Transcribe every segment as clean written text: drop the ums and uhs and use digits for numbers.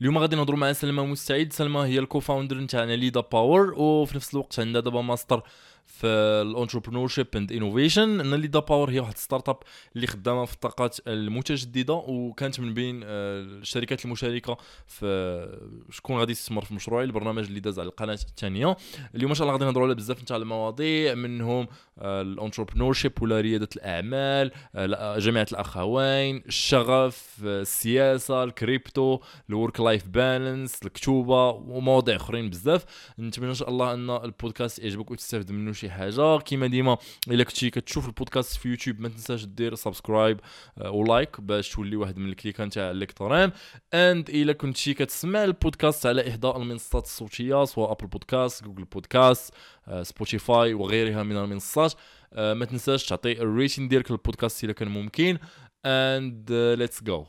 اليوم غادي نهضروا مع سلمى مستعيد. سلمى هي الكوفاوندر نتاعنا ليدا باور، وفي نفس الوقت عندها دابا ماستر في الانتربرونور شيب اند انوفيشن. ان ليدا باور هي واحد ستارت اب اللي خدامه في الطاقات المتجدده، وكانت من بين الشركات المشاركه في شكون غادي يستثمر في مشروعي، البرنامج اللي داز على القناه الثانيه. اليوم ان شاء الله غادي نهضروا على بزاف نتاع المواضيع، منهم الانتربرونور شيب ولا رياده الاعمال، جامعه الاخوين، الشغف، السياسه، الكريبتو، الورك لايف بالانس، الكتوبه ومواضيع اخرين بزاف. نتمنى ان شاء الله ان البودكاست يعجبك وتستافد منه شي حاجه. كيما ديما الا كنتي كتشوف البودكاست في يوتيوب ما تنساش دير سبسكرايب ولايك باش تولي واحد من الكليكان تاع الالكترون. اند الا كنتي كتسمع البودكاست على احدى المنصات الصوتيه سواء ابل بودكاست، جوجل بودكاست، سبوتيفاي وغيرها من المنصات، ما تنساش تعطي الريتين ديالك للبودكاست الا كان ممكن. and let's go.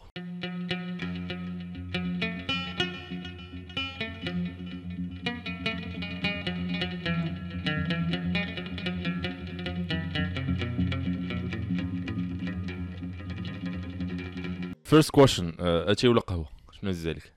first question. اتاي ولا قهوه؟ شنو هز عليك؟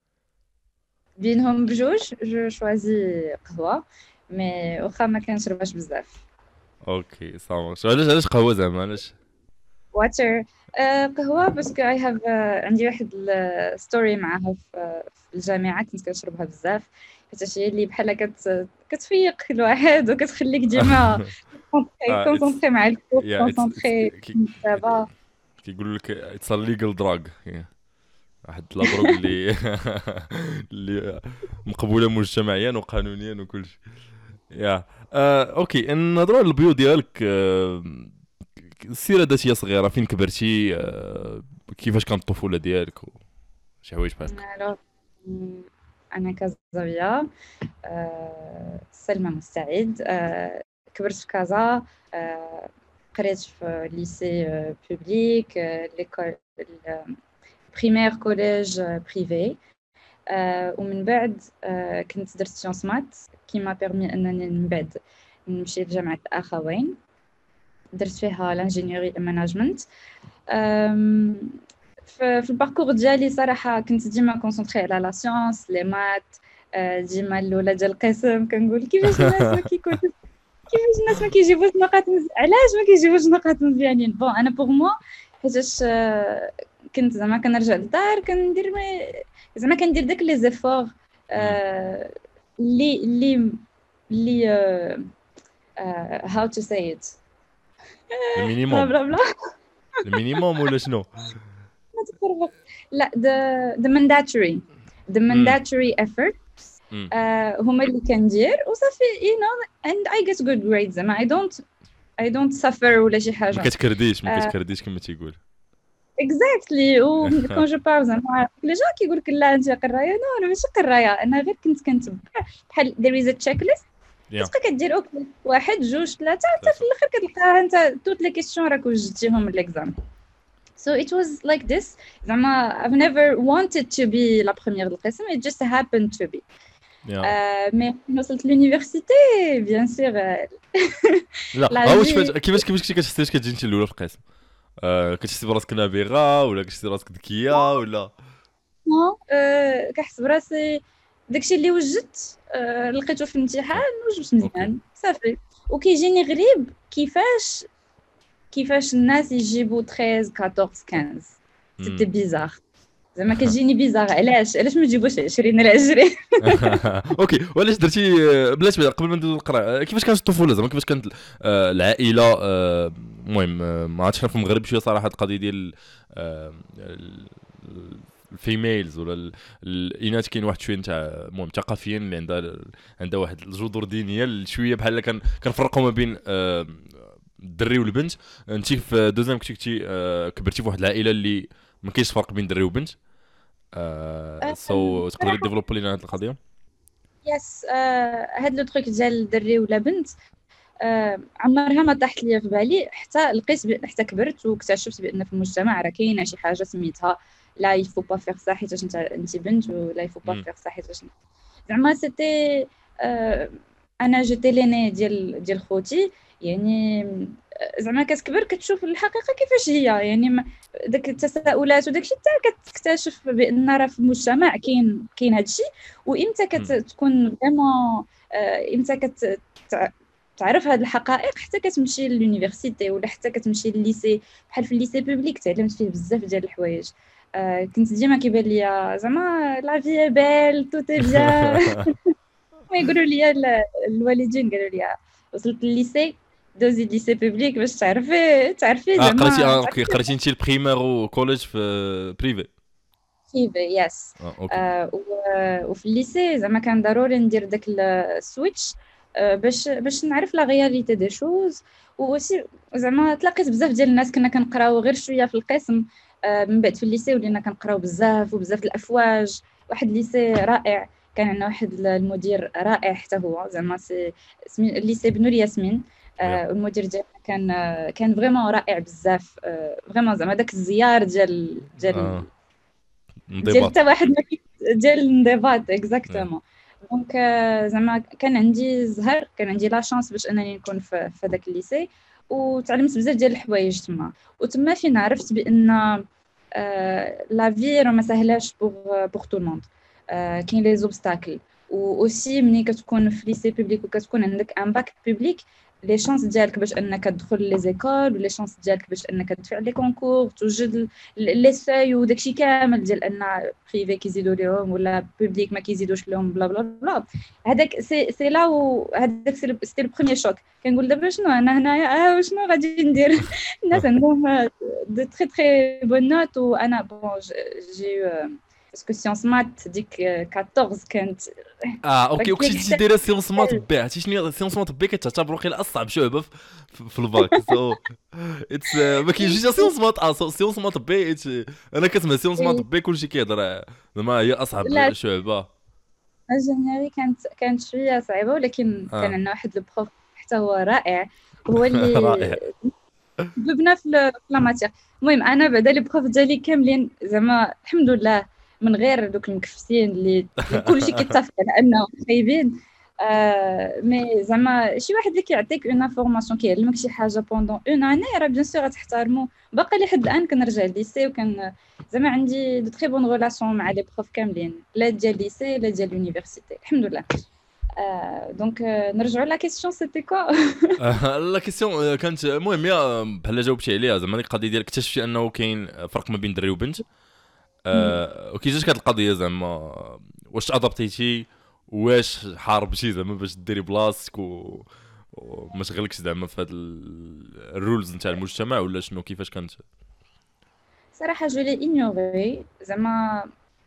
بينهم بجوج جو شوازي قهوه، مي واخا ما كنشربهاش بزاف. اوكي صافي. علاش قهوه زعما؟ علاش؟ واتر. قهوه باسكو اي هاف عندي واحد الستوري معاها في الجامعه، كنت كنشربها بزاف حيت هي اللي بحال كتفيق الواحد وكتخليك ديما it's كونسونطري مع الكور، yeah it's كونسونطري دابا. كيقولوا لك it's a legal drug. واحد لا دروغ اللي اللي مقبوله مجتمعيا وقانونيا وكل شيء. يا اوكي، نهضروا على البيو ديالك. السيره الذاتيه صغيره، فين كبرتي؟ كيفاش كانت الطفوله ديالك وشي حوايج بحال هكا؟ الوغ انا كازاويه، سلمى مستعيد. كبرت في كازا، قريت في ليسي بوبليك، ليكول بريمير كوليج بريفي. ومن بعد كنت درت سيونس مات كي ما بيرمي انني من بعد نمشي لجامعه الاخوين، درت فيها لانجينيوري مانجمنت. في الباركور ديالي صراحه كنت ديما كونسونطري على لا سيونس لي مات. ديما الاولى ديال القسم كنقول كيفاش الناس ما كيكونوش، كيفاش الناس ما كيجيبوش نقاط علاش ما كيجيبوش نقاط مزيانين. بون انا بوغ موا حيتاش كنت زعما كنرجع للدار كندير زعما كندير داك لي زيفور اللي how to say it بلا المينيموم بلا بلا المينيموم ولا شنو؟ ما تفرق. لا the mandatory effort هما اللي كندير وصافي you know and I get good grades. زعما I don't suffer ولا شي حاجه. ما كتكرديش كما تيقول. اكزاكتلي. وكون جو بار زعما لي جا كيقول لك لا انت قرايه، نو انا ماشي قرايه، انا غير كنت كنتبع بحال there is a checklist كتبقى كدير اوكي واحد جوج ثلاثه حتى في الاخر كتلقاها انت توت لي كيسيون راك وجدتيهم من ليكزام. So it was like this. زعما I've never wanted to be la première القسم, it just happened to be. مي وصلت لونيفرسيتي بيان سور لا واش كيفاش كنتي كتحسي كتجي انت الاولى في القسم؟ كتحسي براسك نابغه ولا كتحسي براسك ذكيه ولا؟ كنحس براسي داكشي اللي وجدت لقيته في الامتحان وجبت مزيان صافي. وكيجيني غريب كيفاش الناس يجيبوا 13 14 15 سيتي بيزار. زعما كتجيني بيزار علاش ما تجيبوش 20 على 20. اوكي، وعلاش درتي بلاش قبل ما ندوز نقرا؟ كيفاش كانت الطفوله زعما؟ كيفاش كانت العائله؟ المهم ما عرفتش في المغرب شويه صراحه القضيه ديال الفيميلز ولا الاناث كاين واحد شويه نتاع المهم ثقافيا اللي عندها واحد الجذور دينيه شويه بحال كنفرقوا ما بين الدري والبنت. انت في دوزيام كنتي كبرتي في واحد العائله اللي ما كاينش فرق بين دري وبنت. سو تقدري ديفلوبي لنا هذه القضيه؟ يس. هاد لو تروك ديال دري ولا بنت عمرها ما طاحت ليا في بالي حتى لقيت حتى كبرت واكتشفت بان في المجتمع راه كاينه شي حاجه سميتها لا يفو با فيغ صح حيت انت بنت، ولا يفو با فيغ صح حيت زعما سيتي انا جيتي ليني ديال خوتي يعني زعما كتكبر كتشوف الحقيقه كيفاش هي، يعني داك التساؤلات وداك الشيء حتى كتكتشف بان راه في المجتمع كاين هذا الشيء. وامتى كتكون فريمون امتى تعرف هاد الحقائق حتى كتمشي للونيفرسيتي ولا حتى كتمشي للليسي. بحال في الليسي بوبليك تعلمت فيه بزاف ديال الحوايج. كنت ديما كيبان ليا زعما لا في بيل توتي بيان. ما يقولوا لي الوالدين قالوا لي وصلت للليسي دوزي ليسي بوبليك باش تعرفي قريتي زعما اوكي، قريتي انت البريمير وكوليج في بريفي؟ كيفي يس. اوكي. وفي الليسي زعما كان ضروري ندير داك السويتش باش نعرف لا رياليتي دي شوز. وشي زعما تلاقيت بزاف ديال الناس كنا كنقراو غير شويه في القسم. من بعد في الليسي ولينا كنقراو بزاف وبزاف الافواج. واحد الليسي رائع، كان عندنا واحد المدير رائع حتى هو زعما الليسي بنور ياسمين. والمدير ديالنا كان فريمون رائع بزاف. فريمون زعما داك الزيار ديال انضباط حتى واحد ما ديال الانضباط اكزاكتومون. دونك زعما كان عندي زهر، كان عندي لا شانس باش انني نكون في هذاك الليسي، وتعلمت بزاف ديال الحوايج تما. وتما فين عرفت بان لا في راه ما سهلاش بوغ تو الموند. كاين لي زوبستاكل. و اوسي ملي كتكون في ليسي بوبليك وكتكون عندك ان باك بوبليك، لي شانس ديالك باش انك تدخل لي زيكول ولي شانس ديالك باش انك تدفع لي كونكور توجد لي ساي وداكشي كامل ديال ان بريفي كيزيدوا لهم ولا بوبليك ما كيزيدوش لهم بلا بلا بلا. هذاك سي لا هذاك سي لو بروميير شوك. كنقول دابا شنو انا هنايا شنو غادي ندير؟ الناس عندهم دو تري تري بون نوت وانا بون جي باسكو سيونس مات ديك 14 كانت اوكي. وكنتي دايره سيونس مات بي، عرفتي شنو سيونس مات بي؟ كتعتبر واقيلا اصعب شعبه في الباك. سو اتس ما كاينش سيونس مات سيونس مات بي. انا كنسمع سيونس مات بي كلشي كيهضر زعما هي اصعب شعبه. الجينيري كانت شويه صعيبه، ولكن كان عندنا واحد البروف حتى هو رائع، هو اللي رائع ببنا في لا ماتير. المهم انا بعدا لي بروف ديالي كاملين زعما الحمد لله من غير دوك المكفسين اللي كلشي كيتفق على انهم خايبين. مي زعما شي واحد اللي كيعطيك اون انفورماسيون كيعلمك شي حاجه بوندون اون اني راه بيان سور غتحترمو. باقي لحد الان كنرجع لليسي وكان زعما عندي دو تري بون ريلاسيون مع لي بروف كاملين، لا ديال ليسي لا ديال لونيفرسيتي الحمد لله. دونك نرجعوا لا كيسيون سيتي كوا. لا كيسيون كانت المهم يا بحال جاوبتي عليها زعما القضيه ديال اكتشفتي انه كاين فرق ما بين دري وبنت. وكي جاتك هاد القضيه زعما واش ادابتيتي، واش حاربتي زعما باش ديري بلاصتك وما شغلكش زعما في هاد الرولز نتاع المجتمع ولا شنو كيفاش كانت؟ صراحه جو لي انيوري زعما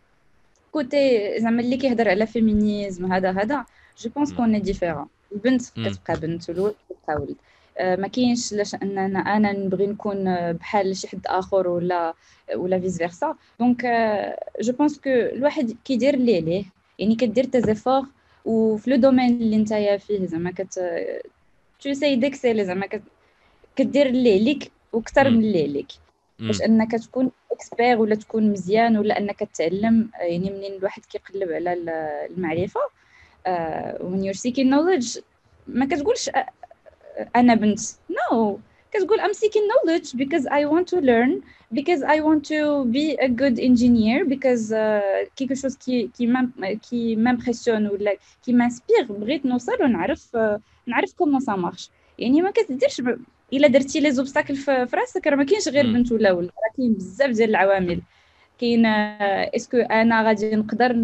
كوتي زعما اللي كيهضر على فيمينيزم هذا جو بونس كون ديفيرون. البنت كتبقى بنت والولد كيبقى ولد. ما كاينش لاش اننا انا نبغي نكون بحال شي حد اخر ولا فيس فيرسا. دونك جو بونس كو الواحد كيدير اللي عليه، يعني كدير تازيفور وفي لو دومين اللي نتايا فيه زعما تو سي ديكسيلي زعما كدير اللي عليك وكثر من اللي عليك باش انك تكون اكسبير ولا تكون مزيان ولا انك تتعلم. يعني منين الواحد كيقلب على المعرفه when you're seeking knowledge ما كتقولش انا بنت no كتقول I'm seeking knowledge because I want to learn because I want to be a good engineer because quelque chose qui m'impressionne ولا qui m'inspire بغيت نوصل ونعرف comment ça marche. يعني ما كتديرش الا درتي لي زوبستاكل في راسك راه ما كاينش غير بنت ولا ولد، راه كاين بزاف ديال العوامل. كاين اسكو انا غادي نقدر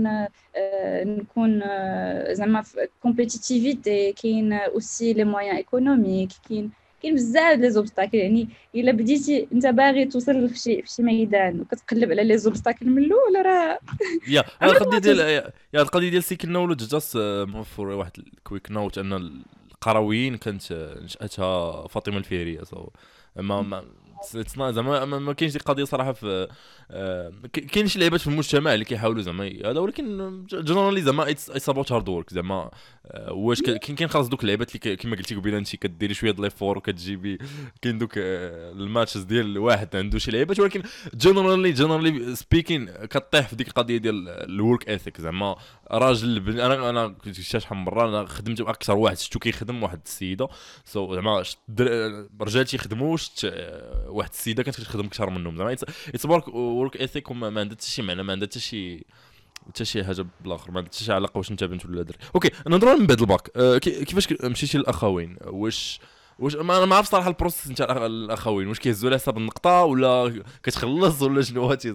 نكون زعما في كومبيتيتيفيتي، كاين اوسي لي مويان ايكونوميك، كاين بزاف لي زوبستاكل. يعني الا بديتي انت باغي توصل في شي ميدان وكتقلب على لي زوبستاكل من الاول راه يا القضيه ديال سيكل نولج جاست فور واحد الكويك نوت ان القرويين كانت نشاتها فاطمه الفهريه. ما زعما ما كاينش دي قضيه صراحه في كاين شي لعيبات في المجتمع اللي كيحاولوا زعما هذا، ولكن جنرالي زعما اتس اباوت هارد ورك زعما. واش كاين خلاص دوك اللعيبات اللي كما قلتي قبيله انت كديري شويه د ليفور وكتجيبي، كاين دوك الماتشز ديال واحد عنده شي لعيبات، ولكن جنرالي سبيكين كطيح في ديك القضيه ديال الورك اثيك زعما. راجل انا كنت شحال من مره انا خدمت اكثر واحد شفتو كيخدم واحد السيده زعما رجال تيخدموا واحد السيده كانت كتخدم اكثر منهم زعما. اتس ورك اثيك ما عندها حتى شي معنى، ما عندها حتى شي حاجه بالاخر، ما عندها حتى شي علاقه واش انت بنت ولا دري. اوكي نهضروا من بعد الباك. كيفاش مشيتي للاخوين؟ واش ما انا ما عرفت صراحه البروسيس نتاع الاخوين، واش كيهزوا على حساب النقطه ولا كتخلص ولا شنو هاتي؟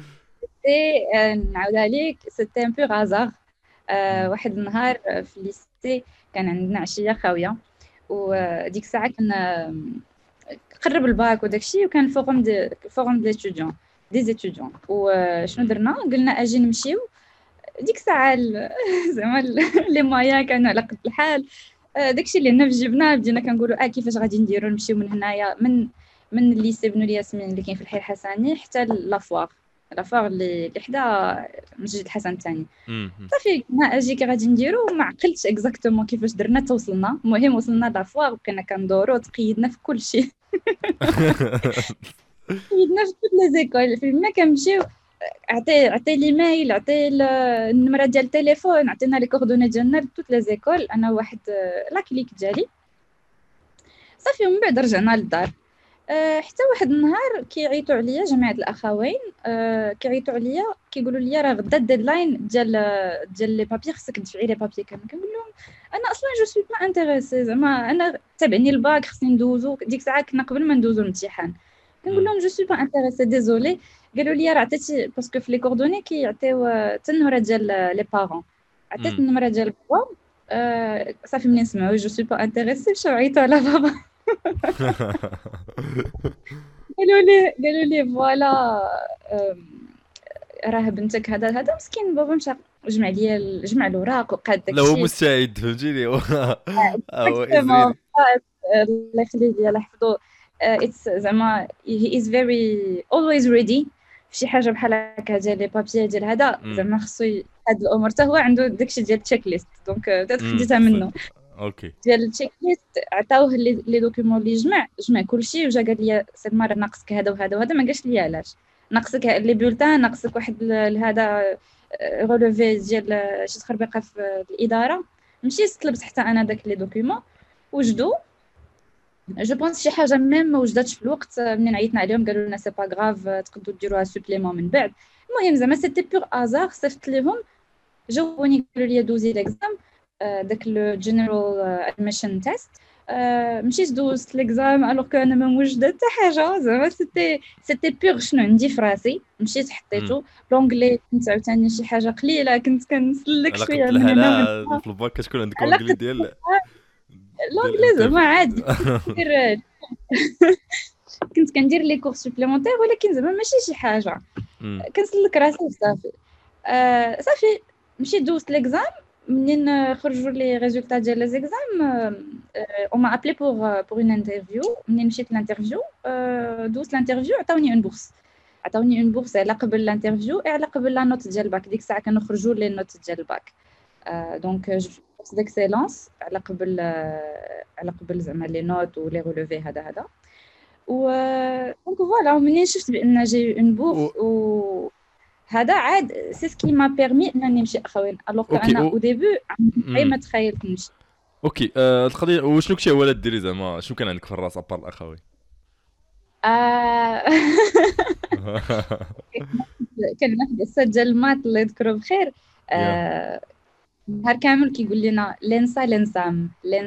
نعاود عليك سيتي ان بو غازار. واحد النهار في الليسي كان عندنا عشيه خاويه، وديك الساعه كنا قرب الباك وداكشي، وكان فوروم دي ليستوديون دي زيتوديون. وشنو درنا؟ قلنا اجي نمشيو. ديك الساعه زعما لي مايا كانوا على قد الحال. داكشي اللي حنا جبناه بدينا كنقولوا كيفاش غادي نديروا نمشيو من هنايا من الليسي بنو الياسمين اللي كاين في الحي الحسني حتى لافوار اللي حدا مسجد الحسن الثاني. صافي ما اجي كي غادي نديرو، ما عقلتش اكزاكتومون كيفاش درنا توصلنا. المهم وصلنا لافوار وكنا كندورو تقيدنا في كل شيء. تقيدنا في كل لي زيكول فين ما كنمشيو. عطي لي مايل، عطي النمره ديال التليفون، عطينا لي كوردوني ديالنا لتوت لي زيكول، انا واحد لا كليك ديالي. صافي ومن بعد رجعنا للدار. حتى واحد النهار كيعيطوا عليا جماعه الاخوين، كيعيطوا عليا كيقولوا لي راه غدا الديدلاين ديال لي بابي، خصك تدفعي لي بابي. كنقول لهم انا اصلا جو سوي با انتريسي، زعما انا تابعني الباك خصني ندوزو. ديك الساعه كنا قبل ما ندوزو الامتحان. كنقول لهم جو سوي با انتريسي ديزولي. قالوا لي راه عطيتي باسكو في لي كوردوني كيعطيو حتى النمره ديال لي بارون، عطيت النمره ديال بابا. صافي ملي سمعوا جو سوي با انتريسي مشاو عيطوا على بابا. قالوا لي فوالا راه بنتك هذا مسكين. بابا مشى جمع الاوراق وقاد داكشي. لا هو مستعد فهمتيني. هو الله يخليه لي الله يحفظه. اتس زعما هي از فيري اولويز ريدي في شي حاجه بحال هكا ديال لي بابي ديال هذا. زعما خصو هاد الامور حتى هو عنده داكشي ديال التشيك ليست. دونك خديتها منه. اوكي ديال التشيك ليست عطاوه لي دوكيومون اللي جمع كلشي، وجا قال لي سلمى راه ناقصك هذا وهذا وهذا. ما قالش لي علاش ناقصك لي بولتان، ناقصك واحد هذا رولوفي ديال شي تخربيقه في الاداره. مشيت طلبت حتى انا داك لي دوكيومون وجدو. جو بونس شي حاجه ميم ما وجدتش في الوقت. منين عيطنا عليهم قالوا لنا سي با غراف، تقدروا ديروها سوبليمون من بعد. المهم زعما سيتي بور ازار. صيفط ليهم جاوني قالوا لي دوزي ليكزام داك لو جينيرال ادميشن تيست. مشيت دوزت ليكزام الوغ كو انا ما موجده حتى حاجه. زعما سيتي بور شنو عندي في راسي. مشيت حطيته لونجلي. كنت عاوتاني شي حاجه قليله كنت كنسلك شويه من هنا في الباك كتكون عندك لونجلي ديال لونجلي زعما عادي. كنت كندير لي كور سوبليمونتير، ولكن زعما ماشي شي حاجه كنسلك راسي وصافي. صافي مشيت دوزت ليكزام. منين خرجوا لي ريزولطا ديال لي زيكزام اون ما ابلي بور اون انترفيو. منين مشيت لانترفيو دوزت لانترفيو عطاوني اون بورس على قبل الانترفيو على قبل لا نوت ديال الباك. ديك الساعه كانوا خرجوا لي نوت ديال الباك. دونك بورس ديكسيلونس على قبل زعما لي نوت ولي رولوفي هذا. و دونك فوالا منين شفت بان جاي اون بورس و هذا عاد سي سكي ما بيرمي انني نمشي اخوين. الوغ انا او ديبي ما تخيلت نمشي. اوكي القضيه وشنو كنتي ولا ديري زعما شنو كان عندك في الراس ابار الاخوين؟ كان واحد الاستاذ ديال المات الله يذكره بخير. نهار كامل كيقول لنا لينسام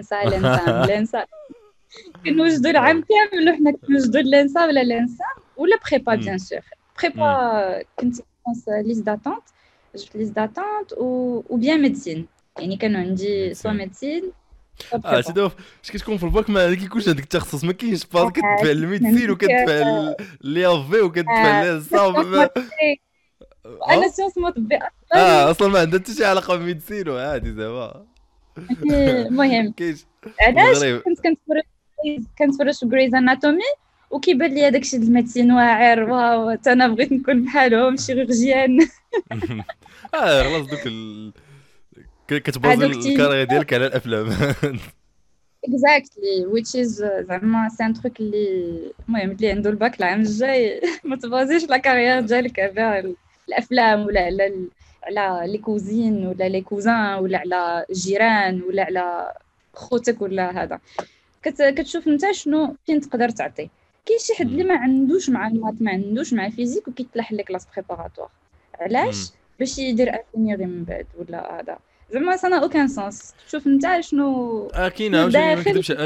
كنوجدوا العام كامل وحنا كنوجدوا لينسا ولا بريبا بيان سور. بريبا كنت ليست داتونت. جبت ليست داتونت و بيان ميديسين. يعني كانوا عندي سوا ميديسين. سيدو اش كتكون في الباك ما كيكونش عندك التخصص. ما كاينش باغ كتدفع الميديسين وكتدفع لي وكتدفع للصاب. انا سيونس مطبي اصلا ما عندها حتى شي علاقه بالميديسين وعادي زعما. المهم علاش كنت كنتفرج في غريز اناتومي وكيبان لي داكشي د الميديسين واعر، واو انا بغيت نكون بحالهم شيروغيان. خلاص كتبازي هادوك الكارير ديالك على الافلام. اكزاكتلي which is زعما سي ان تروك اللي المهم اللي عنده الباك العام الجاي ما تبازيش لا كارير ديالك على الافلام ولا على لي كوزين ولا لي كوزان ولا على الجيران ولا على خوتك ولا هذا. كتشوف انت شنو فين تقدر تعطي. كاين شي حد اللي ما عندوش مع المات ما عندوش مع الفيزيك وكيطلع لك كلاس بريباراتوار علاش باش يدير انجينيوري من بعد ولا هذا. زعما سنا اوكان سونس. تشوف انت شنو كاين عاوتاني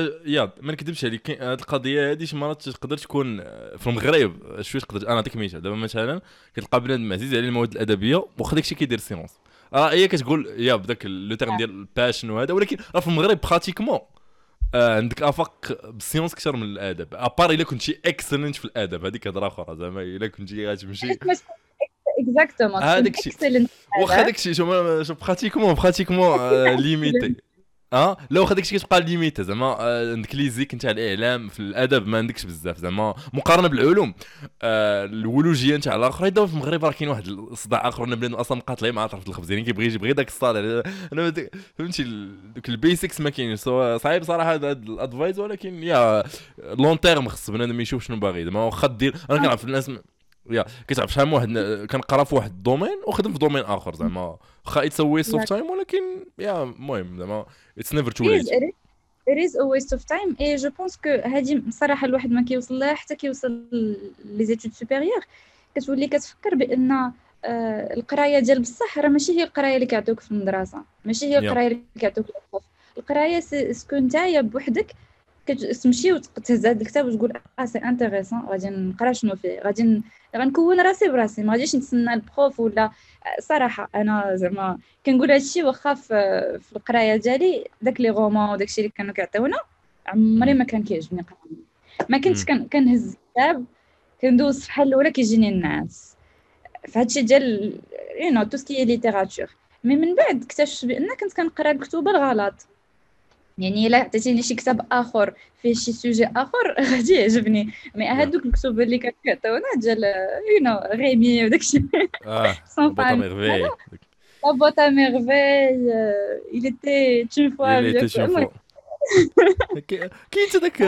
ما نكذبش عليك هذه القضيه هذه شي مرات تقدر تكون في المغرب شويه تقدر انا نعطيك مثال دابا مثلا كتلقى بنادم عزيز عليه المواد الادبيه واخا داكشي كيدير سيونس هي كتقول بداك لو تيرم ديال الباشن وهذا ولكن راه في المغرب براتيكمون عندك افاق بالسيونس اكثر من الادب ابار الا كنتي اكسلنت في الادب هذيك هضره اخرى زعما الا كنتي غتمشي اكزاكتومون هذاك الشيء واخا داك الشيء شوف براتيكمون ليميتي لو واخا داك الشيء كتبقى ليميتي زعما عندك ليزيك نتاع الاعلام في الادب ما عندكش بزاف زعما مقارنه بالعلوم الولوجيه نتاع الاخر دابا في المغرب راه كاين واحد الصداع اخر بنادم اصلا مقاطعين مع طرف الخبز يعني كيبغي يجي داك الصالح انا فهمتي دوك البيسكس ما كاينش صعيب صراحه هذا الادفايس ولكن يا لون تيرم خص بنادم يشوف شنو باغي زعما واخا دير انا كنعرف الناس كتعرف شحال من واحد كنقرا في واحد الدومين وخدم في دومين اخر زعما واخا يتسوي سوفت تايم ولكن المهم زعما اتس نيفر تو ليت there is a waste of time et je pense que هذه صراحه الواحد ما كيوصل لها حتى كيوصل لي زيتود سوبيريور كتولي كتفكر بان القرايه ديال بصح راه ماشي هي القرايه اللي كيعطيوك في المدرسه ماشي هي القرايه اللي كيعطيوك البروف. القرايه سكو نتايا بوحدك كتمشي وتهز هاد الكتاب وتقول سي انتريسون غادي نقرا شنو فيه غنكون راسي براسي ما غاديش نتسنى البروف ولا صراحه انا زعما كنقول هادشي واخا في القرايه ديالي داك لي رومان وداكشي اللي كانوا كيعطيونا عمري ما كان كيعجبني نقرا ما كنتش كنهز الكتاب كندوز الصفحه الاولى كيجيني النعاس فهادشي ديال تو سكي ليتيراتور مي من بعد اكتشفت بان كنت كنقرا الكتب الغلط يعني الا عطيتيني شي كتاب اخر فيه شي سوجي اخر غادي يعجبني مي هادوك الكتب اللي كيعطيونا ديال غيمي وداكشي بوطا ميرفي لا بوطا ميرفي il était une fois كاين داك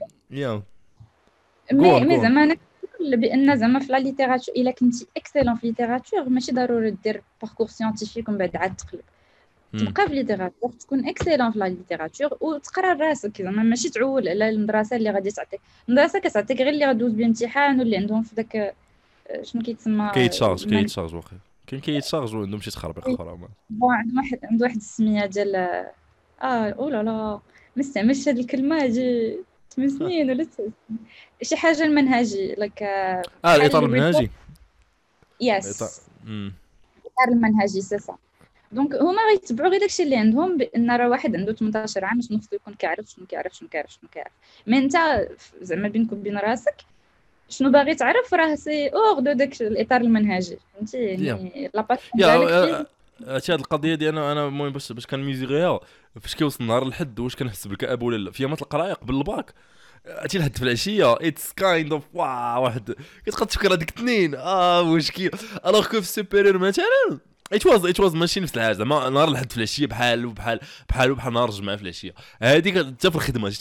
مي زعما انا بان زعما في لا ليتيراتور الا كنتي اكسلون في ليتيراتور ماشي ضروري دير باركور سيانتيفيك ومن بعد عاد تقلب تبقى في ليتيراتور تكون اكسلون في لا ليتيراتور وتقرا راسك زعما ماشي تعول على المدرسه اللي غادي تعطيك المدرسه كتعطيك غير اللي غدوز بامتحان واللي عندهم في داك شنو كيتسمى كيتشارج واخا كاين كيتشارج وعندهم شي تخربيق اخرى بون عنده واحد السميه ديال او لا لا ما استعملش هاد الكلمه هادي 8 سنين ولا 9 سنين شي حاجه المنهجي لك الاطار المنهجي يس الاطار المنهجي سي صح دونك هما غيتبعوا غير داكشي اللي عندهم بان راه واحد عنده 18 عام شنو خصو يكون كيعرف شنو كيعرف مي انت زعما بينك وبين راسك شنو باغي تعرف راه سي اور دو داك الاطار المنهجي فهمتي يعني لاباس ديالك هاد القضيه دي انا المهم باش كنميزيغيها فاش كيوصل النهار الحد واش كنحس بالكآبه ولا لا في يامات القرايه قبل الباك عرفتي الحد في العشيه اتس كايند اوف واحد كتبقى تفكر هذيك اثنين مشكل الوغ كو في السوبيريور مثلا ات واز ماشي نفس الحاجه زعما نهار الحد في العشيه بحال نهار الجمعه في العشيه هذيك حتى في الخدمه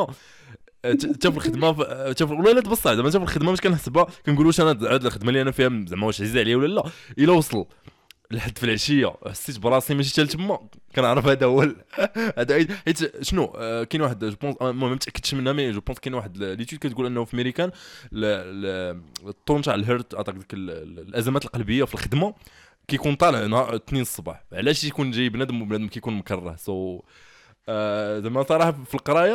ولا لا تبص زعما حتى في الخدمه باش كنحسبها كنقولوش انا عاد الخدمه اللي انا فيها زعما واش عزيز عليا ولا لا الا وصل لحد في العشيه حسيت براسي ماشي حتى لتما كنعرف هذا هو هذا حيت شنو كاين واحد جو بونس ما متاكدش منها مي جو بونس كاين واحد ليتود كتقول انه في امريكان الطون تاع الهيرت اتاك ديك الازمات القلبيه في الخدمه كيكون طالع نهار 2 الصباح علاش يكون جاي بنادم كيكون مكره زعما صراحه في القرايه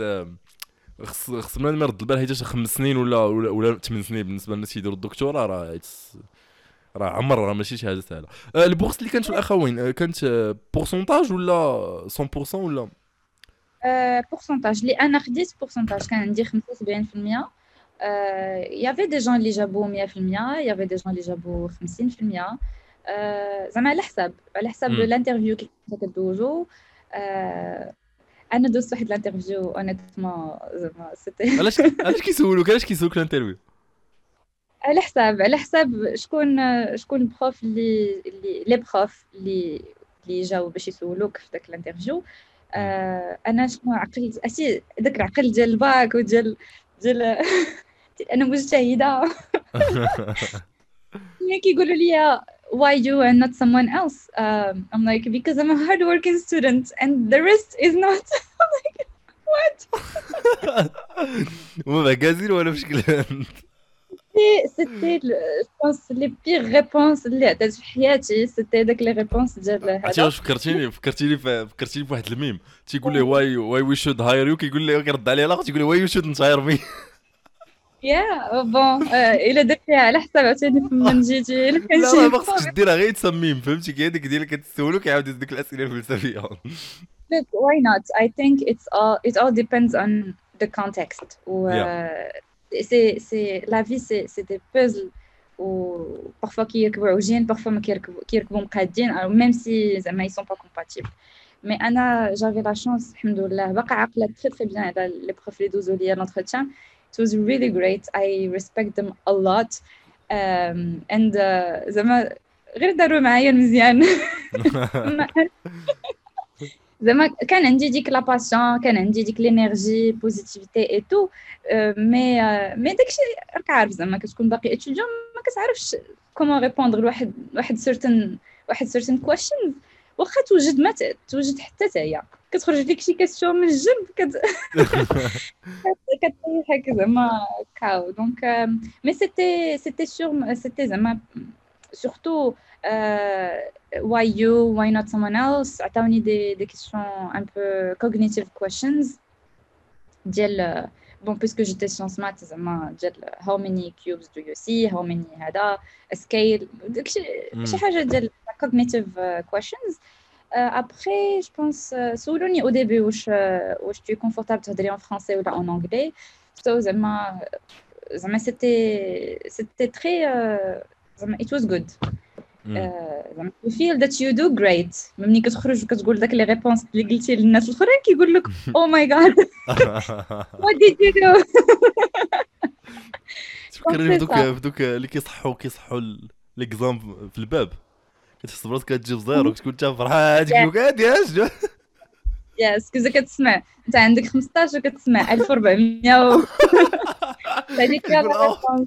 خص بنادم يرد البال حيت 5 سنين ولا 8 سنين بالنسبه للناس يديروا الدكتوراه راه عمر راه ماشي شي حاجه سهله. البورصه اللي كانت في الاخوين كانت بورسونتاج ولا 100% ولا بورسونتاج اللي انا خديت بورسونتاج كان عندي 75%. يافي دي جون اللي جابوا 100% يافي دي جون اللي جابوا 50%. زعما على حساب الانترفيو كي كدوزو انا دوزت واحد الانترفيو اونيتمون زعما سيتي علاش كيسولوك الانترفيو؟ على حساب شكون البروف اللي لي بروف اللي جاو باش يسولوك في داك الانترفيو. انا شنو عقلت اسي داك العقل ديال الباك ديال انا مجتهده. ملي كيقولوا لي why you and not someone else, I'm like because I'm a hardworking student and the rest is not. I'm like what. هما معكازين ولا بشكل C'était je pense les pires réponses اللي عطيت في حياتي. c'était داك لي ريبونس ديال عرفتي هذا. واش فكرتيني في واحد الميم تيقول ليه واي وي شود هاير يو، كيقول ليه كيرد عليه الاخر تيقول ليه واي يو شود هاير مي. يا بون الا درت فيها على حساب عاوتاني من جيتي الا كان لا شي ما خصكش ديرها غير تسميم، فهمتي كي هذيك ديال كتسولو كيعاود يديك الاسئله الفلسفيه. Look, why not? I think it all depends on the context. و c'est la vie, c'est des puzzles و parfois كيركبوا عوجين parfois ما كيركبوا مقادين même si زعما ils sont pas compatibles. Mais أنا j'avais la chance الحمد لله باقا عاقلة très très bien على les profs اللي دوزوا ليا l'entretien. It was really great. I respect them a lot. And زعما غير داروا معايا مزيان. زعما كان عندي ديك لا باسيون، كان عندي ديك لينيرجي بوزيتيفيتي اي تو. مي داكشي راك عارف زعما كتكون باقي اتيديون ما كتعرفش كومون ريبوندر لواحد سيرتين كويشنز. واخا توجد ما توجد حتى هي كتخرج لك شي كاستيون من الجنب كتريحك زعما كاو. دونك مي سيتي زعما surtout why you, why not someone else. عطاوني des questions un peu cognitive questions ديال bon puisque j'étais sciences maths زعما ديال how many cubes do you see, how many هذا scale داكشي شي حاجه ديال cognitive questions. Après je pense سولوني au début واش tu es confortable تهضري en français ou en anglais. So زعما c'était très it was good. You feel that you do great. ملي كتخرج وكتقول داك لي ريبونس اللي قلتي للناس الاخرين كيقول لك او ماي جاد what did you do. تفكرني بدوك اللي كيصحوا ليكزام في الباب، كتحس براسك كتجيب زيرو كتكون انت فرحان تقول هادي اش يس كذا كتسمع انت عندك 15 وكتسمع 1400 هذيك هي الريبونس.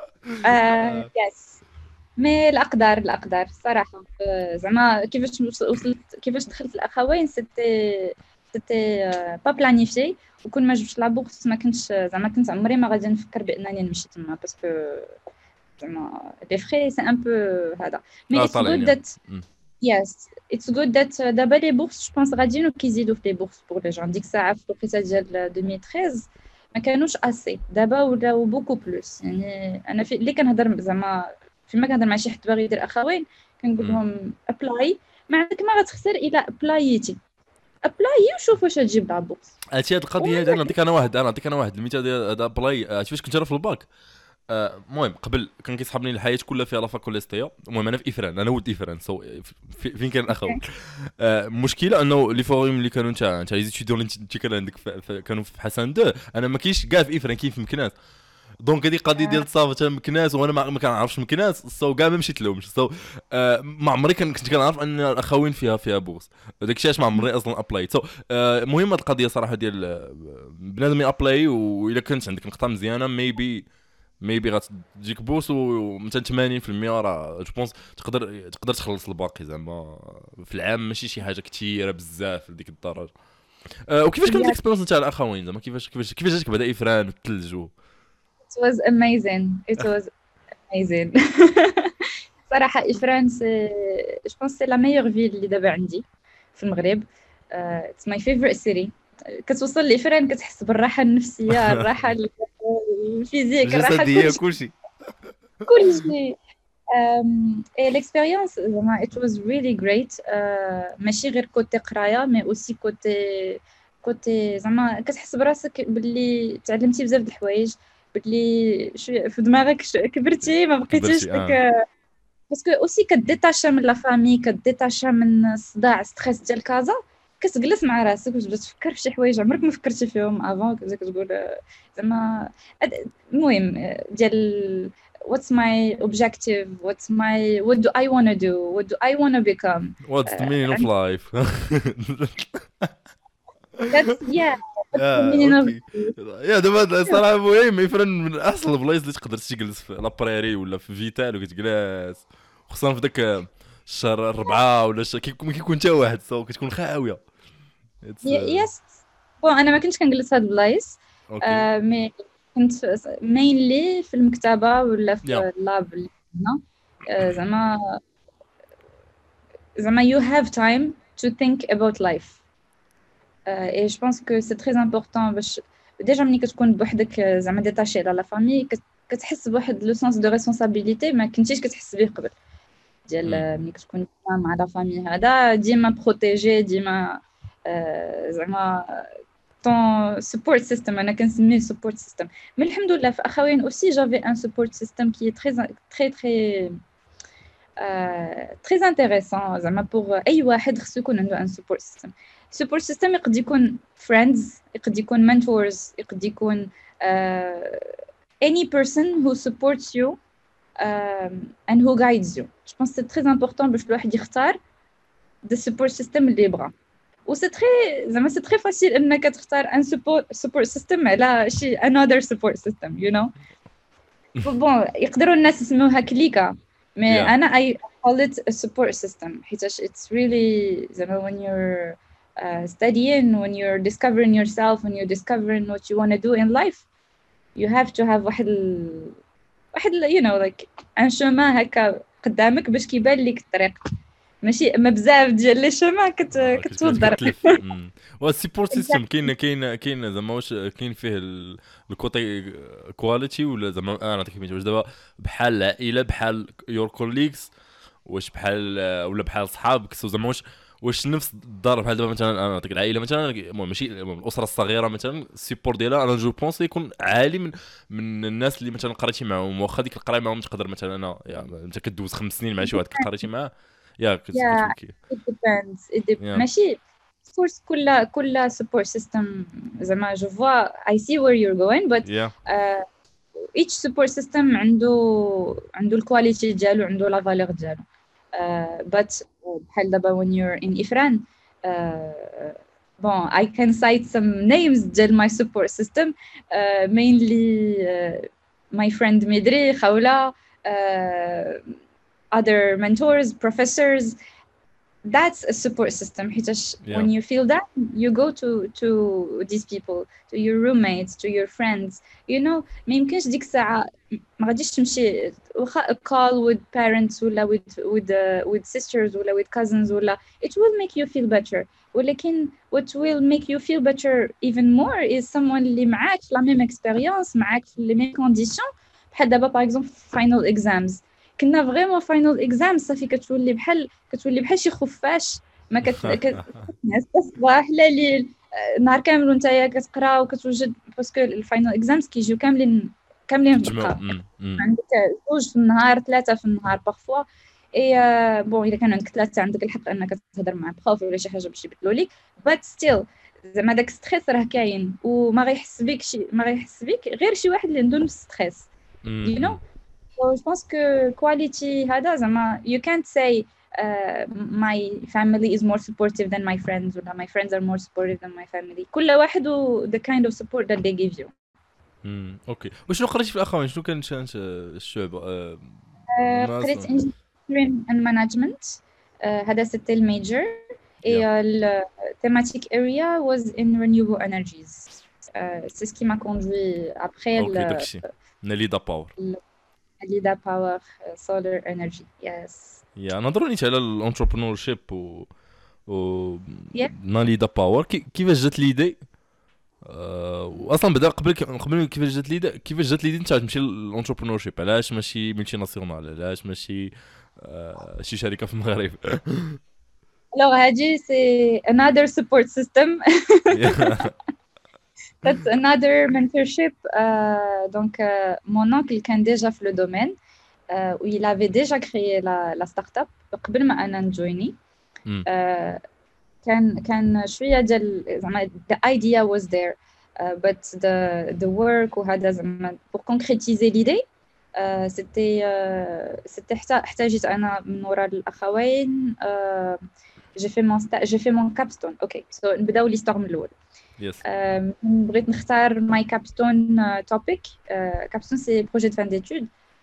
يس مي الاقدار الصراحه زعما كيفاش دخلت الاخوين سيتي با بلانيفي. وكون ما جبتش لا بورس ما كنتش زعما كنت عمري ما غادي نفكر بانني نمشي تما باسكو زعما لي فري سي ان بو هذا. مي اتس جود ذات يس اتس جود ذات دابا لي بورس جو بونس غاديين وكيزيدوا في لي بورس بور لي جون. ديك الساعه في الوقيته ديال 2013 ما كانوش اسي، دابا ولاو بوكو بلوس. يعني انا في اللي كنهضر زعما فيما كنهضر مع شي حد باغي يدير اخوين كنقول لهم ابلاي، ما عندك ما غتخسر الا ابلايتي وشوف واش تجيب لابورس. هادشي هاد القضيه هادي نعطيك انا واحد المثال ديال هذا ابلاي. فاش كنت انا في الباك المهم قبل كان كيصحابني الحياه كلها فيها لافاك كوليستيا. المهم انا في افران، انا ولد افران سو فين كان الاخوين. المشكله انه لي فوريم اللي كانوا نتا لي ستوديون اللي كان عندك كانوا في حسن 2 انا ما كاينش كاع في افران كاين في مكناس. دونك هذه قضيه ديال الصافه مكناس وانا ما كنعرفش مكناس سو كاع ما مشيت لهمش. سو ما عمري كنت كنعرف ان الاخوين فيها بورس داكشي علاش ما عمري اصلا ابلاي. سو المهم هذه القضيه صراحه ديال بنادم ابلاي والا كنت عندك نقطه مزيانه ميبي غتجيك بورس ومثلا 80% راه جو بونس تقدر تخلص الباقي زعما في العام ماشي شي حاجه كثيره بزاف لديك الدرجه. وكيفاش كانت الاكسبيرينس نتاع الاخوين زعما كيفاش جاتك بعدا افران والثلج It was amazing. صراحة إفران je pense c'est la meilleure ville اللي دابا عندي في المغرب. It's my favorite city. كتوصل لإفران كتحس بالراحة النفسية، الراحة الفيزيك، الراحة الجسدية، كلشي. l'expérience زعما it was really great. ماشي غير كوتي قراية مي اوسي كوتي زعما كتحس براسك باللي تعلمتي بزاف د الحوايج، باللي في دماغك كبرتي ما بقيتيش داك باسكو اوسي كديتاشا من لا فامي، كديتاشا من الصداع ستريس ديال كازا. كتجلس مع راسك وتبدا تفكر في شي حوايج عمرك ما فكرتي فيهم افون، كتقول زعما المهم ديال what's my objective, what do I want to do, what do I want to become. what's the meaning of life. That's yeah, that's the meaning of اوكي يا دابا صراحه مهم يفرن من احسن البلايص اللي تقدر تجلس في لابريري ولا في فيتال وكتجلس، خصوصا في داك الشهر 4 ولا كيكون حتى واحد كتكون خاويه. يس بون انا ما كنتش كنجلس هاد البلايص مي كنت مينلي في المكتبه ولا في اللاب اللي هنا زعما you have time to think about life. et je pense que c'est très important باش ديجا ملي كتكون بوحدك زعما ديتاشي على لا فامي كتحس بواحد لو سونس دو ريسبونسابيلتي ما كنتيش كتحس به قبل، ديال ملي كتكون مع لا فامي هذا ديما بروتيجي ديما زعما ton support system انا كنسميه support system. mais الحمد لله في اخوين aussi j'avais un support system qui est très intéressant زعما pour اي واحد خصو يكون عنده un support system. support system يقد يكون friends، يقد يكون mentors، يقد يكون any person who supports you and who guides you. je pense c'est très important باش الواحد يختار the support system اللي يبغى. و سي تري زعما سي تري فاسيل انك تختار ان support system على شي another support system you know. بون يقدروا الناس يسموها كليكا مي انا I call it a support system حيتاش it's really زعما when you're studying, when you're discovering yourself, when you're discovering what you want to do in life, you have to have واحد you know like un chemin هكا قدامك باش كيبان لك الطريق، ماشي ما بزاف ديال لي شومان كتوضر. والسيبورت سيستم كاين زعما واش كاين فيه الكوتي كواليتي ولا زعما انا نعطيك مثال واش دابا بحال العائله بحال يور كوليكس واش بحال ولا بحال صحابك زعما واش نفس الدار بحال دابا مثلا انا نعطيك العائله مثلا المهم ماشي الاسره الصغيره مثلا السيبور ديالها انا جو بونس يكون عالي من الناس اللي مثلا قريتي معاهم واخا ديك القرايه معاهم تقدر مثلا انا يعني انت كدوز 5 سنين مع شي واحد قريتي معاه it depends. ماشي course كل support system زعما je vois I see where you're going but each support system عنده الكواليتي ديالو عنده لا فالور ديالو but بحال دابا when you're in Ifran bon I can cite some names ديال my support system mainly my friend Midri Khawla other mentors, professors. That's a support system. When you feel that, you go to these people, to your roommates, to your friends. You know, ما يمكنش ديك الساعة ما غاديش تمشي واخا a call with parents ولا with sisters ولا with cousins ولا it will make you feel better. ولكن what will make you feel better even more is someone اللي معاك la même expérience معاك في les mêmes conditions. بحال دابا par exemple final exams. كنا فريمون فاينل اكزام صافي كتولي بحال شي خفاش ما الصباح لا الليل نهار كامل وانت كتقرا وكتوجد باسكو الفاينل اكزامز كيجيو كاملين في الدقه عندك 2 في النهار 3 في النهار باغفوا اي بون اذا كان عندك 3 عندك الحق انك تهضر مع بروف ولا شي حاجه باش يبدلوا لك بات ستيل زعما داك ستريس راه كاين وما غيحس بك غير شي واحد اللي عنده نفس ستريس you know. So je pense que quality هذا زعما you can't say my family is more supportive than my friends or my friends are more supportive than my family. كل واحد the kind of support that they give you. اوكي وشنو قريتي في الاخوان شنو كان الشعب قريت engineering and management هذا c'était le major et le thematic area was in renewable energies. C'est ce qui m'a conduit après Nelida Power. Nelida Power solar energy. Yes. نهضروا نيت على الانتربرونور شيب ناليدا باور كيفاش جات ليدي واصلا بدا قبل كيفاش جات ليدي انت تمشي للانتربرونور شيب علاش ماشي ملتي ناسيونال علاش ماشي شي شركه في المغرب alors هادي c'est another support system. That's another mentorship. Donc, mon oncle كان déjà في le domaine où il avait déjà créé la start-up قبل ما أنا نجويني. كان شويه ديال زعما the idea was there but the work وهذا زعما pour concrétiser l'idée c'était احتاجت انا من وراء الاخوين j'ai fait mon capstone اوكي سو نبداو ليستور من الاول يس بغيت نختار ماي كابستون توبيك كابستون سي بروجي دو فان ديتود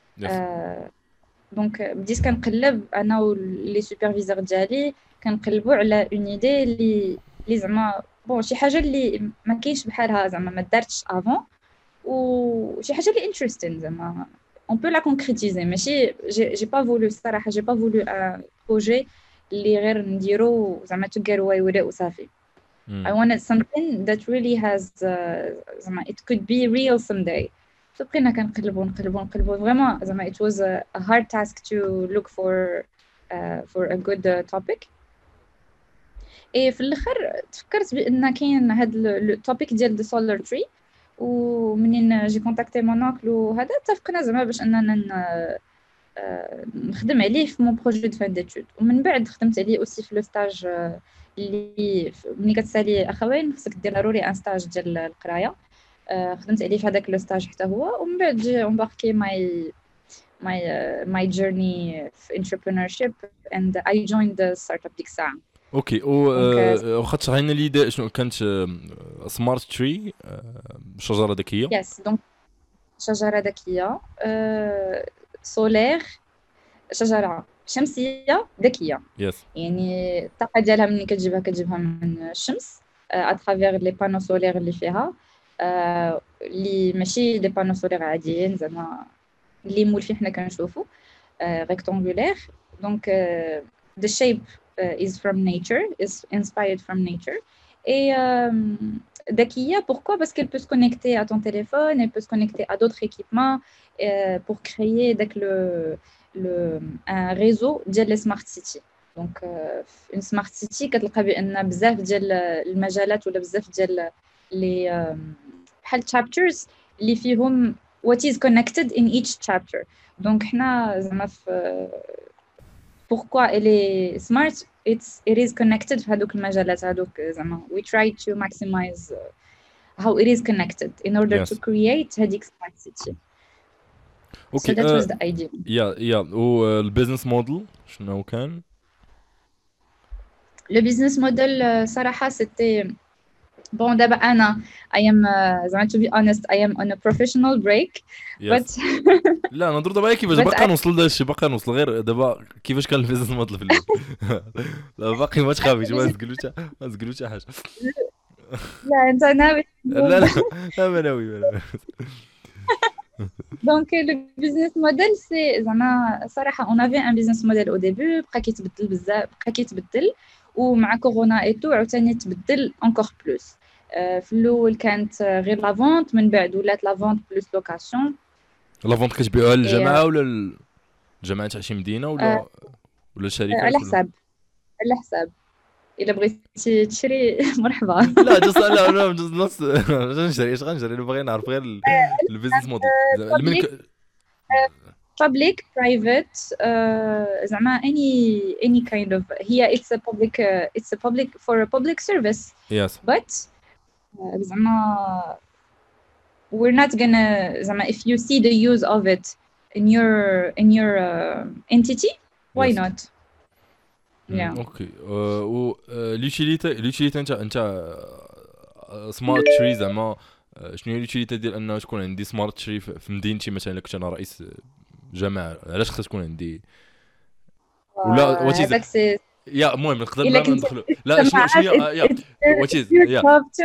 دونك بديت كنقلب انا ولي سوبرفيزور ديالي كنقلبوا على اون ايدي اللي زعما بون شي حاجه اللي ما كاينش بحالها زعما ما دارتش افون وشي حاجه اللي انتريستين زعما on peut la concrétiser ماشي j'ai pas voulu الصراحه j'ai pas voulu un projet اللي غير نديرو زعما to get away with it وصافي I wanted something that really has زعما it could be real someday so بقينا كنقلبوا vraiment زعما it was a hard task to look for a good topic et في الاخر تفكرت بان كاين هاد التوبيك ديال the solar tree ومنين جي كونتاكتي مون اونكل وهذا اتفقنا زعما باش اننا نخدم عليه في مون بروجي دو فان ديتود ومن بعد خدمت عليه اوسي في لو ستاج اللي ملي كتسالي اخوين خصك دير ضروري ان ستاج ديال القرايه خدمت عليه في هذاك لو ستاج حتى هو ومن بعد جي امباركي my journey في entrepreneurship and I joined the startup ديك الساعه اوكي واخا تشرحينا لي شنو كانت سمارت تري شجره ذكيه يس دونك شجره ذكيه سولير شجره شمسيه ذكيه يس يعني الطاقه ديالها ملي كتجيبها من الشمس اترافير لي بانو سولير اللي فيها اللي ماشي لي بانو سولير عاديين زعما اللي مولفين حنا كنشوفوا rectangulaire donc the shape is from nature is inspired from nature et ذكية pourquoi parce qu'elle peut se connecter à ton téléphone elle peut se connecter à d'autres équipements pour créer un réseau ديال les smart city donc une smart city كتلقى بان بزاف ديال المجالات ولا بزاف ديال لي بحال chapters اللي فيهم what is connected in each chapter donc حنا زعما pourquoi elle est smart it is connected في هذوك المجالات هذوك زعما we try to maximize how it is connected in order to create هذيك smart city okay so that was the idea yeah والبيزنس موديل شنو كان le business model صراحة c'était bon دابا انا I am زعما to be honest I am on a professional break but لا نهضروا دابا كيفاش باقي نوصل لهذا الشيء باقي نوصل غير دابا كيفاش كان البيزنس موديل في الاول لا باقي ما تخافيش ما تقولوش حاجه لا انت ناوي لا ما ناوي donc le business model c'est زعما صراحه on avait un business model au début بقى كيتبدل بزاف بقى كيتبدل ومع كورونا ايتو عاوتاني تبدل انكور بلوس في الاول كانت غير لا فونت من بعد ولات لا فونت بلوس لوكاسيون لا فونت كتبيعوها للجماعه ولا الجماعه تاع شي مدينه ولا الشركات على حساب الا بغيتي تشري مرحبا لا جست لا نص نشري ايش غنشري بغينا نعرف غير البيزنس موديل public private زعما any kind of هي it's a public for a public service yes but زعما we're not gonna زعما if you see the use of it in your entity why yes. not yeah اوكي ليوتيليتي انت سمارت تري زعما شنو هي ليوتيليتي ديال انه تكون عندي سمارت تري في مدينتي مثلا الا كنت انا رئيس جماعه علاش خصها تكون عندي ولا واتيز يا المهم نقدر ندخلوا لا شنو يا واتيز يا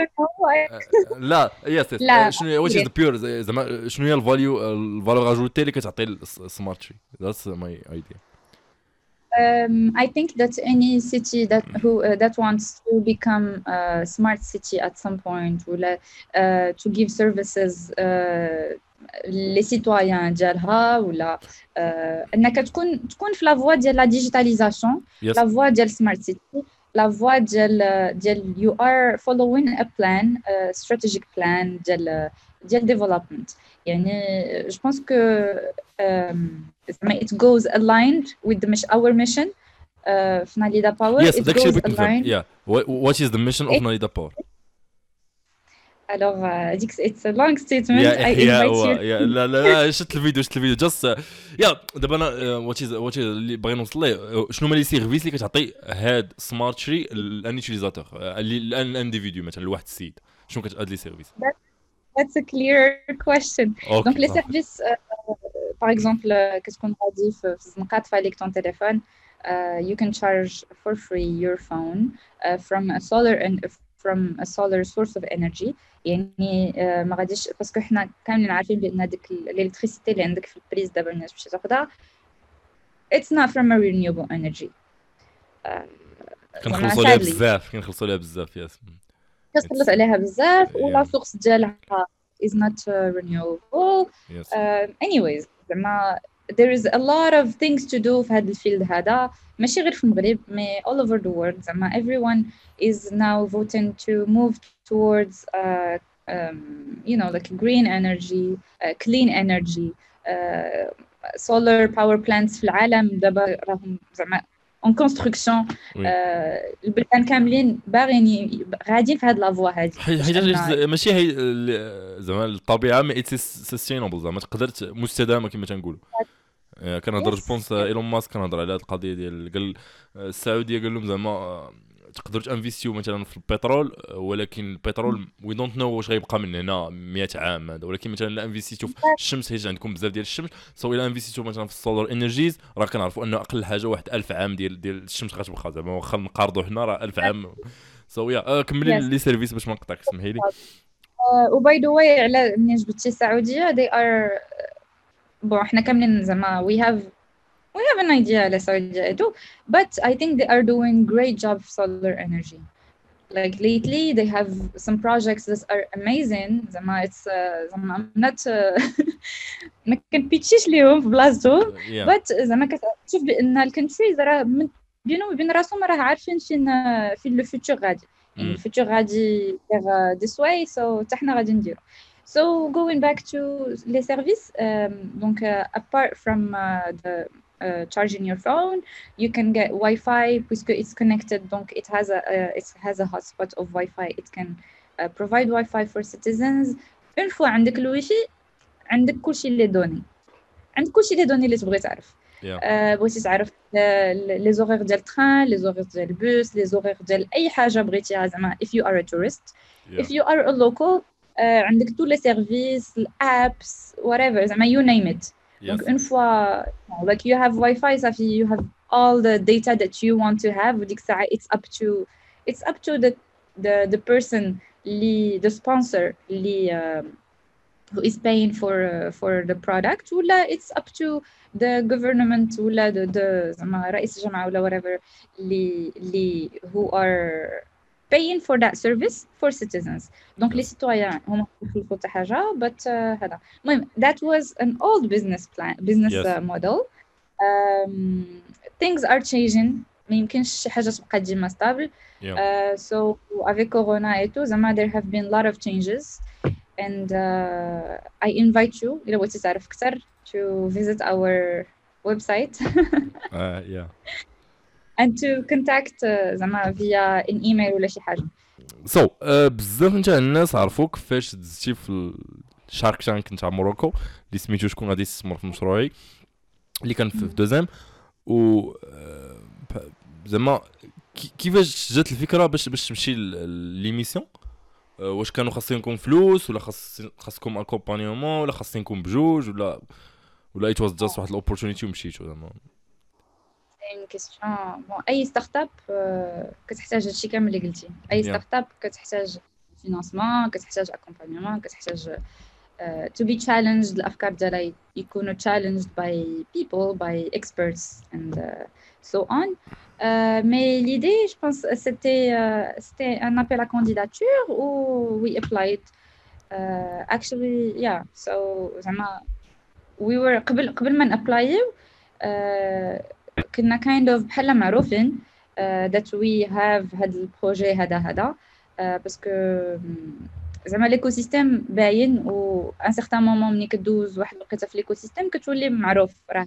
لا يس شنو واتيز ذا بيور زعما شنو هي الفاليو اجوتي اللي كتعطي السمارت تري ذاتس ماي ايديا I think that any city that wants to become a smart city at some point ولا to give services les citoyens ديالها ولا انك تكون في لا فوا ديال لا ديجيتاليزاسيون لا فوا ديال سمارت سيتي لا فوا ديال you are following a plan strategic plan ديال development يعني je pense que it goes aligned with our mission في ناليدا باور Yes, it داكشي goes بغيت نفهم. aligned. Yeah. What is the mission of Nalida Power? Alors it's a long statement. يا I احياء invite you. يا لا لا لا، شفت الفيديو جاست. يا دابا انا وات اللي باغي نوصل ليه، شنو هما لي سيرفيس اللي كتعطي هاد سمارت شري لان يوتيليزاتور، الانديفيديو مثلا لواحد السيد، شنو كتعطي لي سيرفيس؟ That's a clear question. Donc اوكي les صافي. services par exemple كتكون غادي في الزنقة تفاليك ton téléphone, you can charge for free your phone from a solar and from a solar source of energy. يعني ما غاديش باسكو حنا كاملين عارفين بان هذيك الالكتريسيتي اللي عندك في البريز دابا الناس باش تاخذها it's not from a renewable energy. زعما كنخلصوا عليها sadly بزاف ياس. كتخلص عليها بزاف ولا Yeah. سورس ديالها is not renewable. Yes. Anyways زعما there is a lot of things to do في هذا الفيلد هذا، ماشي غير في المغرب مي all over the world. زعما everyone is now voting to move towards you know like green energy, clean energy. solar power plants في العالم دابا راهم زعما اون كونستركسيون. Oui. البلدان كاملين باغيين غاديين في هاد لافوا هادي حيت ماشي هي زعما الطبيعه مي اتس سستينابل، زعما تقدر مستدامه كما تنقولوا. كنهضر جو بونس ايلون ماسك كنهضر على هذه القضيه ديال قال السعوديه قال لهم زعما تقدروا تانفيستيو مثلا في البترول، ولكن البترول وي دونت نو واش غيبقى من هنا 100 عام هذا، ولكن مثلا لا انفيستيو في الشمس حيت عندكم بزاف ديال الشمس، سو الا انفيستيو مثلا في السولار انرجيز راه كنعرفوا انه اقل حاجه واحد 1000 عام ديال الشمس غتبقى، زعما واخا نقارضوا حنا راه 1000 عام. سو يا كملي لي سيرفيس باش ما نقطعك، سمحي لي. وباي ذا واي على منين جبتي السعوديه they are بون احنا كاملين زعما we have an idea على السعوديه too, but I think they are doing great job في solar energy. Like lately they have some projects that are amazing. زعما it's زعما I'm not ما كنبيتشيش ليهم في بلاصتهم but زعما كتشوف بان الكونتريز راه بينهم وبين راسهم راه عارفين فين لو فيوتشر غادي، يعني الفيوتشر غادي this way so حتى حنا غادي نديرو. So going back to les services, donc apart from the charging your phone, you can get Wi-Fi puisque it's connected. Donc it has a hotspot of Wi-Fi. It can provide Wi-Fi for citizens. Une fois عندك الويفي عندك كلشي اللي دوني، عندك كلشي اللي دوني اللي تبغي تعرف. بغيتي تعرف لي زوغير ديال التران، لي زوغير ديال البوس، لي زوغير ديال اي حاجه بغيتيها زعما if you are a tourist. If you are a local عندك tous les services, apps, whatever, زعما you name it. Donc une fois like you have Wi-Fi صافي you have all the data that you want to have. وديك الساعه it's up to the person the sponsor who is paying for the product, ولا it's up to the government ولا the زعما رئيس الجامعه ولا whatever اللي who are paying for that service for citizens. Donc les citoyens هما يخلفوا حتى حاجه but هذا المهم that was an old business model. Things are changing. ما يمكنش شي حاجه تبقى ديما stable. So avec corona et tout زعما there have been a lot of changes and I invite you إلا بغيتي تعرف أكثر to visit our website and to contact زعما via an email ولا شي حاجه. So بزاف نتاع الناس عرفوك فاش دزتي في الشارك تانك نتاع موروكو اللي سميتو شكون غادي يستثمر في مشروعي اللي كان في دوزام، و زعما كيفاش جات الفكره باش تمشي ليميسيون؟ واش كانوا خاصينكم فلوس ولا خاصكم اكومبانيومون ولا خاصينكم بجوج ولا it was just واحد الاوبورتونيتي ومشيتو؟ زعما une question. Bon, اي ستارت اب كتحتاج هادشي كامل اللي قلتي. اي ستارت اب كتحتاج فينانسمون، كتحتاج اكومبانيومون، كتحتاج to be challenged. الافكار ديالها يكونوا challenged by people, by experts and so on. Mais l'idée, je pense, c'était un appel à candidature où we applied. Actually, yeah. So زعما we were قبل ما نابلايو كنا kind of بحال معروفين that we have هاد البروجي هذا باسكو زعما ليكوسيستيم باين و ان سيغتان مومون ملي كدوز واحد الوقيته في ليكوسيستيم كتولي معروف راه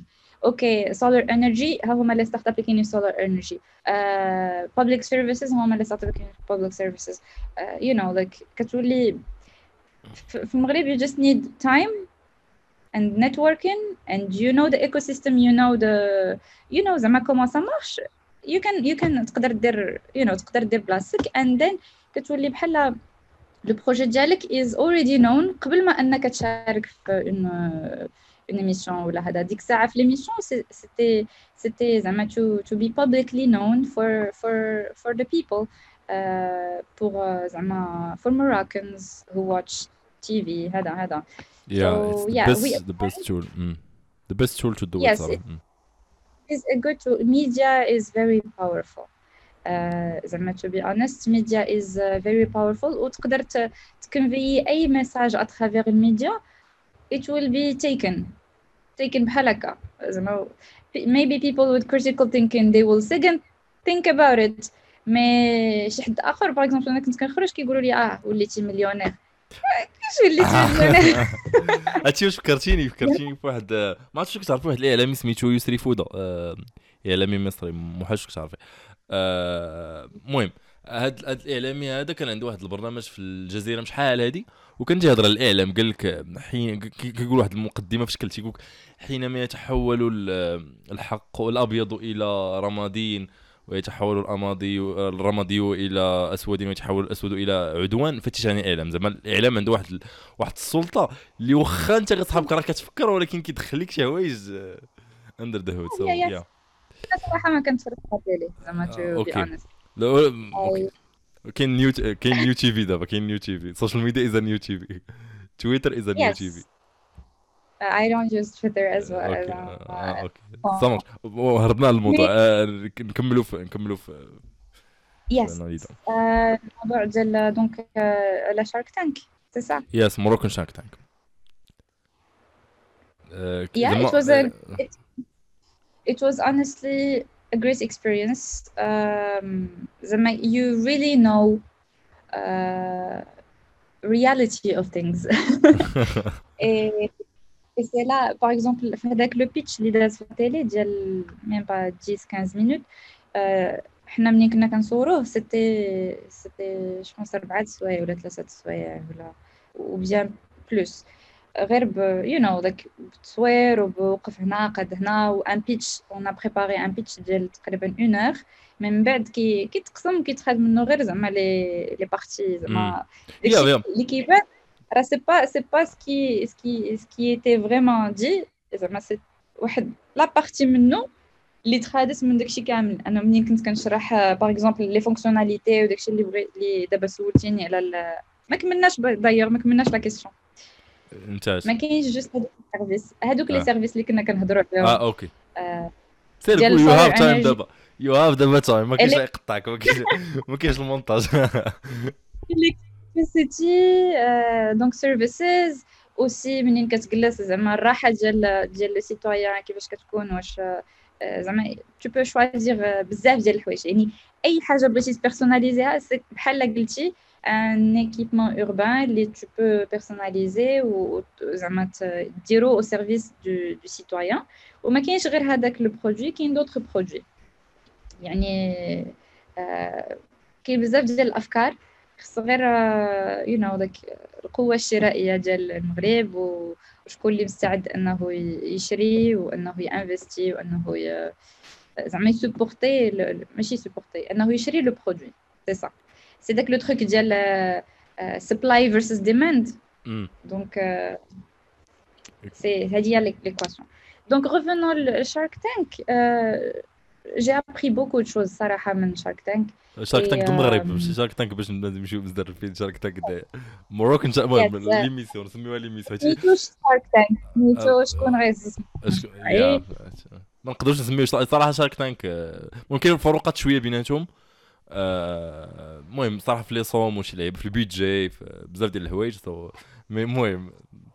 اوكي solar energy هما اللي ستارت اب كاين solar energy public services هما اللي ستارت اب كاين public services you know like كتولي في المغرب you just need time and networking and you know the ecosystem you know زعما comment ça marche you can تقدر دير تقدر دير بلاصتك and then كتولي بحال لو بروجي ديالك is already known قبل ما انك تشارك في une émission ولا هذا ديك الساعه في l'émission c'était زعما to be publicly known for the people pour زعما for Moroccans who watch TV هذا it's the yeah, best tool. The best tool to do yes, it صراحة. is a good tool. Media is very powerful. زعما to be honest media is very powerful وتقدر تكونفي اي مساج à travers الميديا it will be taken بحال هكا زعما maybe people with critical thinking they will second think about it مي شي حد اخر باغ اكزومبل انا كنت كنخرج كيقولوا لي وليتي مليونير كيفاش وليتي مليونير هادشي واش فكرتيني بواحد ما عرفتش كنت عارف واحد الاعلامي سميتو يسري فوده اعلامي مصري محاش كنت عارفه المهم هاد الاعلامي هذا كان عنده واحد البرنامج في الجزيره مش حال هادي وكان تيهضر على الاعلام قال لك حين كيقول واحد المقدمه في شكل تيقول حينما يتحول الحق الابيض الى رمادين ويتحول الرمادي الى اسود ويتحول الاسود الى عدوان فتجاني اعلام زعما الاعلام عنده واحد السلطه اللي واخا انت غتصحابك راه كتفكر ولكن كيدخل لك شي حوايج اندر ذا هود سو يا صراحه ما كنتفرجش عليه زعما تو بي اونست كاين نيو تي في دابا كاين نيو تي في السوشيال ميديا از نيو تي في تويتر از نيو تي في I don't use Twitter as well. اوكي سامر هربنا الموضوع نكملوا في يس الموضوع ديال دونك على شارك تانك سي سا يس موروكان شارك تانك it was honestly a great experience you really know reality of things et c'est là par exemple في هذاك لو بيتش اللي داز في التيلي ديال ميم با 10-15 مينوت حنا ملي كنا كنصوروه سيتي جو بونس 4 سوايع ولا 3 سوايع ولا وبيان بلوس غير you know like بتصوير وبوقف هنا قد هنا وان بيتش اون بريباري ان بيتش ديال تقريبا 1 اور من بعد كيتقسم كيتخاد منه غير زعما لي بارتي زعما اللي كيبان راه سي با سكي ايتي فريمون دي زعما سي واحد لا بارتي منه اللي تخادس من داكشي كامل انا ملي كنت كنشرح باغ اكزومبل لي فونكسيوناليتي وداكشي اللي دابا سولتيني على ما كملناش داير ما كملناش لا كيسيون ممتاز ما كاينش جوست هذوك لي سيرفيس اللي كنا كنهضروا عليهم اوكي سير يو هاف تايم دابا يو هاف دابا تايم ما كاينش يقطعك ما كاينش المونتاج electricity دونك سيرفيسز اوسي منين كتجلس زعما الراحه ديال لو سيتويان كيفاش كتكون واش زعما tu peux choisir بزاف ديال الحوايج يعني اي حاجه بغيتي تبيرسوناليزيها بحال قلتي ان ايكيبمون اوربان اللي tu peux personnaliser وزعما ديرو au service du citoyen وما كاينش غير هذاك لو برودوي كاين دوطخ برودوي يعني كاين بزاف ديال الافكار خص غير you know like القوه الشرائيه ديال المغرب وشكون اللي مستعد انه يشري وانه ينفستي وانه زعما يسبورتي ماشي سبورتي انه يشري لو برودوي سي سا سي داك لو تروك ديال سبلاي فيرسس ديماند دونك سي هذه هي ليكواسيون دونك revenons لشارك تانك j'ai appris beaucoup de choses صراحه من شارك تانك شارك تانك المغرب ماشي شارك تانك باش نمشيو بزاف في شارك تانك مروكان المهم ليميسيون نسميوها ليميسيون نيتو شارك تانك نيتو شكون غيزز ما نقدرش نسميوه صراحه شارك تانك ممكن فروقات شويه بيناتهم المهم صراحه في لي صوم وشي لعب في البيدجي في بزاف ديال الحوايج المهم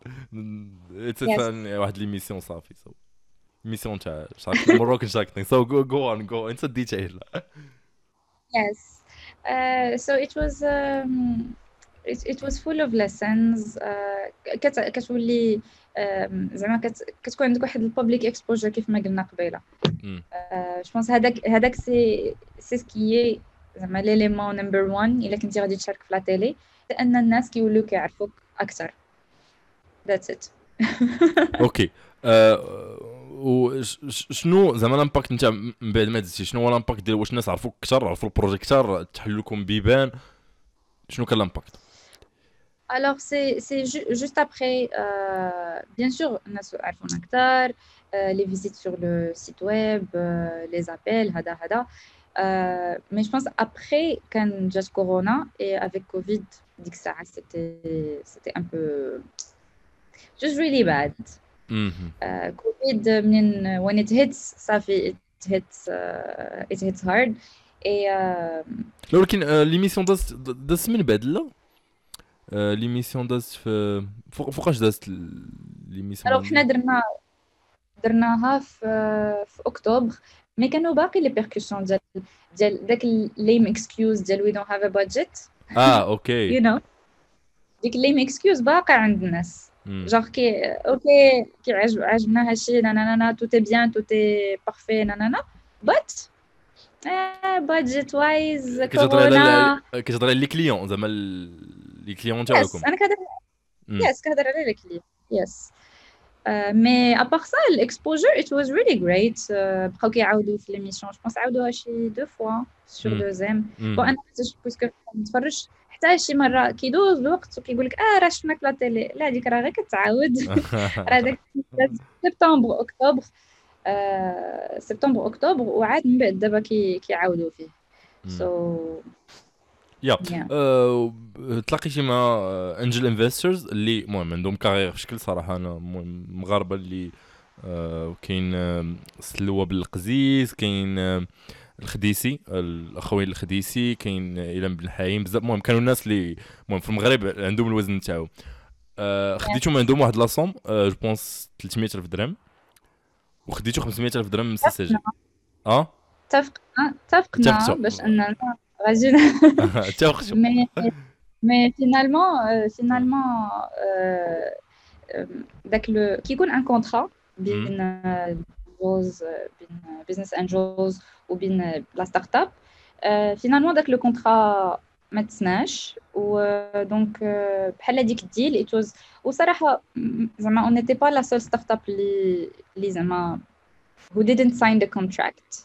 واحد ليميسيون صافي ميسيون تاع شارك مروكان شارك تانك سو جو اون انت ديتيل Yes. So it was full of lessons. كتولي زعما كتكون عندك واحد البابليك اكسبوجر كيف ما قلنا قبيله. مم. جو بونس هذاك سي سكيي زعما ليليمون نمبر 1 الا كنتي غادي تشارك في لا تيلي، لان الناس كيوليو كيعرفوك اكثر. ذاتس ات. اوكي. وشنو زعما الامباكت نتاع من بعد ما دزتي؟ شنو هو الامباكت ديال واش الناس عرفوك اكثر، عرفوا البروجي اكثر، تحلوا لكم بيبان؟ شنو كان الامباكت؟ Alors, c'est juste après, bien sûr, on a عرفونا أكثر, les visites sur le site web, les appels, hada. Mais je pense après, quand j'ai Corona et avec Covid, ديك الساعة c'était un peu just really bad. Covid, when it hits, صافي it hits hard. Et ولكن ليميسيون دازت من بعد لا ليميسيون دازت فوقاش دازت ليميسيون؟ alors حنا درناها في اكتوبر، مي كانوا باقي لي بيركوسيون ديال داك الليم اكسكيوز ديال وي دونت هاف ا بادجيت. اوكي. يو نو ديك الليم اكسكيوز باقي عند الناس، جونغ اوكي عجبنا هادشي نانا تو تي بيان تو تي بارفي نانا بات بادجيت وايز كورونا. كتهضري على لي كليون زعما لي كليون تاعكم؟ انا كنهضر على لي كليون يس. مي ابار سا الاكسبوجر ات واز ريلي جريت. بقاو كيعاودوا في ليميسيون، جو بونس عاودوها شي دو فوا سور دوزيام. بون انا باسكو نتفرج حتى شي مره كيدوز الوقت وكيقول لك راه شفناك لا تيلي، لا هذيك راه غير كتعاود. راه داك سبتمبر اكتوبر سبتمبر اكتوبر وعاد من بعد دابا كيعاودوا فيه. سو يا تلاقيتي مع انجل انفسترز اللي المهم عندهم كارير في شكل صراحه انا مغاربه اللي كاين سلوى بالقزيز، كاين الخديسي الاخوين الخديسي، كاين ايلام بن حايم، بزاف المهم كانوا الناس اللي المهم في المغرب عندهم الوزن تاعو. خديتو عندهم واحد لاصوم جو بونس 300,000 درهم وخديتو 500,000 درهم من سي سي جي. اتفقنا باش اننا غادي اتفقتوا. مي فينالمون داك لو كيكون ان كونطرا بين جوز بين بيزنس انجلز وبين لا ستارت اب. فينالمون داك لو كونطرا ما تسناش، ودونك بحال هذيك الديل ايتوز. وصراحه زعما اون نيتي با لا سول ستارت اب اللي زعما who didn't sign the contract.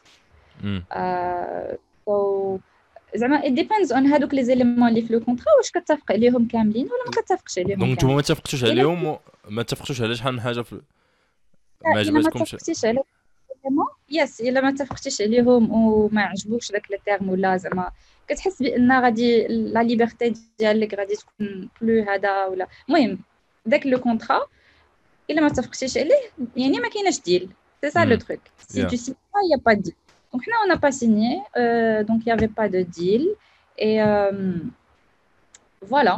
so زعما it depends on هادوك لي زيليمون اللي في لو كونطرا واش كتفق عليهم كاملين ولا ما كتفقش عليهم. دونك نتوما ما اتفقتوش عليهم، ما اتفقتوش على شحال من حاجه في ما عجبتكمش؟ ما اتفقتيش عليهم يس، الا ما اتفقتيش عليهم وما عجبوكش داك لي تيرم ولا زعما كتحس بان غادي لا ليبرتي ديالك غادي تكون بلو هذا ولا المهم داك لو كونطرا الا ما اتفقتيش عليه يعني ما كايناش ديل. سي سا لو تروك. سي تو سي با يا با ديل. Donc, on n'a pas signé, donc il n'y avait pas de deal. Et voilà.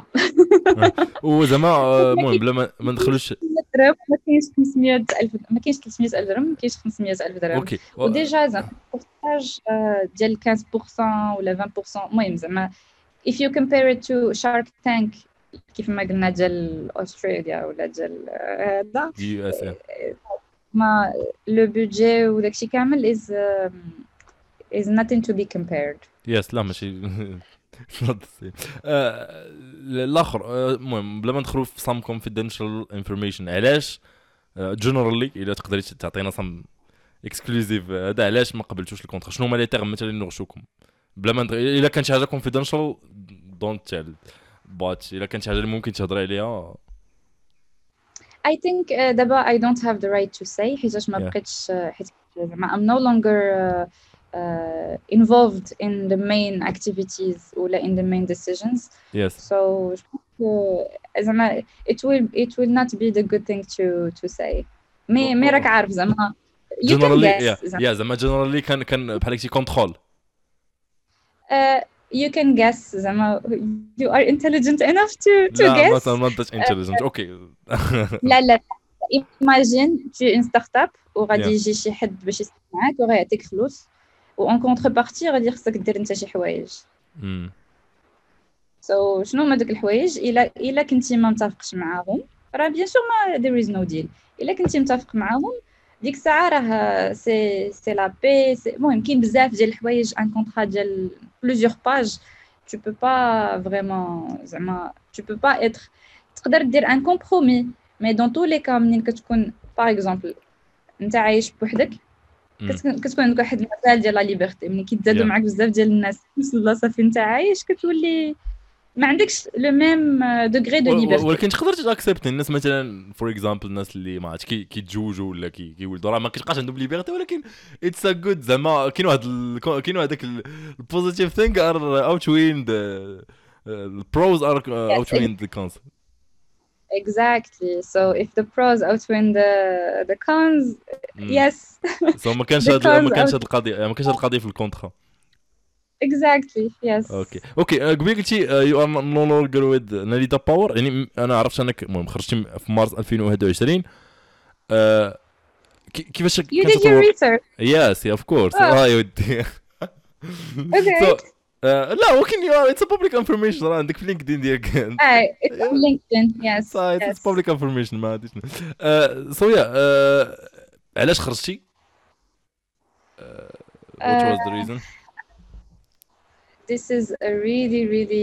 وزعما المهم بلا ما ندخلوش ما كاينش 500,000 ما كاينش 300,000 درهم، ما كاينش 500,000 درهم. اوكي. وديجا زعما البورتاج ديال 15% ولا 20%. المهم زعما if you compare it to Shark Tank كيف ما قلنا ديال أستراليا ولا ديال هذا دي اس ما لو بودجي وداكشي كامل is nothing to be compared. يس لا ماشي الاخر. المهم بلا ما ندخلوا في some confidential information علاش جنرالي الا تقدري تعطينا some exclusive هذا علاش ما قبلتوش الكونترا؟ شنو هما لي تيرم مثلا اللي نغشوكم بلا ما الا كان شي حاجه confidential don't tell but الا كانت شي حاجه اللي ممكن تهضري عليها. I think دابا I don't have the right to say حيتاش ما بقيتش حيت زعما I'm no longer involved in the main activities ولا in the main decisions. Yes. So زعما it will not be the good thing to say. مي راك عارف زعما you can guess. زعما generally كان بحال شي كونترول. You can guess زعما you are intelligent enough to guess. لا not that intelligent. اوكي. لا imagine tu es une startup وغادي يجي شي حد باش يسمع معاك وغيعطيك فلوس وان كونتربارتي غادي خصك دير انت شي حوايج. سو شنو هما دوك الحوايج؟ الا كنتي ما متفقش معاهم راه بيان سور ما there is no deal. الا كنتي متفق معاهم ديك الساعه راه سي لا بي. المهم كاين بزاف ديال الحوايج ان كونطرا ديال بلوزيور باج tu peux pas vraiment زعما tu peux pas être تقدر دير ان كومبرومي مي دون تو لي كا منين كتكون باغ اكزومبل انت عايش بوحدك كتكون عندك واحد المثال ديال لا ليبرتي ملي كيتزادوا معاك بزاف ديال الناس نفس البلاصه فين انت عايش كتولي ما عندكش لو ميم دوغري دو ليبرتي. ولكن تقدر تاكسبت الناس مثلا فور اكزامبل الناس اللي ما عرفتش كيتزوجوا ولا كيولدوا راه ما كيبقاش عندهم ليبرتي ولكن اتس ا جود زعما كاين واحد كاين هذاك البوزيتيف ثينك ار اوتوين ذا البروز ار اوتوين ذا كونز. Exactly. So if the pros outweigh the cons, yes. So ما كانش هاد القضيه في الكونترا. Exactly. Yes. اوكي قبل قلتي يو ار نو لونجر ويز ناليدا باور يعني انا عرفت انك المهم خرجتي في مارس 2021 كيفاش You did your research. Yes, of course. يا ودي. Okay. لا ولكن اتس بابليك انفورميشن راه عندك في لينكدين ديالك. It's on LinkedIn. Yes. اتس بابليك انفورميشن ما عنديش. سو يا علاش خرجتي؟ What was the reason? This is a really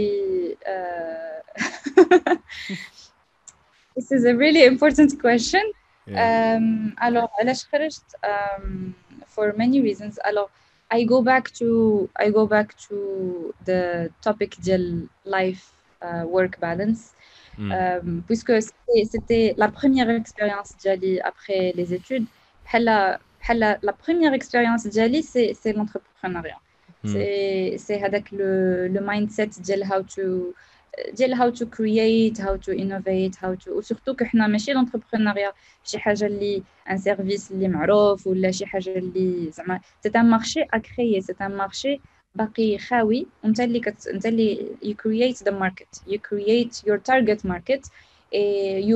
this is a really important question. Alors علاش خرجت for many reasons. Alors I go back to the topic ديال life work balance puisque c'était la première expérience ديالي après les études. بحال la première expérience ديالي c'est l'entrepreneuriat. c'est هذاك le mindset ديال how to create, how to innovate, how to surtout كحنا ماشي l'entrepreneuriat شي حاجه اللي ان سيرفيس اللي معروف ولا شي حاجه اللي زعما c'est un marché à créer, c'est un marché باقي خاوي وانت اللي you create the market, you create your target market and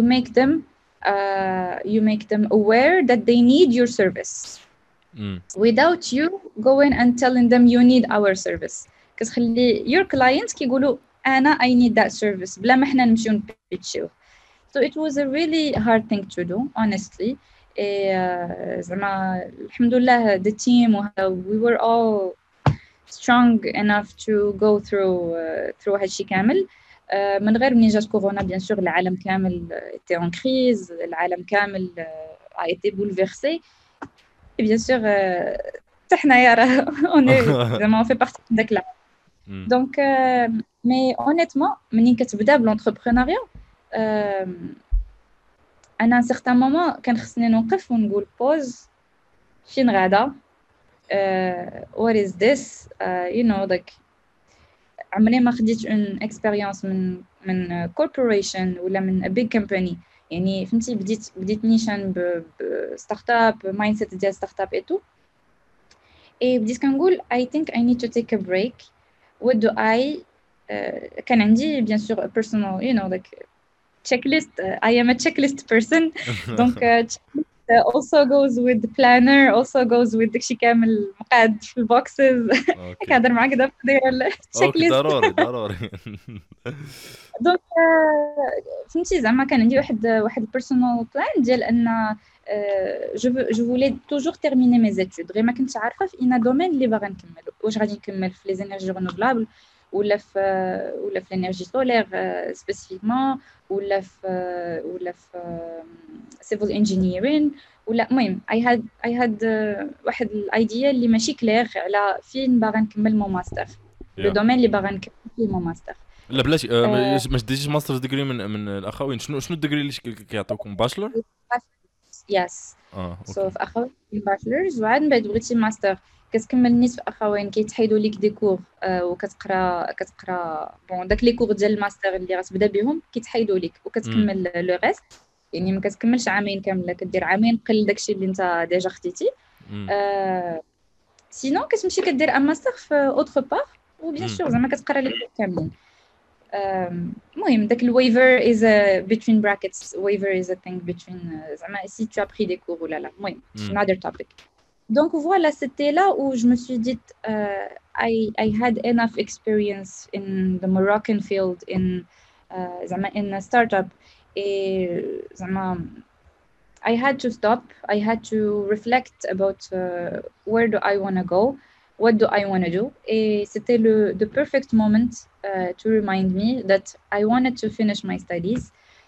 you make them aware that they need your service without you going and telling them you need our service. كتخلي your clients كيقولوا أنا I need that service بلا ما حنا نمشيو نبيتشيو. So it was a really hard thing to do honestly. زعما الحمد لله the team we were all strong enough to go through هادشي كامل. من غير منين جات كورونا بيان سور العالم كامل était en crise, العالم كامل a été bouleversé. Et bien sûr حتى حنايا راه on fait partie de داك العالم. Donc mais honnêtement منين كتبدا بالونتربرونيا انا ان certain moment كان خصني نوقف ونقول بوز فين غادا. what is this you know like عمري ما خديت اون اكسبيريونس من كوربوريشن ولا من a big company يعني فهمتي بديت نيشان بستارت اب مايند سيت ديال ستارت اب ايتو اي بديت كنقول I think I need to take a break. what do I كان عندي bien sûr a personal you know like checklist. I am a checklist person. donc checklist also goes with the planner, also goes with داكشي كامل مقاد في البوكسز. كنهضر معاك دابا داير checklist. ضروري. دونك فهمتي زعما كان عندي واحد personal plan ديال ان je voulais toujours terminer mes études. غير ما كنتش عارفه في اين دومين اللي باغا نكمل. واش غادي نكمل في لي انرجي رينوفلابل ولا في الانرجي سولير سبيسيفيكمون ولا في civil engineering ولا المهم I had واحد الايديا اللي ماشي كلير على فين باغا نكمل مو ماستر لو دومين اللي باغا نكمل فيه مو ماستر. لا بلاش ما ديتيش ماستر ديجري من الاخوين. شنو الديجري اللي كيعطيوكم باشلر؟ يس سو في اخوين باشلرز وعاد من بعد بغيتي ماستر كتكمل نيت في اخوين كيتحيدوا ليك دي كور وكتقرا بون داك لي كور ديال الماستر اللي غتبدا بهم كيتحيدوا ليك وكتكمل لو ريست يعني ما كتكملش عامين كامله كدير عامين قل داكشي اللي انت ديجا خديتي. سينو كتمشي كدير ان ماستر في اوتر بار وبيان سور زعما كتقرا لي كور كاملين. المهم داك الويفر is a between brackets waiver is a thing between زعما si tu as pris des cours ولا لا المهم another topic. Donc voilà, c'était là où je me suis dit I had enough experience in the Moroccan field in a startup زعما I had to stop. I had to reflect about where do I want to go, what do I want to do. Et c'était the perfect moment to remind me that I wanted to finish my studies.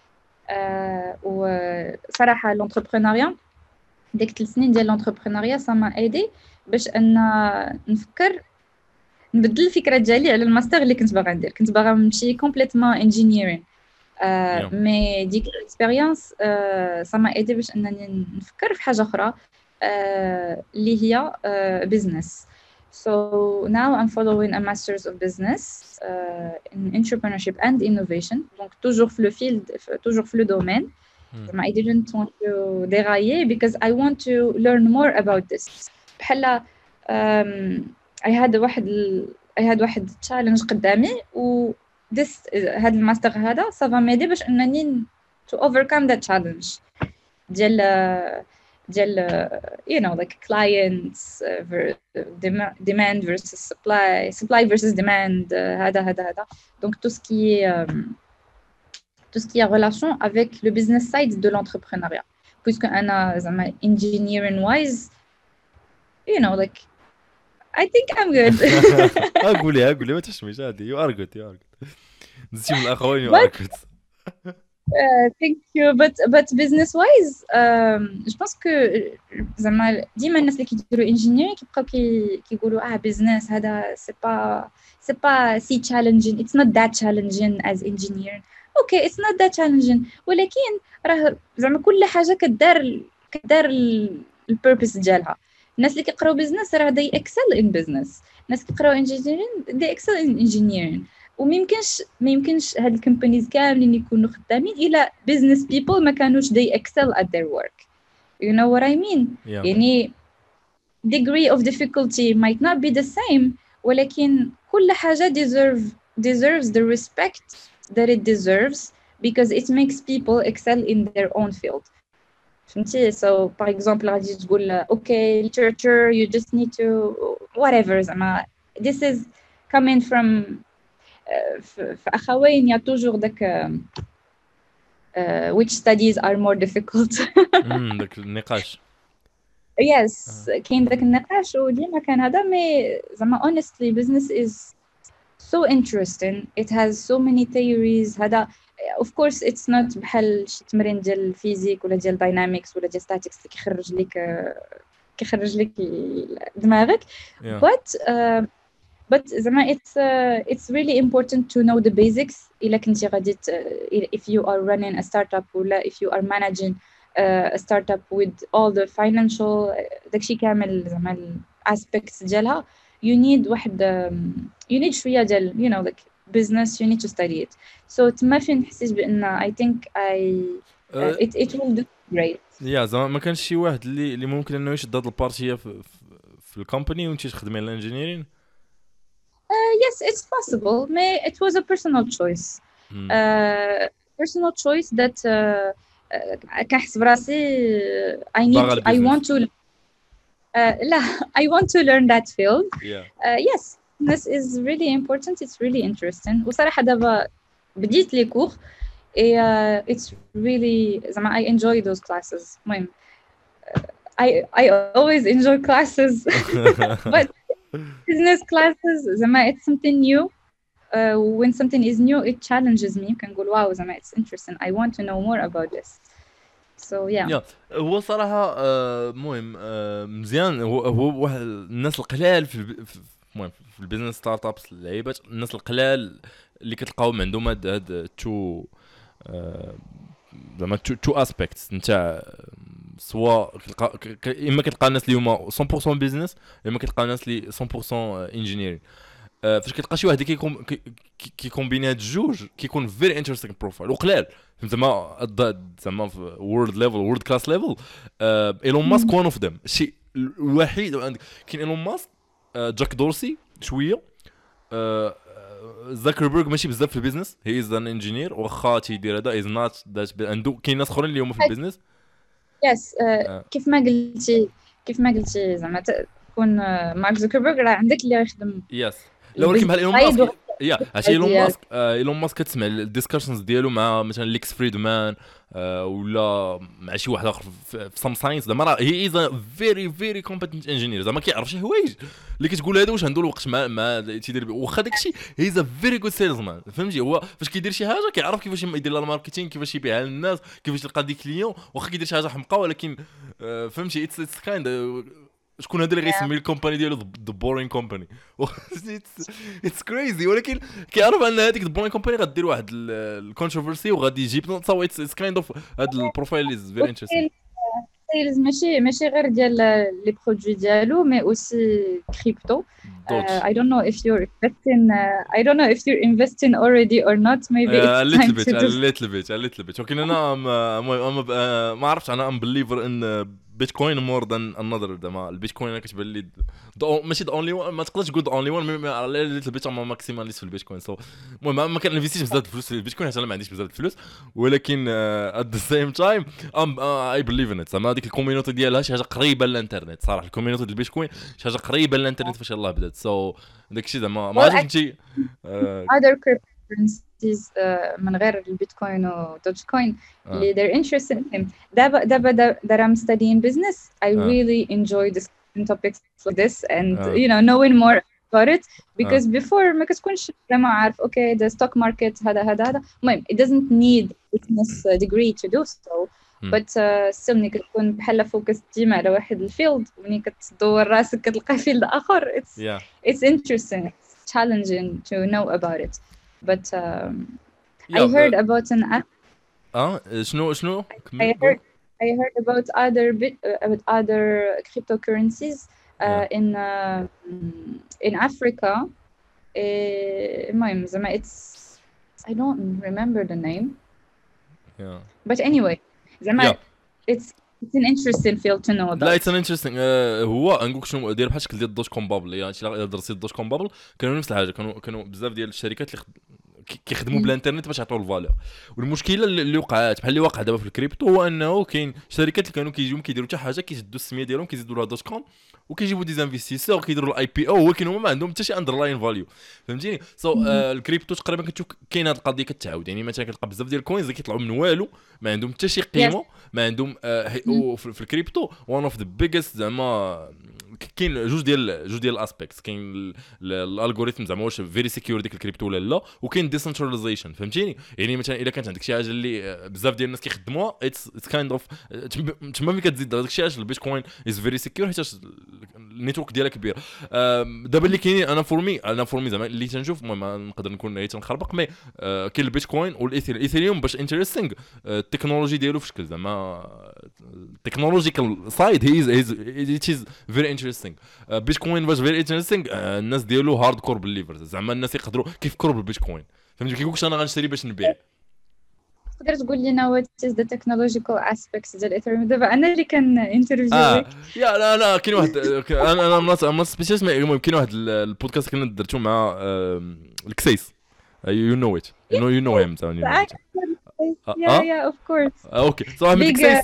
وصراحة l'entrepreneuriat ديك 3 سنين ديال l'entrepreneuriat ça m'a aidé باش أن نفكر نبدل الفكرة ديالي على الماستر اللي كنت باغا ندير. كنت باغا نمشي complètement engineering. مي ديك الاكسبيريونس ça m'a aidé باش انني نفكر في حاجه اخرى اللي هي business. So now I'm following a master's of business in entrepreneurship and innovation. Donc toujours في le field, toujours في le domaine. I didn't want to dérailler because I want to learn more about this. بحال I had واحد challenge قدامي و هذا الماستر هذا ça va m'aider باش انني to overcome that challenge ديال you know like clients demand versus supply versus demand هذا donc tout ce qui est relation avec le business side de l'entrepreneuriat puisque أنا زعما engineering wise you know like I think I'm good. قولي ما تشميش عادي. You are good. نسيم الأخوين you are good. Thank you. But business wise, je pense que زعما ديما الناس اللي كيديروا engineering كيبقاو كيقولوا business هذا c'est pas si challenging. It's not that challenging as engineering. Okay, it's not that challenging. ولكن راه زعما كل حاجة كدار البيربس ديالها. الناس اللي كيقراو بيزنس راه they excel in business. الناس كيقراو engineering they excel in engineering. وما يمكنش هاد الكومبانيز كاملين يكونوا خدامين الى business people ما كانوش they excel at their work. You know what I mean? Yeah. يعني degree of difficulty might not be the same ولكن كل حاجة deserves the respect that it deserves because it makes people excel in their own field. فهمتي؟ So par exemple غادي تقول okay literature you just need to whatever زعما this is coming from في أخوين يا toujours داك which studies are more difficult. داك النقاش. Yes كاين داك النقاش وديما كان هذا مي زعما honestly business is so interesting. It has so many theories. هذا of course it's not بحال شي تمرين ديال الفيزيك ولا ديال داينامكس ولا ديال statistics اللي كيخرج لك دماغك. But زعما it's really important to know the basics إلا كنتي غادي if you are running a startup ولا if you are managing a startup with all the financial داكشي كامل زعما aspects ديالها you need you need شوية ديال you know like business you need to study it. So تما فين نحسيت بأن I think it will do great. زعما ما كانش شي واحد اللي ممكن انه يشد هاد البارتيه في الكومباني وانت تخدمي على الانجينيرين. Yes, it's possible. It was a personal choice. Personal choice that كنحس براسي I want to I want to learn that field. Yes, this is really important. It's really interesting. وصراحة دابا بديت لي كور it's really زعما I enjoy those classes. المهم I always enjoy classes but business classes زعما it's something new. When something is new it challenges me. كنقول واو زعما it's interesting. I want to know more about this. So yeah. هو صراحة مهم مزيان. هو واحد الناس القلال في البيزنس ستارت ابس اللعيبات الناس القلال اللي كتلقاهم عندهم هاد تو زعما تو اسبيكتس نتاع سواء اما كتلقى الناس اللي هما 100% بيزنس اما كتلقى الناس اللي 100% انجينيرين. فاش كتلقى شي واحد كيكومبيني هاد الجوج كيكون فيري انتريستينغ بروفايل وقلال زعما في وورلد ليفل وورلد كلاس ليفل. ايلون ماسك وان اوف ذيم. الشيء الوحيد كاين ايلون ماسك جاك دورسي شويه زاكربيرغ ماشي بزاف في البيزنس هي از ان انجينير واخا تيدير هذا از نوت ذات عنده كاين ناس اخرين اللي هما في البيزنس. يس كيف ما قلتي زعما تكون مارك زاكربيرغ راه عندك اللي يخدم يس لا ولكن بحال ايلون ماسك يا عرفتي ايلون ماسك كتسمع الديسكشنز ديالو مع مثلا ليكس فريدمان ولا مع شي واحد اخر في سام ساينس زعما راه هي از فيري فيري كومبيتنت انجينير زعما كيعرف شي حوايج اللي كتقول هذا واش عنده الوقت مع تيدير واخا داكشي هي از فيري جود سيلزمان فهمتي هو فاش كيدير شي حاجه كيعرف كيفاش يدير لها الماركتينغ كيفاش يبيعها للناس كيفاش يلقى دي كليون واخا كيدير شي حاجه حمقى ولكن فهمتي اتس كايند شكون هذا اللي غيسمي الكومباني ديالو ذا بورين كومباني اتس كريزي ولكن كيعرف ان هذيك ذا بورين كومباني غدير واحد الكونتروفيرسي وغادي يجيب سو اتس كايند اوف هذا البروفايل از فيري انتريستينغ سيلز ماشي غير ديال لي برودوي ديالو مي اوسي كريبتو I don't know if you're investing I don't know if you're investing already or not maybe it's time to a little bit ولكن انا ما عرفتش انا I'm believer in بيتكوين مور ذان انذر زعما البيتكوين كتبان لي ماشي ذا اونلي ما تقدرش تقول ذا اونلي وان على البيت ما ماكسيماليست في البيتكوين سو المهم ما كنفيستيش بزاف الفلوس في البيتكوين حيت انا ما عنديش بزاف الفلوس ولكن ات ذا سيم تايم اي بليف ان ات زعما هذيك الكوميونيتي ديالها شي حاجه قريبه للانترنت صراحه الكوميونيتي ديال البيتكوين شي حاجه قريبه للانترنت فاش يلاه بدات سو داكشي زعما ما عرفتش انت other cryptocurrencies من غير البيتكوين ودوج كوين اللي they're interested in him دابا that I'm studying business I really enjoy discussing topics like this and you know knowing more about it because before ما كتكونش زعما عارف okay the stock market هذا المهم it doesn't need business degree to do so but still ملي كتكون بحال فوكس ديما على واحد الفيلد وملي كتدور راسك كتلقى فيلد اخر it's interesting it's challenging to know about it but I heard about an app شنو I heard about other cryptocurrencies in Africa المهم زعما it's I don't remember the name but anyway زعما it's an interesting field to know about لا it's an interesting هو نقولك شنو داير بحال شكل ديال دوت كوم بابل يعني الا درتي دوت كوم بابل كانوا نفس الحاجه كانوا بزاف ديال الشركات اللي كيخدموا بالانترنت باش يعطيو الفالور والمشكله اللي وقعت بحال اللي واقع دابا في الكريبتو هو انه كاين شركات اللي كانوا كيجيو كيديروا حتى حاجه كيشدوا السميه ديالهم كيزيدوا لها دوت كوم وكيجيبوا دي انفستيسور كيديروا الاي بي او ولكن هما ما عندهم حتى شي اندرلاين فاليو فهمتيني الكريبتو تقريبا كتشوف كاين هذه القضيه كتعاود يعني مثلا كتلقى بزاف ديال الكوينز اللي كيطلعوا من والو ما عندهم حتى شي قيمه ما عندهم في الكريبتو وان اوف ذا بيجست زعما كاين جوج ديال الاسبيكتس كاين الالغوريثم زعما واش فيري سيكيور ديك الكريبتو ولا لا وكاين ديسنتراليزيشن فهمتيني يعني مثلا الا كانت عندك شي حاجه اللي بزاف ديال الناس كيخدموها اتس كايند اوف تما ملي كتزيد داك الشيء البيتكوين از فيري سيكيور حيت النيتورك ديالها كبير دابا اللي كاينين انا فورمي زعما اللي تنشوف المهم نقدر نكون غير تنخربق مي كاين البيتكوين والايثيريوم باش انتريستينغ التكنولوجي ديالو في شكل زعما تكنولوجيكال سايد هي از فيري انتريستينغ بيتكوين باش فيري انتريستينغ الناس ديالو هارد كور بليفرز زعما الناس يقدروا كيفكروا بالبيتكوين فهمتي كيقولكش انا غنشري باش نبيع تقدر تقول لنا what is the technological aspects ديال الايثيريوم دابا انا اللي كان انترفيويك يا لا كاين واحد انا سبيشاليست المهم كاين واحد البودكاست كنا درتو مع الكسيس you know it you know him yeah of course okay so I'm الكسيس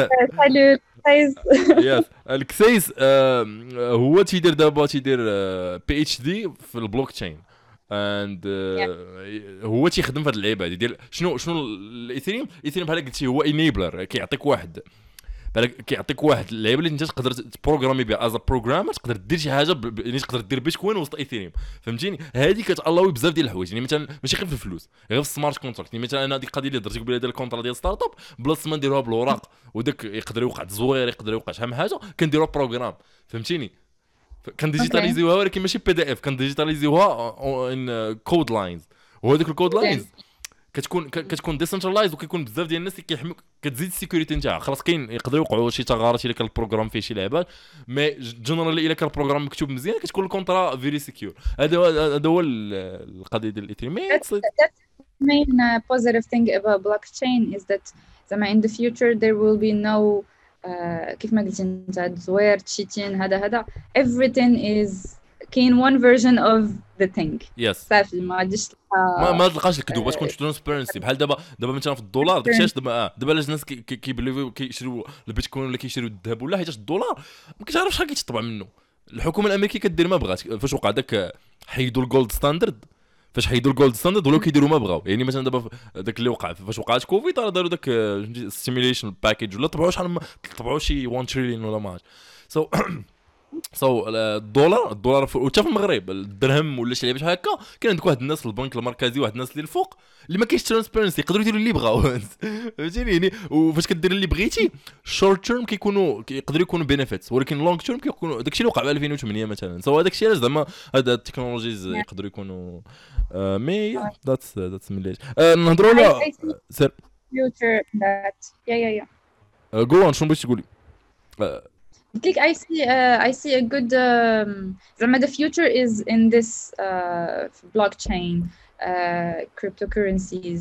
يس الكسيس هو تيدير دابا بي اتش دي في البلوك تشين اند هو تيخدم في هذه اللعيبه هذه ديال شنو الايثيريوم بحال قلتي هو انيبلر كيعطيك واحد اللعيبه اللي انت تقدر تبروغرامي بها از بروغرامر تقدر دير شي حاجه يعني تقدر دير بيتكوين وسط ايثيريوم فهمتيني هذه كتالاوي بزاف ديال الحوايج يعني مثلا ماشي غير في الفلوس غير في السمارت كونتراكت يعني مثلا انا هذيك القضيه اللي درتي قبيله ديال الكونترا ديال ستارت اب بلاصه ما نديروها بالوراق وداك يقدر يوقع تزوير يقدر يوقع شحال من حاجه كنديروها بروغرام فهمتيني كنديجيتاليزيوها ولكن ماشي بي دي اف كنديجيتاليزيوها ان كود لاينز وهذوك الكود لاينز كتكون ديسنترلايز وكيكون بزاف ديال الناس كيحميوك كتزيد السيكوريتي نتاعها خلاص كاين يقدروا يوقعوا شي ثغرات الا كان البروغرام فيه شي لعبات مي جنرالي الا كان البروغرام مكتوب مزيان كتكون الكونترا فيري سيكيور هذا هو القضيه ديال الايثيريوم main positive thing about blockchain is that in the future there will be no كيف ما قلتي انت تزوير تشيتين هذا everything is كاين one version of the thing صافي ما غاديش ما تلقاش الكذوب تكون ترانسبيرنسي بحال دابا مثلا في الدولار داكشي دابا علاش الناس كيبليفيو كيشريو البيتكوين ولا كيشريو الذهب ولا حيت الدولار ما كتعرفش شحال كيتطبع منه الحكومه الامريكيه كدير ما بغات فاش وقع داك حيدوا الجولد ستاندرد فاش حيدوا الجولد ستاندرد ولاو كيديروا ما بغاو. يعني مثلا دابا داك اللي وقع فاش وقعت كوفيد راه داروا داك ستيميليشن باكيج ولا طبعوا شحال طبعوا شي 1 تريليون ولا ما عرفت. سو الدولار وحتى في المغرب الدرهم ولا شي لعبه بحال هكا كاين عندك واحد الناس في البنك المركزي واحد الناس اللي الفوق اللي ما كاينش ترانسبيرنسي يقدروا يديروا اللي بغاو فهمتيني. يعني وفاش كدير اللي بغيتي شورت تيرم يقدروا يكونوا بينيفيتس ولكن لونج تيرم كيكونوا داكشي اللي وقع في 2008 مثلا. سو هذاك الشيء علاش زعما هاد التكنولوجيز يقدروا يكونوا مي ذاتس مليش نهضروا على سير future that جو on شنو بغيتي تقولي؟ قلت لك I see a good زعما the future is in this blockchain cryptocurrencies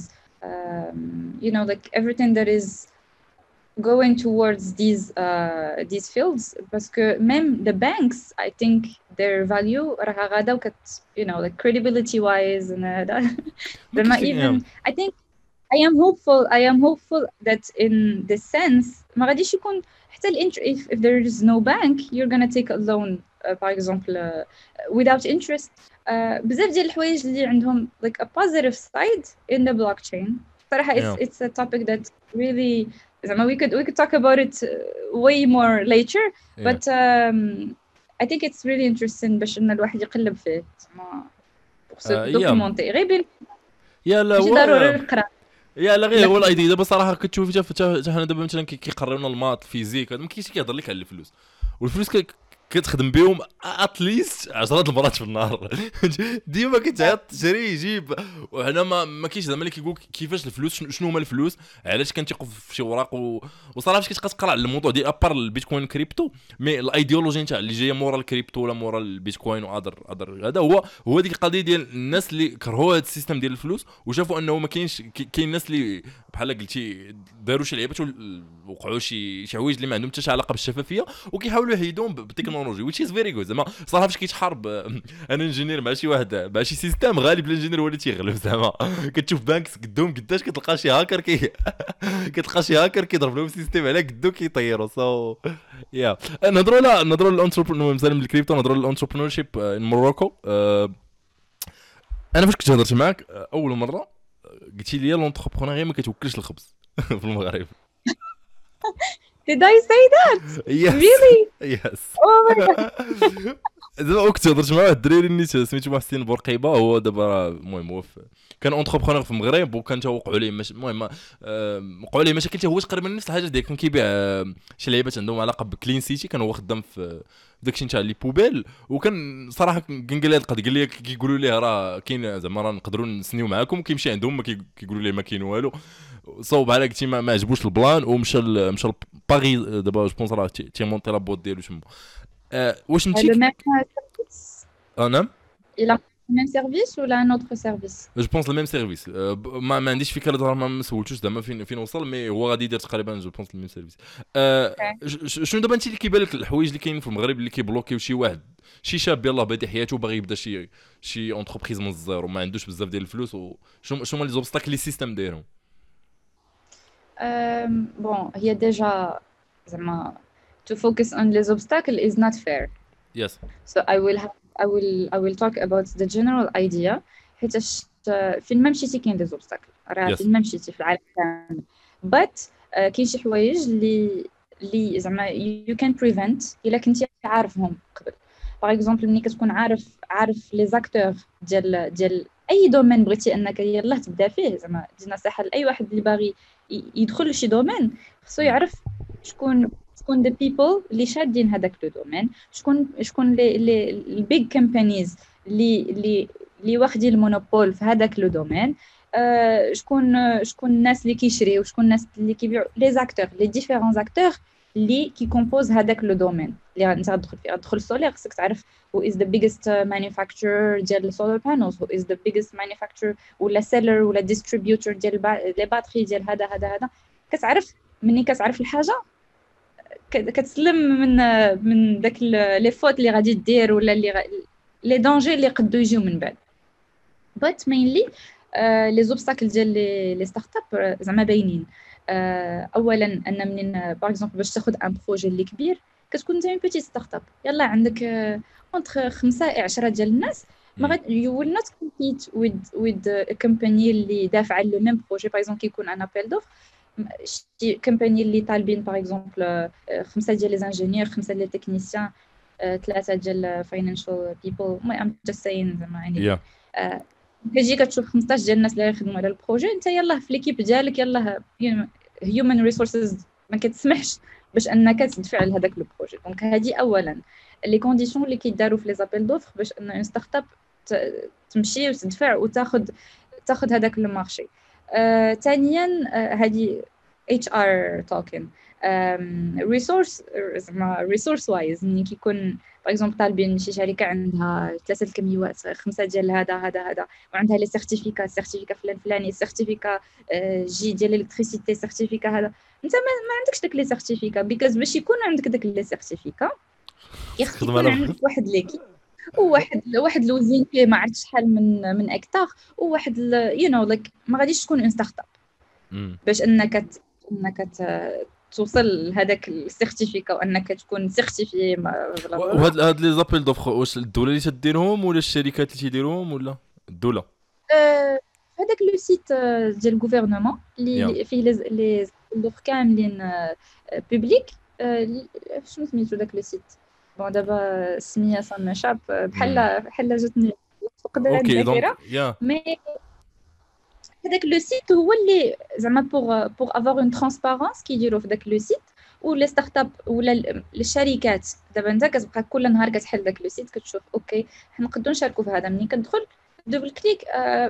you know like everything that is going towards these fields parce que même the banks I think their value راها غادا وكت you know like credibility wise and زعما even I think I am hopeful that in this sense ما غاديش يكون حتى if there is no bank you're gonna take a loan for example without interest بزاف ديال الحوايج اللي عندهم like a positive side in the blockchain صراحة it's a topic that really زعما we could talk about it way more later but I think it's really interesting باش ان الواحد يقلب فيه زعما دوكيمونتي غير يا لا ماشي ضروري نقرا يا لا غير هو الايديا دابا صراحه كتشوف حتى حنا دابا مثلا كيقريو لنا المات الفيزيك ما كاينش كيهضر لك على الفلوس والفلوس كتخدم بهم اتليست 10 المرات في النهار ديما كتعيط تشري يجيب وهنا ما كاينش زعما اللي كيقول كيفاش الفلوس شنو هما الفلوس علاش كنتيقوا في شي وراق وصراحه فاش كتقرا على الموضوع ديال ابار البيتكوين كريبتو مي الايديولوجي نتاع اللي جايه مورا الكريبتو ولا مورا البيتكوين وادر هذا هو ديك القضيه ديال الناس اللي كرهوا هذا السيستم ديال الفلوس وشافوا انه ما كاين الناس اللي بحال قلتي داروا شي لعيبات وقعوا شي حوايج اللي ما عندهم حتى علاقه بالشفافيه وكيحاولوا يحيدوهم بالتكنولوجي which is very good. زعما صراحه فاش كيتحارب انا انجينير مع شي واحد مع شي سيستم غالب الانجينير هو اللي تيغلب. زعما كتشوف بانكس قدهم قداش كتلقى شي هاكر كتلقى شي هاكر كيضرب لهم سيستم على قدو كيطيروا. سو يا نهضروا للانتربرونور مثلا من الكريبتو نهضروا للانتربرونور شيب ان موروكو. انا فاش كنت هضرت معاك اول مره قلتي لي لونتربرونور غير ما كتوكلش الخبز في المغرب. Did I say that? Yes. Really? Yes. Oh my god. دابا كنت هضرت مع واحد الدراري نيت سميتو محسن بورقيبه هو دابا المهم هو كان اونتربرونور في المغرب وكان توقعوا ليه المهم وقعوا ليه مشاكل هو تقريبا نفس الحاجه ديال كان كيبيع شي لعيبات عندهم علاقه بكلين سيتي كان هو خدام في داكشي نتاع لي بوبيل وكان صراحه كان قال لي هاد القضيه قال لي كيقولوا ليه راه كاين زعما راه نقدروا نسنيو معاكم كيمشي عندهم ما كيقولوا ليه ما كاين والو. صوب على قلتي ما عجبوش البلان ومشى باغي دابا جو بونس راه تيمونتي لا بوت ديالو تما. واش انت نعم il a le même service ou un autre service? جو بونس لو ميم سيرفيس ما عنديش فكره دابا ما سولتوش زعما فين وصل مي هو غادي يدير تقريبا جو بونس لو ميم سيرفيس. شنو دابا انت اللي كيبان لك الحوايج اللي كاينين في المغرب اللي كيبلوكيو شي واحد شي شاب يلاه بادي حياته باغي يبدا شي اونتربريز من الزيرو وما عندوش بزاف ديال الفلوس وشنو هما لي زوبستاكل اللي السيستم دايرهم؟ bon هي ديجا زعما to focus on les obstacles is not fair. Yes. So I will talk about the general idea حيتاش فين ما مشيتي كاين دي زوبستاكل راه فين ما مشيتي في العالم كامل but كاين شي حوايج اللي زعما you can prevent الا كنتي عارفهم قبل. باغ اكزومبل ملي كتكون عارف لي زاكتور ديال اي دومين بغيتي انك يلاه تبدا فيه زعما دي نصيحه لاي واحد اللي باغي يدخل لشي دومين خصو يعرف شكون دي بيبل اللي شادين هذاك لو دومين شكون لي البيج كومبانيز اللي واخدين المونوبول في هذاك لو دومين شكون الناس اللي كيشريو وشكون الناس اللي كيبيعوا لي زاكتور لي ديفيرون زاكتور اللي كيكومبوز هذاك لو دومين اللي انت غتدخل فيه غتدخل السولير خصك تعرف who is the biggest manufacturer ديال solar panels who is the biggest manufacturer ولا seller ولا distributor ديال لي باتري ديال هذا كتعرف مني كتعرف الحاجه كتسلم من داك لي فوت اللي غادي دير ولا لي دونجي اللي قدو يجيو من بعد. but mainly لي زوبستاكل ديال لي ستارت اب زعما باينين. اولا ان منين باغ اكزومبل باش تاخذ ان بروجي اللي كبير كتكون انت بيتي ستارت اب يلا عندك اونتر 5 10 ديال الناس ما غادي you will not compete with a company اللي دافعه لو ميم بروجي. باغ اكزومبل كيكون ان ابيل دوف شي كومباني اللي طالبين باغ اكزومبل 5 ديال لي زانجينيور، 5 ديال لي تكنيسيان، 3 ديال فاينانشال بيبل. ام جاست ساين زعما يعني كتجي كتشوف 15 ديال الناس اللي يخدموا على البروجي، انت يلاه في ليكيب ديالك يلاه هيومن ريسورسز ما كتسمحش باش انك تدفع لهذاك لو بروجي. دونك هذه اولا لي كونديسيون اللي كيداروا في لي زابيل دوفر باش ان اون ستارت اب تمشي وتدفع تاخذ هذاك لو مارشي. ثانيا هذه اتش ار توكن ريسورس زعما ريسورس وايز ملي كيكون باغ اكزومبل طالبين شي شركه عندها 3 الكميوات 5 ديال هذا وعندها لي سيرتيفيكا فلان فلاني سيرتيفيكا جي ديال الالكتريسيتي سيرتيفيكا هذا. انت ما عندكش داك لي سيرتيفيكا بيكوز باش يكون عندك داك لي سيرتيفيكا يكون عندك واحد ليكيب وواحد الوزين فيه ما عرفتش شحال من اكتار وواحد لايك ما غاديش تكون اون ستارت اب باش انك توصل لهذاك السيرتيفيكا وانك تكون سيرتيفي. وهاد لي زابيل دوفر واش الدوله اللي تديرهم ولا الشركات اللي تيديروهم ولا الدوله؟ هذاك لو سيت ديال الغوفرنمون اللي فيه لي دوفر كاملين بوبليك. شنو سميتو داك لو سيت؟ بون دابا السميه صام شاب بحال جاتني فقدان الذاكره. مي هذاك لو سيت هو اللي زعما بوغ افوار اون ترانسبارونس كيديروا في داك لو سيت. ولا ستارت اب ولا الشركات دابا انت كتبقى كل نهار كتحل داك لو سيت كتشوف اوكي حنا نقدروا نشاركوا في هذا. ملي كندخل دوبل كليك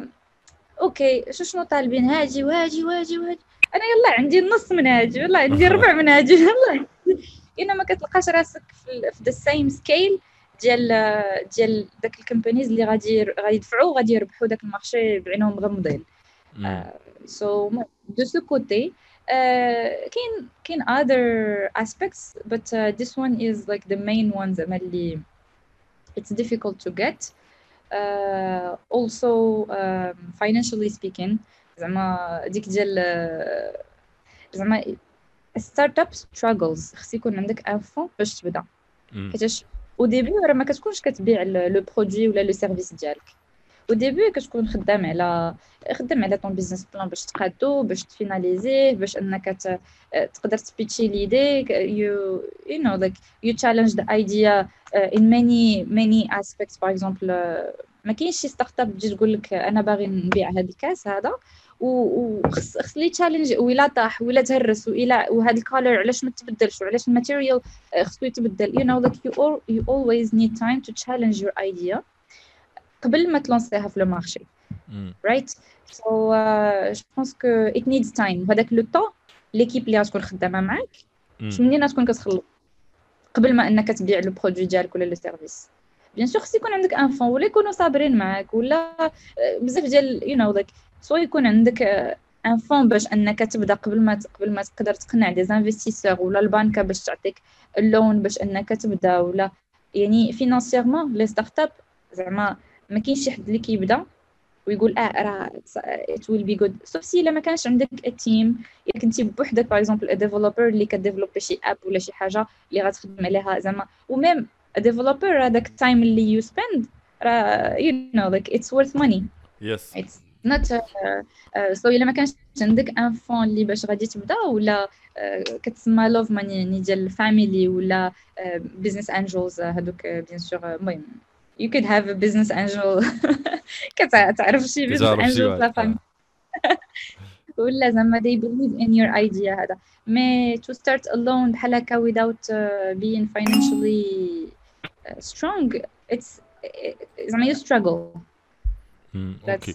اوكي شنو طالبين هاجي وهاجي انا يلا عندي النص من هاجي يلا عندي ربع من هاجي يلا انما كتلقاش راسك في ذا سيم سكيل ديال داك الكومبانيز اللي غادي يدفعوا غادي يربحوا داك المارشي بعينهم مغمضين. so de ce côté كاين other aspects but this one is like the main one اللي it's difficult to get. Also financially speaking زعما ديك ديال زعما ستارت اب struggles خص يكون عندك ان فون باش تبدا حيتاش او ديبي راه ما كتكونش كتبيع لو برودوي ولا لو سيرفيس ديالك. au début كتكون خدام على طون بيزنس بلان باش تقادو باش تفيناليزيه باش انك تقدر تبيتشي ليدي you know like you challenge the idea in many aspects. for example ما كاينش شي ستارت اب تجي تقول لك انا باغي نبيع هذا الكاس هذا وخص لي تشالنج ولا طاح ولا تهرس وهذا الكولر علاش ما تبدلش وعلاش الماتيريال خصو يتبدل. you know like you always need time to challenge your idea قبل ما تلونسيها في لو مارشي right. so je pense que it needs time. هذاك لو طون ليكيب اللي غتكون خدامه معاك منين غتكون كتخلص قبل ما انك تبيع لو برودوي ديالك ولا لو سيرفيس. بيان سور خص يكون عندك ان فون ولا يكونوا صابرين معاك ولا بزاف ديال you know like سو يكون عندك ان فون باش انك تبدا قبل ما تقدر تقنع دي انفستيسور ولا البنكه باش تعطيك اللون باش انك تبدا ولا يعني فينانسيرمون لي ستارت اب زعما ما كاينش شي حد اللي كيبدا ويقول راه it will be good sauf si الا ما كانش عندك التيم الا كنتي بوحدك باغ اكزومبل ديفلوبر اللي كديفلوبي شي اب ولا شي حاجه اللي غتخدم عليها زعما وميم ديفلوبر هذاك التايم اللي يو سبند راه you know like it's worth money. yes it's not so الا ما كانش عندك ان فون اللي باش غادي تبدا ولا كتسمى لوف ماني ديال الفاميلي ولا بيزنس انجلز هذوك بيان سور المهم you could have a business angel كتعرف شي business angel لا فهم ولا زعما they believe in your idea هذا. mais to start alone بحال هكا without being financially strong it's زعما you struggle. that's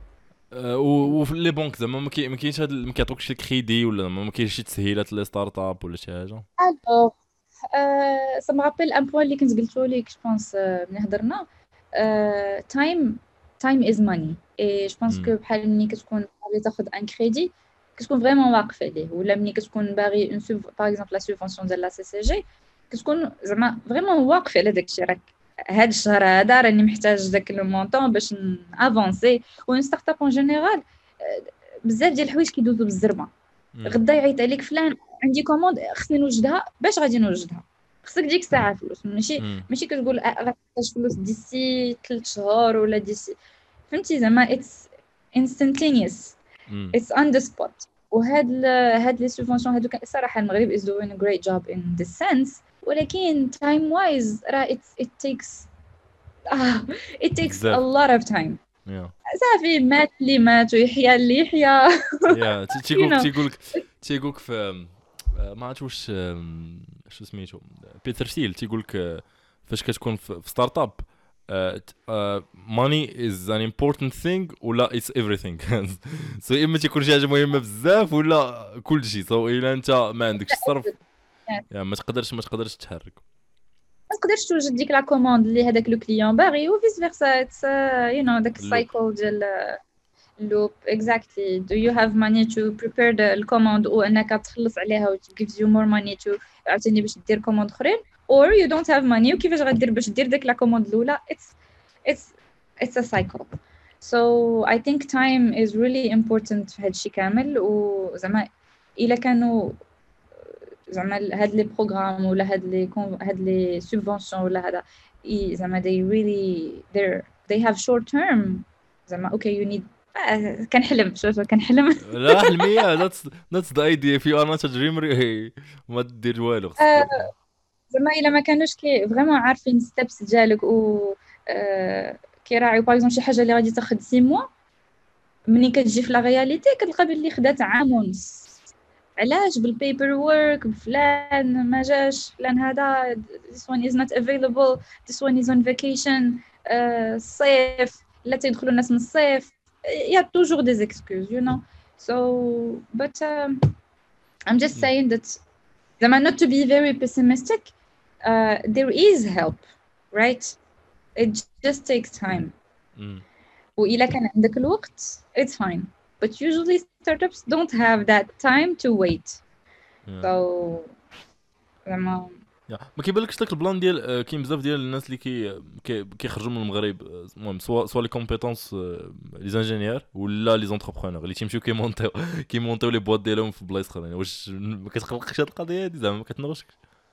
وفي لي بنك زعما ما كاينش هاد ما كيعطوكش الكريدي ولا ما كاينش شي تسهيلات لي ستارت اب ولا شي حاجه. الوغ ça me rappelle un point اللي كنت قلتو لك je pense ملي هضرنا time is money et je pense que بحال ملي كتكون باغي تاخذ ان كريدي كتكون فريمون واقف عليه ولا ملي كتكون باغي اون باغ اكزومبل لا سوبونسيون ديال لا سي سي جي كتكون زعما فريمون واقف على داك الشيء. راك هاد الشهر هذا راني محتاج داك لو مونطون باش افونسي. و ستارت اب اون جينيرال بزاف ديال الحوايج كيدوزو بالزربه. غدا يعيط عليك فلان عندي كوموند خصني نوجدها باش غادي نوجدها خصك ديك الساعه فلوس، ماشي كتقول غتحتاج فلوس ديسي 3 شهور ولا ديسي، فهمتي زعما اتس instantaneous, it's on the spot. هاد لي سوبفونسيون هادو صراحه المغرب is doing a great job in this sense، ولكن time wise راه it takes it takes a بزاف. lot of time. يا صافي مات اللي مات ويحيى اللي يحيى. يا تيقولك في ما عرفت واش شو سميتو بيتر سيل تيقولك فاش كتكون في ستارت اب money is an important thing ولا it's everything. سو اما تيكون شي حاجه مهمه بزاف ولا كل شيء. سو الا انت ما عندكش الصرف يعني ما تقدرش تحرك، ما تقدرش توجد ديك لا كوموند اللي هذاك لو كليون باغي و فيس فيرسا. يو نو داك السايكل ديال loop. Exactly. Do you have money to prepare the command وأنك تخلص عليها و it gives you more money to عاوتاني باش دير command أخرين، or you don't have money وكيفاش غدير باش دير ديك لا command الأولى. It's a cycle. So I think time is really important في هادشي كامل. وزعما إلا كانوا زعما هاد لي بروغرام ولا هاد لي سوبفونسيون ولا هذا زعما they have short term زعما okay you need كنحلم لا حلميه. that's the idea. if you are not a dreamer ما دير والو. زعما الا ما كانوش فريمون عارفين ستيبس ديالك و كيراعيو باغ اكزومبل شي حاجه اللي غادي تاخذ 6 موا، ملي كتجي في لا رياليتي كتلقى بلي خدات عام ونص. علاش؟ بالبيبر وورك، بفلان ما جاش، فلان هذا this one is not available, this one is on vacation. الصيف لا تيدخلوا الناس من الصيف. Il y a toujours des excuses, you know. So, but I'm just saying that, not to be very pessimistic, there is help, right? It just takes time. وإلا كان عندك الوقت, it's fine. But usually startups don't have that time to wait. So, ما كيبانلكش داك البلان ديال كاين بزاف ديال الناس اللي كيخرجوا من المغرب، المهم سوا لي كومبيتونس لي زانجينيور ولا لي زونتربرونور اللي تيمشيو كيمونطيو لي بواط ديالهم في بلايص اخرين. واش ما كتقلقش هاد القضيه هادي زعما ما كتنغشك؟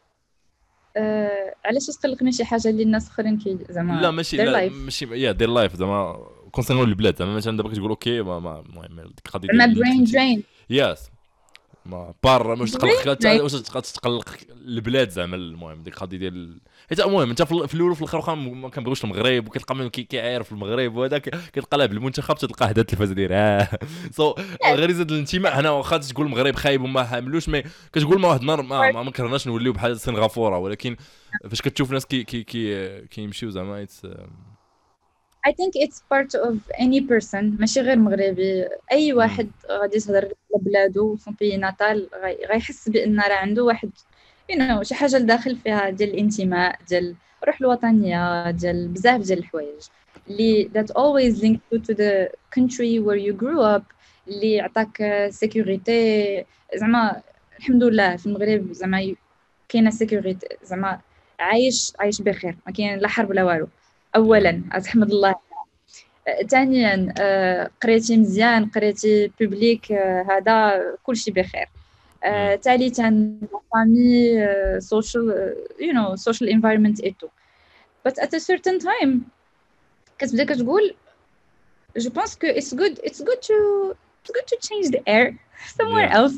علاش تقلقني شي حاجه اللي الناس اخرين زعما لا ماشي دير لايف زعما كونسيرنون البلاد زعما مثلا دابا كتقول اوكي المهم ديك القضيه ما برين درين ياس ما بار واش تقلق واش تقلق البلاد زعما المهم ديك القضيه ديال حيت المهم انت في الاول وفي الاخر ما كنبغيوش المغرب وكتلقى من كيعرف المغرب وهذاك كتلقى لها بالمنتخب تلقى هذا التلفاز داير سو غريزه الانتماء هنا واخا تقول المغرب خايب وما حاملوش مي كتقول ما واحد النهار ما كرهناش نوليو بحال سنغافوره، ولكن فاش كتشوف ناس كيمشيو زعما I think it's part of any person ماشي غير مغربي. اي واحد غادي يهضر على بلادو في بي ناتال غيحس بان راه عنده واحد شي حاجه لداخل فيها ديال الانتماء، ديال الروح الوطنيه، ديال بزاف ديال الحوايج اللي that always linked you to the country where you grew up، اللي عطاك سيكوريتي. زعما الحمد لله في المغرب زعما كاينه سيكوريتي، زعما عايش بخير، ما كاين لا حرب لا والو. اولا احمد الله. ثانيا قريتي مزيان، قريتي بوبليك، هذا كلشي بخير. ثالثا فامي، social environment et tout. But at a certain time كتبدا كتقول je pense que it's good to change the air somewhere else.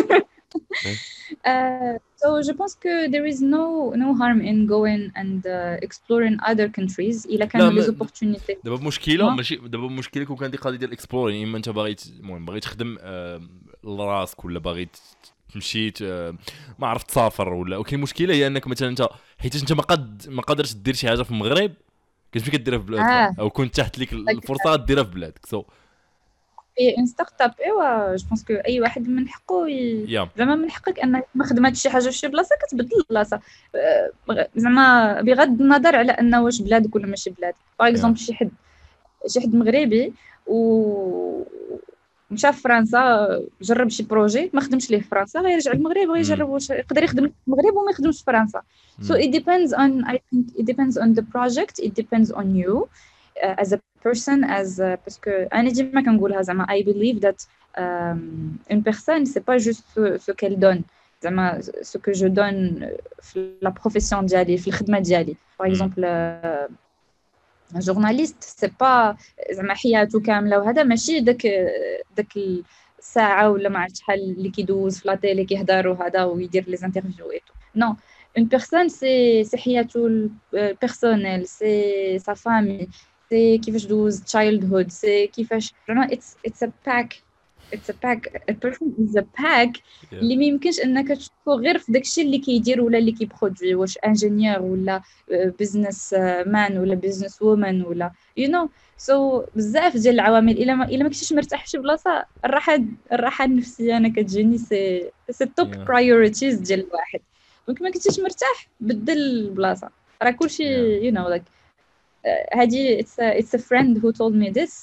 So je pense que there is no harm in going and exploring other countries إلا كانوا les opportunités. دابا مشكله ماشي دابا مشكله كون كان دي قضيه ديال اكسبلورين، اما انت باغي المهم باغي تخدم لراسك ولا باغي تمشي ما عرفت تسافر ولا وكاين مشكله هي انك مثلا انت حيت انت ما قادرش دير شي حاجه في المغرب كتمشي كديرها في بلادك او كنت تحت ليك الفرصه غديرها في بلادك. سو ان ستارت اب ايوا جو بونس كو اي واحد من حقه زعما من حقك انك ما خدمتش شي حاجه في شي بلاصه كتبدل البلاصه، زعما بغض النظر على انه واش بلادك ولا ماشي بلادك. باغ اكزومبل شي حد مغربي و مشى في فرنسا جرب شي بروجي ما خدمش ليه في فرنسا، غيرجع للمغرب ويجرب واش يقدر يخدم في المغرب وما يخدمش في فرنسا. So it depends on, I think it depends on the project, it depends on you as a person, parce que أنا ديما كنقولها زعما I believe that une personne c'est pas juste ce qu'elle donne, زعما ce que je donne في la profession ديالي في الخدمه ديالي par exemple un journaliste c'est pas زعما حياته كامله وهذا ماشي داك الساعه ولا ما عرفت شحال اللي كيدوز في لا تيلي كيهضر وهذا ويدير لي انترفيو ايتو نو une personne c'est حياته personnelle c'est sa famille c'est كيفاش دوز childhood c'est كيفاش زعما it's a pack a person is a pack اللي ما يمكنش انك تشوفه غير في داكشي اللي كيدير ولا اللي كيبرودوي واش انجينيور ولا بزنس مان ولا بزنس وومن ولا you know so بزاف ديال العوامل الا ما كنتيش مرتاح في شي بلاصه الراحه النفسيه انا كتجيني سي توب برايورتيز ديال الواحد دونك ما كنتيش مرتاح بدل البلاصه راه كلشي you know like هادي it's a friend who told me this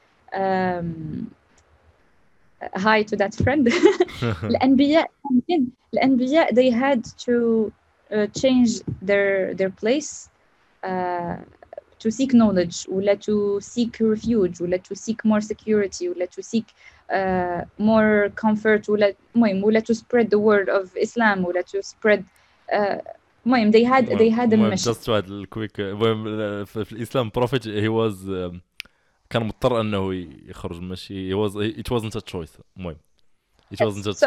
hi to that friend الأنبياء they had to change their place to seek knowledge ولا to seek refuge ولا to seek more security ولا to seek more comfort ولا to spread the word of Islam ولا to spread المهم they had a mission. just واحد الكويك في الإسلام prophet he was كان مضطر انه يخرج ماشي it wasn't a choice المهم it wasn't a choice. So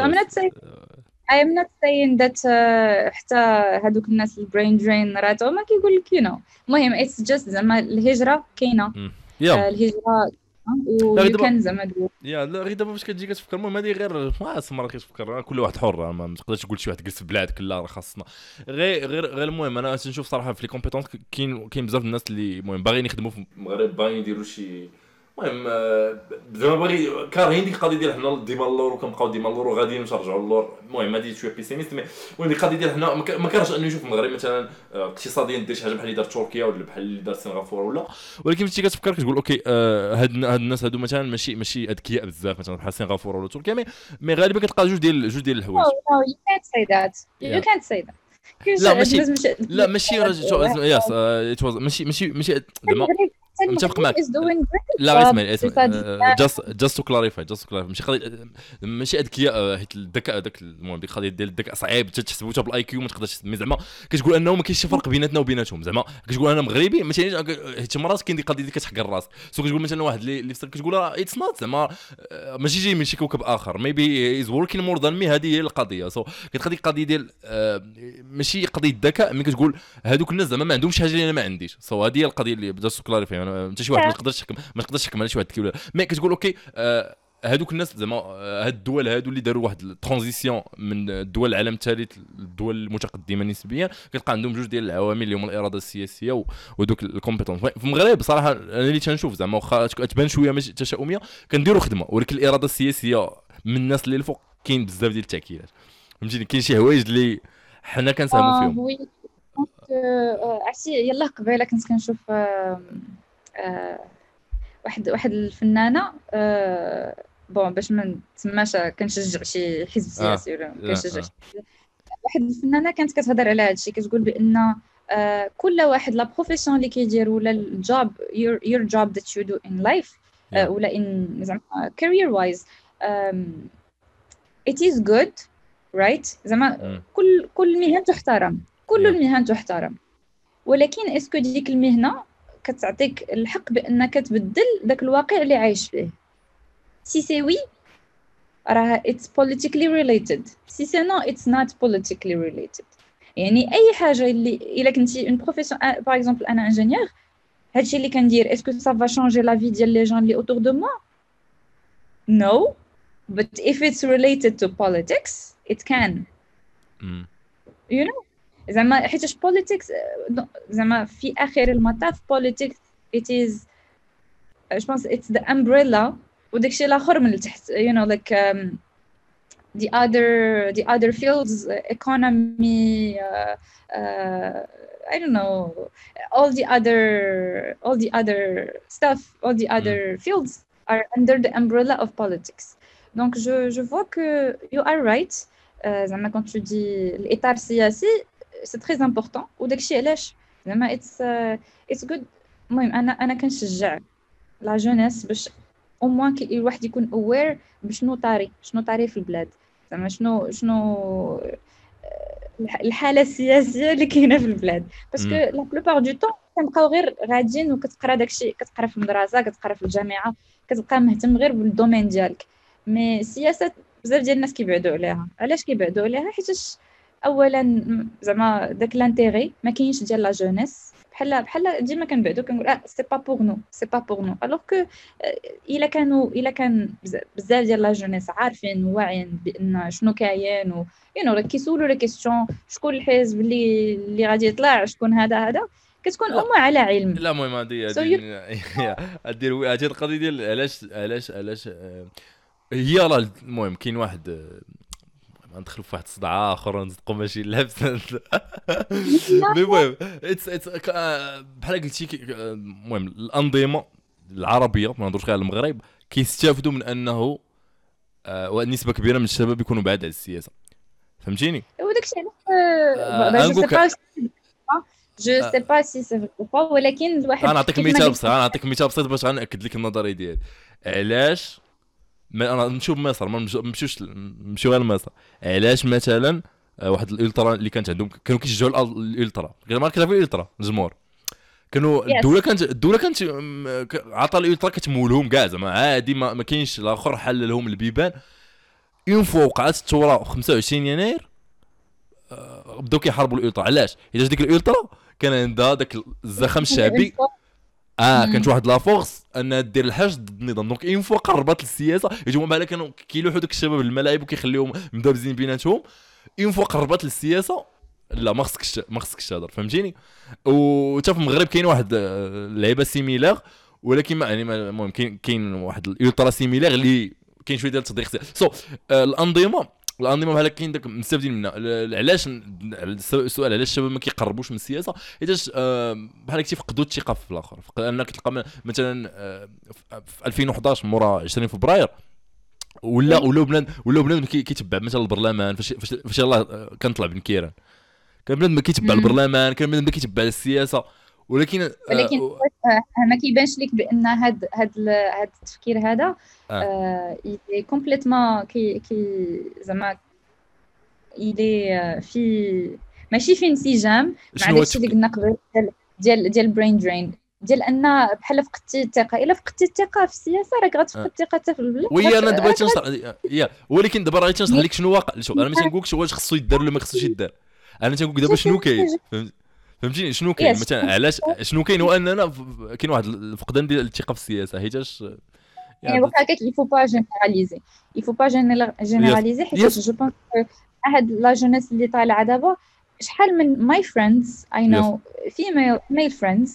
I am not saying that حتى هذوك الناس البرين درين راتو ما كيقول لك you know المهم it's just زعما الهجرة كاينة الهجرة وكان زعما لا غير دابا فاش كتجي كتفكر المهم هذه غير مرة كتفكر كل واحد حر ما تقدرش تقول شي واحد جلس في بلادك لا راه خاصنا غير المهم انا تنشوف صراحه في لي كومبيتونس كاين بزاف الناس اللي المهم باغيين يخدموا في المغرب باغيين يديروا شي المهم زعما باغي كارهين ديك القضيه ديال حنا ديما اللور وكنبقاو ديما اللور وغاديين نرجعوا اللور المهم هذه شويه بيسيميست مي المهم القضيه ديال حنا ما كارهش انه يشوف المغرب مثلا اقتصاديا دير شي حاجه بحال اللي دار تركيا ولا بحال اللي دار سنغافوره ولا ولكن فاش كتفكر كتقول اوكي هاد الناس هادو مثلا ماشي اذكياء بزاف مثلا بحال سنغافوره ولا تركيا مي غالبا كتلقى جوج ديال الحوايج. you can't say that you can't say that لا ماشي يس ماشي زعما متفق معك لا اسمع just to clarify ماشي اذكياء حيت الذكاء داك المهم ديك القضيه ديال الذكاء صعيب تحسبو حتى بالاي كيو ما تقدرش تسمي زعما كتقول انه ما كاينش شي فرق بيناتنا وبيناتهم زعما كتقول انا مغربي ماشي حيت مرات كاين ديك القضيه اللي كتحقر راسك سو كتقول مثلا واحد اللي كتقول اتس نوت زعما ماشي جاي من شي كوكب اخر ميبي از وركين مور ذان مي هذه هي القضيه سو كتخدي القضيه ديال ماشي قضيه الذكاء ملي كتقول هذوك الناس زعما ما عندهمش حاجه اللي انا ما عنديش سو هذه هي القضيه اللي just to clarify انت شي واحد ما تقدرش تحكم على شي واحد كي مي كتقول اوكي هذوك الناس زعما هاد الدول هادو اللي داروا واحد الترانزيسيون من الدول العالم الثالث للدول المتقدمه نسبيا كتلقى عندهم جوج ديال العوامل اللي هما الاراده السياسيه ودوك الكومبيتونس في المغرب صراحه انا اللي تنشوف زعما واخا تبان شويه ماشي تشاؤميه كنديروا خدمه ولكن الاراده السياسيه من الناس اللي الفوق كاين بزاف ديال التاكيدات فهمتيني كاين شي حوايج اللي حنا كنساهموا فيهم عرفتي يلا قبيله كنت كنشوف واحد الفنانه بون باش ما نسماش كنشجع شي حزب سياسي ولا كنشجع واحد الفنانه كانت كتهضر على هذا الشيء كتقول بان كل واحد لا بروفيسيون اللي كيدير ولا الجوب your job that you do in life ولا in زعما career wise it is good right زعما كل مهنه تحترم كل المهن تحترم ولكن اسكو ديك المهنه كتعطيك الحق بانك تبدل داك الواقع اللي عايش فيه سي سي وي راه it's politically related سي سي نو it's not politically related يعني اي حاجه اللي الا كنتي اون بروفيسيون باغ اكزومبل انا انجينيور هادشي اللي كندير اسكو سا فا شونجي لا في ديال لي جون اللي اوتور دو موا no but if it's related to politics it can you know زعما حيتاش politics زعما في اخر المطاف politics it is je pense it's the umbrella وداكشي الاخر من التحت you know like the other fields economy I don't know all the other stuff all the other fields are under the umbrella of politics donc je vois que you are right زعما quand tu dis l'état السياسي c'est très important وداكشي علاش زعما it's good المهم انا كنشجع لا جونيس باش او موان الواحد يكون اوير بشنو طاري في البلاد زعما شنو الحاله السياسيه اللي كاينه في البلاد، باسكو لا بلوبار دو طون كنبقاو غير غاديين وكتقرا داكشي، كتقرا في المدرسه، كتقرا في الجامعه، كتبقى مهتم غير بالدومين ديالك. مي السياسه بزاف ديال الناس كيبعدوا عليها. علاش كيبعدوا عليها؟ حيتاش اولا زعما داك لانتيغي ما كاينش ديال لا جونيس. بحال ديما كنبعدوا كنقول سي با بور نو، سي با بور نو، الوغ كو الا كان بزاف ديال لا جونيس عارفين واعيين بان شنو كاين و راه كيسولوا لي كيسيون شكون الحزب اللي غادي يطلع، شكون هذا كتكون لا امه على علم. لا المهم هذه هذه القضيه ديال علاش هي راه المهم كاين واحد ندخلوا في واحد الصداع اخر ونصدقوا ماشي لابس مي المهم بحال قلتي المهم الانظمه العربيه ما نهضرش غير على المغرب كيستافدوا من انه ونسبه كبيره من الشباب يكونوا بعاد على السياسه، فهمتيني؟ وداكشي علاش جو سي با سي سي با، ولكن الواحد انا نعطيك مثال بسيط، باش غنأكد لك النظريه ديالي. علاش انا نشوف مصر ما نمشيو غير لمصر؟ علاش مثلا واحد الالترا اللي كانت عندهم كانوا كيشجعوا الالترا، ما كتعرفوا الالترا الجمهور، كانوا الدوله كانت عطى الالترا كتمولهم كاع زعما عادي، ما كاينش الاخر حل لهم البيبان. اون فوا وقعت الثوره 25 يناير بداو كيحاربوا الالترا. علاش؟ حيت ديك الالترا كان عندها داك الزخم الشعبي، كانت واحد لا فورس انها دير الحاج ضد النظام. دونك اون فوا قربت للسياسه يجوا بحال كانوا كيلوحوا داك الشباب الملاعب وكيخليهم مدابزين بيناتهم. اون فوا قربت للسياسه لا ما خصكش تهضر، فهمتيني؟ وتا في المغرب كاين واحد اللعيبه سيميلار، ولكن ما يعني المهم كاين واحد الالترا سيميلار اللي كاين شويه ديال التضييق. الانظمه بحال كاين داك مستافدين منها. علاش السؤال علاش الشباب ما كيقربوش من السياسه؟ حيت بحال كيفقدوا الثقه في الاخر. انك تلقى مثلا في 2011 مورا 20 فبراير ولا بنادم كيتبع مثلا البرلمان. فاش الله كان طلع بن كيران كان بنادم كيتبع البرلمان، كان بنادم كيتبع السياسه، ولكن ما كيبانش لك بان هاد التفكير هذا كومبليتمون كي زعما في ماشي في انسجام مع داكشي اللي قلنا قبل ديال البرين درين، ديال ان بحال فقدتي الثقه. الا فقدتي الثقه في السياسه راك غتفقد الثقه حتى في البلاد. وي انا دابا تنشرح ولكن دابا راه تنشرح لك شنو واقع. شوف انا ما تنقولكش واش خصو يدار ولا ما خصوش يدار، انا تنقولك دابا شنو كاين، فهمتيني شنو كاين مثلا. علاش شنو كاين هو اننا كاين واحد الفقدان ديال الثقه في السياسه. حيتاش يعني واخا هكاك il faut pas généraliser حيت جو بونس هاد لا جونيس اللي طالعه دابا شحال من ماي فريندز اي نو female friends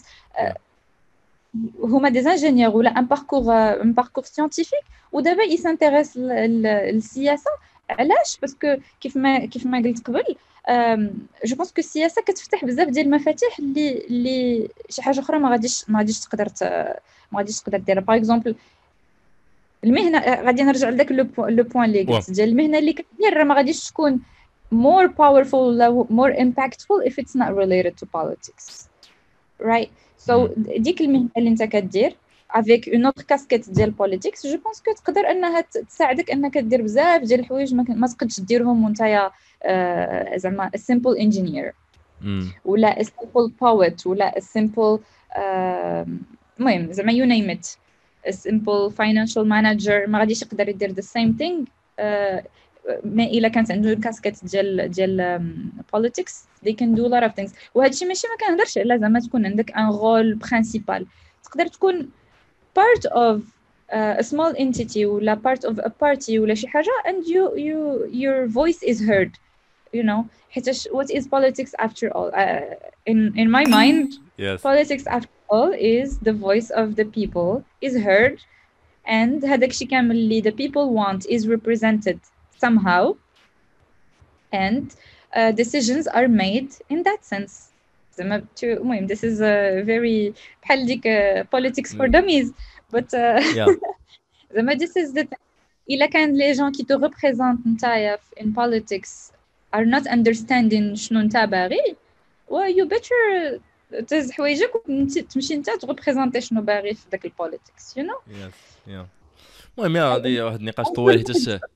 هما دي انجينيور ولا ان باركور سيانتيفيك ودابا يسانتيريس للسياسه. علاش؟ باسكو كيف ما قلت قبل جو بونس كو السياسه كتفتح بزاف ديال المفاتيح اللي شي حاجه اخرى ما غاديش تقدر ديرها. باغ اكزومبل المهنه، غادي نرجع لذاك لو بوين اللي قلت ديال المهنه اللي كدير راه ما غاديش تكون more powerful ولا more impactful if it's not related to politics, right? So ديك المهنه اللي انت كدير avec une autre casquette ديال politics je pense que تقدر انها تساعدك انك دير بزاف ديال الحوايج ما تقدش ديرهم وانت زعما a simple engineer ولا a simple poet ولا a simple المهم زعما you name it a simple financial manager ما غاديش يقدر يدير the same thing. ما الا كانت عنده كاسكيت ديال politics they can do a lot of things. وهذا الشيء ماشي ما كنهضرش على زعما تكون عندك ان رول برينسيبال، تقدر تكون part of a small entity ولا part of a party ولا شي حاجه and your voice is heard, you know. حيت what is politics after all? In my mind yes. Politics after all is the voice of the people is heard and هذاك الشيء كامل اللي the people want is represented somehow and decisions are made in that sense. زعما المهم this is a very بحال ديك politics for dummies but زعما this is the إلا كان les gens qui te représentent نتايا in politics are not understanding شنو نتا باغي well you better تهز حوايجك وتمشي نتا تغبريزونتي شنو باغي في داك البوليتيكس you know. المهم هذه واحد النقاش طويل حيت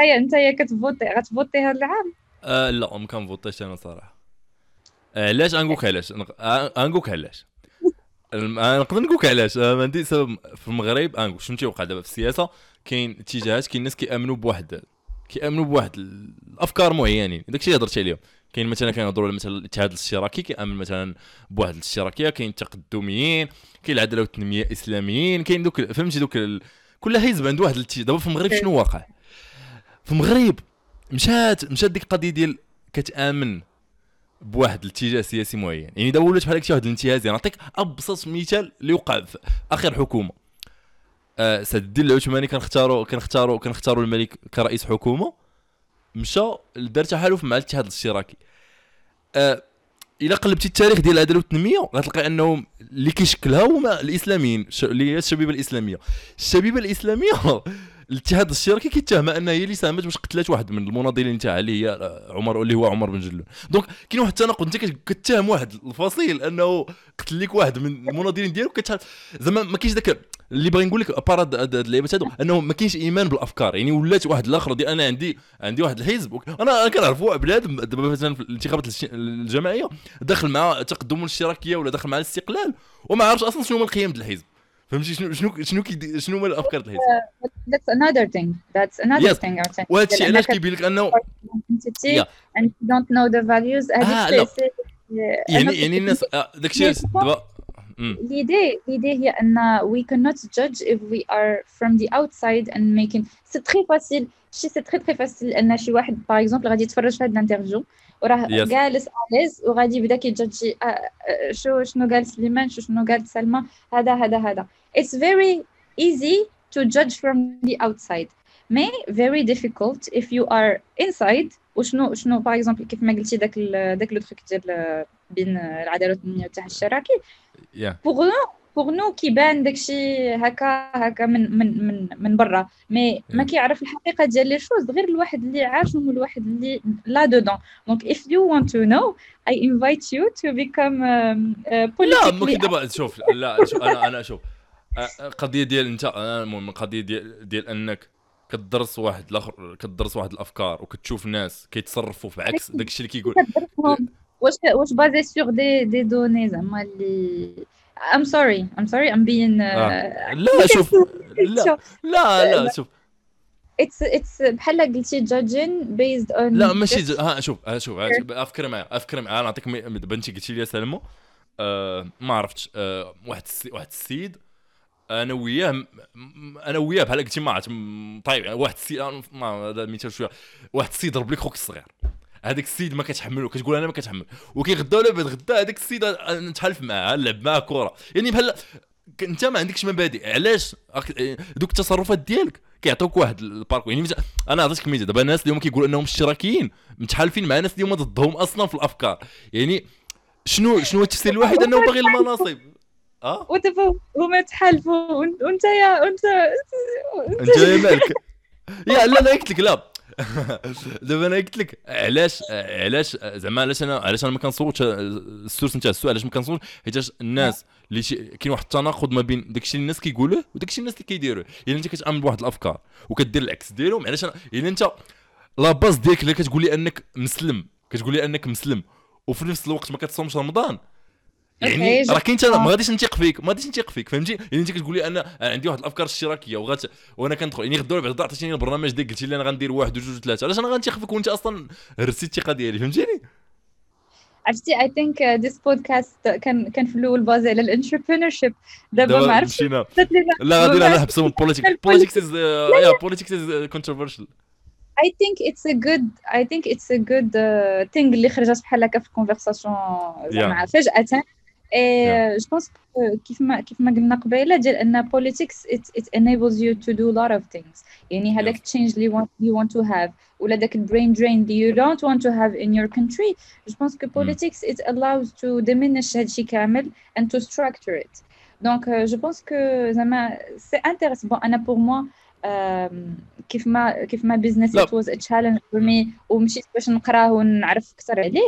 انت غتفوتي هذا العام. لا ما كنفوتيش انا صراحه. علاش غنقولك علاش غنقولك علاش نقدر نقولك علاش ما عندي سبب. في المغرب غنقول شنو تيوقع دابا في السياسه. كاين اتجاهات، كاين الناس كيامنوا بواحد الافكار معينين، داكشي اللي هضرت عليهم. كاين مثلا كيهضروا مثلا الاتحاد الاشتراكي كيامن مثلا بواحد الاشتراكيه، كاين التقدميين، كاين العداله والتنميه الاسلاميين، كاين دوك فهمتي دوك كل حزب عنده واحد دابا في المغرب شنو واقع في المغرب؟ مشات ديك القضيه ديال كتامن بواحد الاتجاه سياسي معين. يعني دابا ولات بحال هكا واحد الانتهازيه. نعطيك ابسط مثال اللي وقع في اخر حكومه. سعد الدين العثماني كنختاروا الملك كرئيس حكومه، مشى دار تحالف مع الاتحاد الاشتراكي. الا قلبتي التاريخ ديال العداله والتنميه غتلقى انهم اللي كيشكلها هما الاسلاميين، اللي هي الشبيبه الاسلاميه الاتحاد الاشتراكي كيتهمها انها هي اللي ساهمت باش قتلات واحد من المناضلين تاعها اللي هي اللي هو عمر بن جلون. دونك كاين واحد التناقض، انت كتهم واحد الفصيل انه قتل لك واحد من المناضلين ديالك، زعما ما كاينش داك اللي باغي نقول لك باراد هاد اللعيبات هادو، انه ما كاينش ايمان بالافكار. يعني ولات واحد الاخر ديال انا عندي واحد الحزب، انا كنعرف واحد بنادم دابا مثلا في الانتخابات الجماعيه داخل مع التقدم الاشتراكيه ولا داخل مع الاستقلال وما عارفش اصلا شنو هما القيم ديال الحزب. فهمتي شنو هما الافكار ديال الحزب. That's another thing. وهذا الشيء علاش كيبين لك انه and you don't know the values. يعني الناس داكشي دابا l'idée هي أن we cannot judge if we are from the outside and making c'est très facile. c'est très facile أن شي واحد par exemple غادي يتفرج في هذا الانترفيو وراه جالس عليز وغادي يبدا كيجادجي شنو قال سليمان شنو قال سلمى. هذا it's very easy to judge from the outside mais very difficult if you are inside. وشنو باغ اكزومبل كيف ما قلتي داك لو تروك ديال بين العداله والتنميه والاتحاد الاشتراكي بوغ نو كيبان داكشي هكا من برا مي ما كيعرف الحقيقه ديال لي شوز غير الواحد اللي عاشهم والواحد اللي لا دودون. دونك if you want to know I invite you to become politically. لا ممكن دابا شوف انا شوف قضيه ديال انت المهم قضيه ديال انك كتدرس واحد الاخر، كتدرس واحد الافكار وكتشوف ناس كيتصرفوا في عكس داكشي اللي كيقول. واش بازي سور دي دوني زعما اللي I'm sorry I'm being لا شوف لا شوف it's بحال قلتي judging based on لا ماشي شوف افكر معايا انا نعطيك بنتي قلتي لي سلمو ما عرفتش واحد السيد انا وياه بحال قلتي ما عرفت طيب واحد السيد ما هذا المثال شويه واحد السيد ضرب لك خوك الصغير، هذاك السيد ما كتحملو كتقول انا ما كتحمل وكيغدا ولا بعد غدا هذاك السيد نتحالف معاه نلعب معاه كره. يعني بحال انت ما عندكش مبادئ، علاش دوك التصرفات ديالك كيعطوك واحد الباركو. يعني انا عطيتك مثال دابا الناس اللي هما كيقولوا انهم اشتراكيين متحالفين مع ناس اللي هما ضدهم اصلا في الافكار. يعني شنو التفسير الوحيد انه باغي المناصب ودابا هما تحالفوا وانت مالك يا لا قلت لك لا دابا انا قلت لك علاش زعما علاش انا ما كنصوتش السورس نتاع السؤال علاش ما كنصوتش حيت الناس اللي كاين واحد التناقض ما بين داكشي اللي الناس كيقولوه وداكشي الناس اللي كيديروه. يعني انت كتامن بواحد الافكار وكدير العكس ديالهم. علاش يعني انت لا باز ديالك اللي كتقول لي انك مسلم وفي نفس الوقت ما كتصومش رمضان، يعني راه كاين ما غاديش نثيق فيك فهمتي. يعني انت كتقول لي انا عندي واحد الافكار اشتراكيه وانا كندخل يعني غدوه بعد عطيتيني البرنامج ديك قلتي لي انا غندير 1 2 3 علاش انا غنثيق فيك وانت اصلا هرستي الثقه ديالي فهمتيني. عرفتي I think this podcast كان في الاول بازي على الانتربرينور شيب. دابا ما عرفتش لا غادي نحبسوا politics is controversial. I think it's a good thing اللي خرجت بحال هكا في الكونفرساسيون زعما فجأة. جو بونس كيف ما قلنا قبيله ديال ان politics it enables you to do a lot of things. يعني هذاك change اللي you want to have ولا داك brain drain اللي you don't want to have in your country. جو بونس que politics it allows to diminish هادشي كامل and to structure it. donc je pense que زعما c'est intéressant. bon انا pour moi كيف ما business it was a challenge for me ومشيت باش نقراه ونعرف اكثر عليه.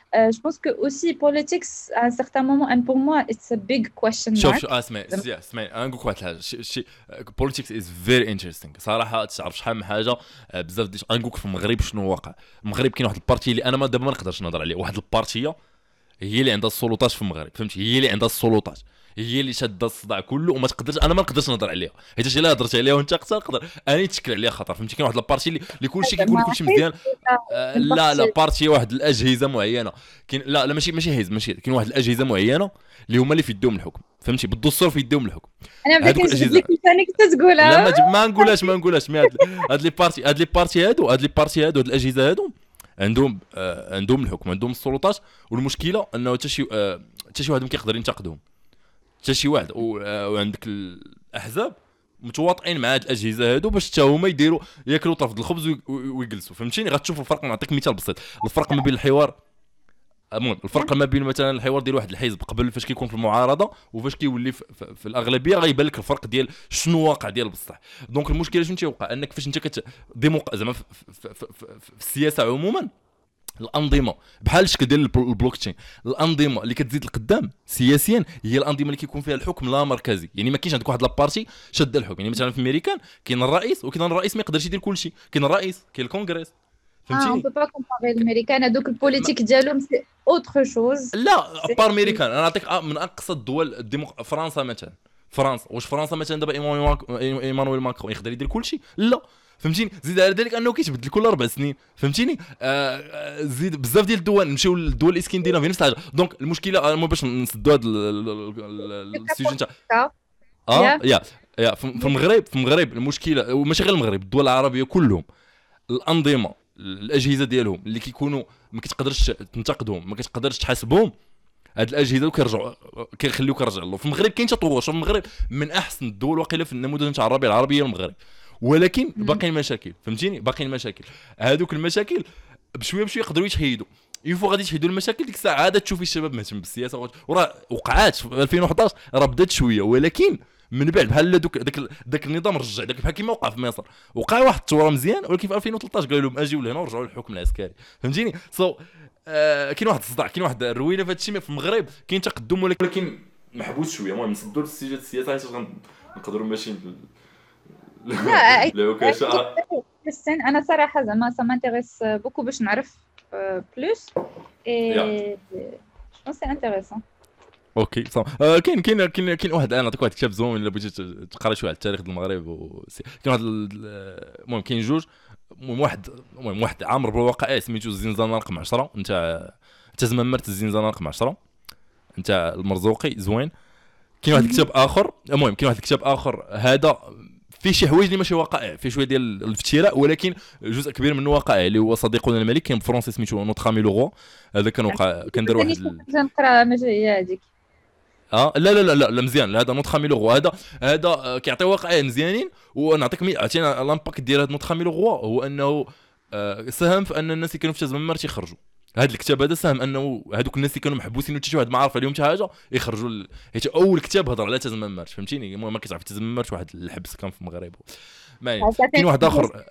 je pense que aussi politics à un certain moment and pour moi it's a big question شوف mark. شو اسمعي انا نقول لك واحد الحاجه شي politics is very interesting صراحه. تعرف شحال من حاجه بزاف ديال نقول لك في المغرب شنو واقع. المغرب كاين واحد البارتي اللي انا ما دابا ما نقدرش نهضر عليه. واحد البارتيه هي اللي عندها السلطات في المغرب فهمتي. هي اللي عندها السلطات هي اللي شاده الصداع كله وما تقدرش انا ما نقدرش نهضر عليها حيت الا هضرت عليها وانت نقدر اني نتشكل عليها خطر فهمتي. كاين واحد البارتي اللي كلشي كيقول كلشي مزيان. لا بارتي واحد الاجهزه معينه كاين لا ماشي هيز ماشي كاين واحد الاجهزه معينه اللي هما اللي في يدهم الحكم فهمتي. بالدستور في يدهم الحكم. انا بديت نجبد لك ثاني كنت تقولها لا ما نقولهاش مي هاد لي بارتي هادو هاد الاجهزه هادو عندهم الحكم عندهم السلطات. والمشكله انه حتى شي واحد ما كيقدر ينتقدهم حتى شي واحد. وعندك الاحزاب متواطئين مع هاد الاجهزه هادو باش حتى هما يديروا ياكلوا طرف الخبز ويجلسوا فهمتيني. غتشوف الفرق. نعطيك مثال بسيط. الفرق ما بين الحوار الفرق ما بين مثلا الحوار ديال واحد الحزب قبل فاش كيكون في المعارضه وفاش كيولي في الاغلبيه غيبان لك الفرق ديال شنو واقع ديال بصح. دونك المشكله شنو تيوقع انك فاش انت زعما في السياسه عموما الانظمه بحال الشكل ديال البلوك تشين. الانظمه اللي كتزيد لقدام سياسيا هي الانظمه اللي كيكون فيها الحكم لا مركزي. يعني ما كاينش عندك واحد لابارتي شاد الحكم. يعني مثلا في امريكان كاين الرئيس وكاين الرئيس ما يقدرش يدير كلشي. كاين الرئيس كاين الكونغرس فهمتيني. on peut pas comparer الامريكان هذوك البوليتيك ديالهم سي اوتر شوز. لا بار امريكان انا نعطيك من اقصى الدول فرنسا مثلا. فرنسا واش فرنسا مثلا دابا ايمانويل ماكرون يقدر يدير كلشي؟ لا فهمتيني. زيد على ذلك انه كيتبدل كل 4 سنين فهمتيني. زيد بزاف ديال الدول نمشيو للدول الاسكندنافيه نفس الحاجه. دونك المشكله مو باش نسدوا هذا السيجن تاع يا في المغرب المشكله وماشي غير المغرب الدول العربيه كلهم الانظمه الاجهزه ديالهم اللي كيكونوا ما كتقدرش تنتقدهم ما كتقدرش تحاسبهم. هاد الاجهزه كيخليوك رجع له. في المغرب كاين تطور. شوف المغرب من احسن الدول واقيلا في النموذج تاع الربيع العربي المغرب. ولكن باقي مشاكل فهمتيني. باقي المشاكل هذوك المشاكل بشويه يقدروا يتحيدوا. يفو غادي تحيدوا المشاكل ديك الساعه عاد تشوفي الشباب مهتم بالسياسه. وراه وقعات في 2011 راه بدات شويه ولكن من بعد بحال داك النظام رجع بحال كيما وقع في مصر. وقع واحد الثوره مزيان ولكن في 2013 قالوا لهم اجيو لهنا ورجعوا للحكم العسكري فهمتيني. كاين واحد الصداع كاين واحد الروينه في هذا الشيء. في المغرب كاين تقدم ولكن محبوس شويه. المهم نسدوا للسجل السياسه حيت نقدروا ماشيين لا وكاشا. انا صراحه زعما سا مانتيريس بوكو باش نعرف بلوس اي جو سي انتريسون. اوكي صح. كاين واحد انا نعطيك واحد الكتاب زوين الا بغيتي تقرا شويه على التاريخ ديال المغرب. كاين واحد المهم كاين جوج. واحد عامر بالواقع سميتو الزنزانه رقم 10 نتاع زمامرت الزنزانه رقم 10 نتاع المرزوقي زوين. كاين واحد الكتاب اخر المهم كاين واحد الكتاب اخر هذا فيه شي حوايج اللي ماشي واقع فيه شويه ديال الافتراء ولكن جزء كبير منه واقعي اللي هو صديقنا الملك. كاين فرونسي سميتو نوتخامي لوغو. هذا كان وقع كان دار واحد نقرا ماشي هي هذيك. لا مزيان. هذا نوتخامي لوغو هذا كيعطي واقعين مزيانين. ونعطيك عطينا لامباكت ديال هذا نوتخامي لوغو هو انه ساهم في ان الناس اللي كانوا في تزممرت يخرجوا. هذا الكتاب هذا ساهم انه هذوك الناس اللي كانوا محبوسين وحتى شي واحد ما عارف عليهم حتى حاجه يخرجوا حيت اول كتاب هضر على تزممرت فهمتيني. المهم ما كتعرف تزممرت واحد الحبس كان في المغرب. كاين واحد اخر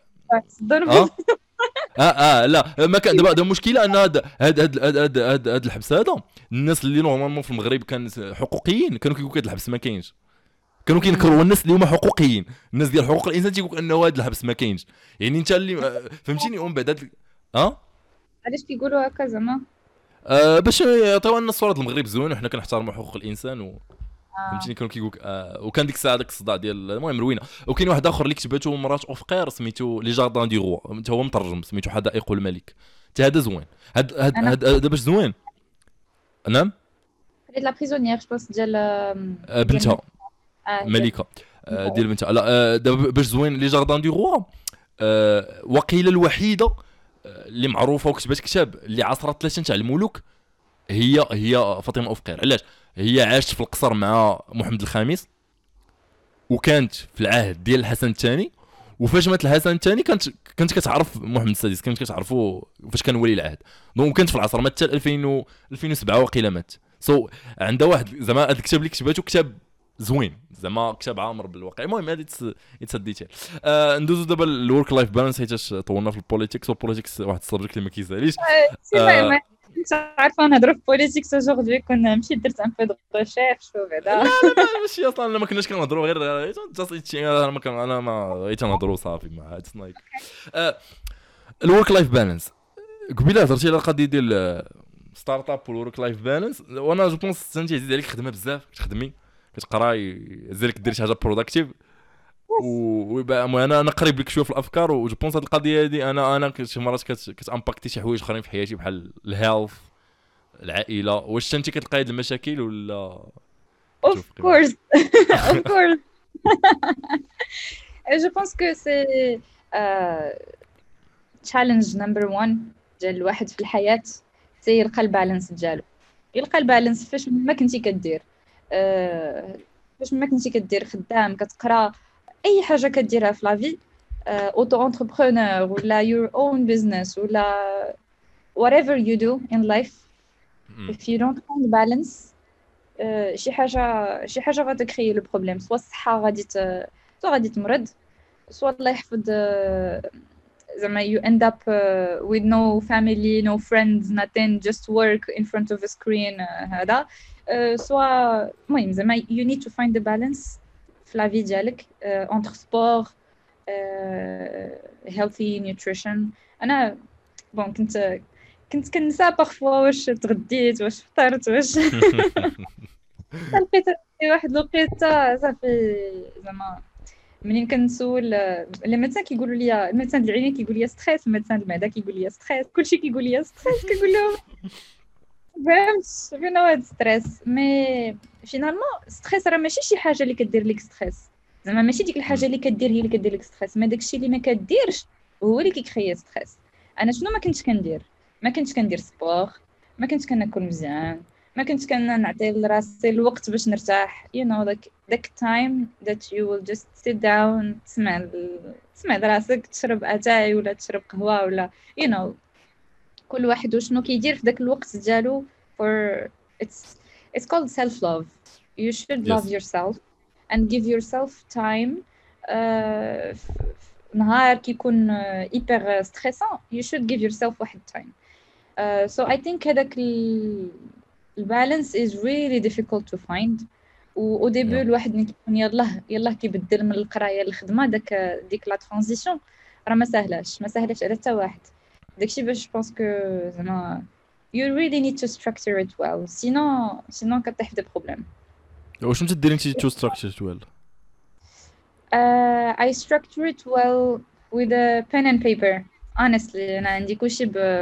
لا ما كان دابا المشكله ان هذا الحبس هذا الناس اللي نورمالمون في المغرب كان حقوقيين كانوا كيقولوا هذا الحبس ما كاينش. كانوا كينكروا الناس اللي هما حقوقيين. الناس ديال حقوق الانسان تيقول انه هذا الحبس ما كاينش. يعني انت اللي فهمتيني. ومن بعد علاش كيقولوا هكا زعما باش يعطيو لنا الصوره ديال المغرب زوين وحنا كنحترموا حقوق الانسان فهمتيني. كانوا كيقول وكان ديك الساعه داك الصداع ديال المهم روينه. وكاين واحد اخر اللي كتبته مرات اوفقير سميتو لي جاردان دي غوا حتى هو مترجم سميتو حدائق الملك. حتى هذا زوين. هذا باش زوين. نعم قريت لا بريزونيير جو بونس ديال بنتها ملكه ديال بنتها. لا دابا باش زوين لي جاردان دي غوا وقيله الوحيده اللي معروفه وكتبت كتاب اللي عاصرت 3 تاع الملوك هي فاطمه اوفقير. علاش؟ هي عاشت في القصر مع محمد الخامس وكانت في العهد ديال الحسن الثاني. وفاش مات الحسن الثاني كانت كتعرف محمد السادس كانت كتعرفوا فاش كان ولي العهد. دونك كانت في العصر مات حتى 2007 وقيله مات. عندها واحد زعما هذا الكتاب اللي كتبته كتاب زوين زعما كتاب عامر بالواقع. المهم هذه يتسديتها. ندوزو دابا الورك لايف بالانس حيت طولنا في البوليتيكس. والبوليتيكس واحد السبجيكت اللي ما كيساليش. عارفه نهضروا في بوليتيكس aujourd'hui كنا مشيت درت ان بو دو ريشيرش وبعدا ماشي اصلا ما كناش كنهضروا غير جاست انا ما تنهضروا صافي ما اتس لايك الورك لايف بالانس. قبيله هضرتي على القضيه ديال ستارت اب والورك لايف بالانس، وانا جو بونس انت عزيز عليك خدمه بزاف، كتخدمي كتقراي زالك دير شي حاجه بروداكتيف ويبقى انا قريب لك شويه في الافكار، وجو بونس هاد القضيه هادي انا شي مرات كتامباكتي شي حوايج اخرين في حياتي بحال الهيلث العائله. واش انت كتلقاي هاد المشاكل ولا of course of course je pense que c'est challenge number 1 ديال الواحد في الحياه، سي يلقى البالانس ديالو. يلقى البالانس فاش ما كنتي كدير فاش ما كنتي كدير خدام كتقرا اي حاجه كديرها في لافي، اوتو انتربرونور ولا your own business ولا whatever you do in life if you don't find balance شي حاجه غتكري لو بروبليم، سواء الصحه غادي تمرض، سواء الله يحفظ زعما you end up with no family no friends nothing just work in front of a screen هذا سواء المهم زعما you need to find the balance في لا في ديالك entre sport healthy nutrition. انا بون كنت كنسى بارفوا واش تغديت واش فطرت واش لقيت واحد الوقيته صافي زعما منين كنسول لي ميدسان كيقولوا لي الميدسان ديال العينين كيقول لي ستريس، الميدسان المعده كيقول لي ستريس، كلشي كيقول لي ستريس، كنقول لهم فهمت فين هو هاد ستريس. مي فينالمون ستريس راه ماشي شي حاجه اللي كدير لك ستريس، زعما ماشي ديك الحاجه اللي كدير هي اللي كدير لك ستريس، ما داكشي اللي ما كديرش هو اللي كيكريي ستريس. انا شنو ما كنتش كندير؟ ما كنتش كندير سبور، ما كنتش كناكل مزيان، ما كنتش كنعطي لراسي الوقت باش نرتاح. you know like that time that you will just sit down تسمع راسك تشرب اتاي ولا تشرب قهوه ولا you know كل واحد وشنو كيدير في داك الوقت ديالو for it's called self love. you should love yourself and give yourself time. نهار كيكون hyper stressant you should give yourself واحد time. So I think هذاك البالانس is really difficult to find. و ديبي الواحد ملي كيكون يلاه كيبدل من القرايه للخدمه ديك لا ترانزيسيون راه ما سهلاش على حتى واحد. داكشي باش بونس كو زعما you really need to structure it well sinon كطيح في بروبليم. واش انت ديري انت to structure it well؟ I structure it well with a pen and paper. Honestly انا عندي كلشي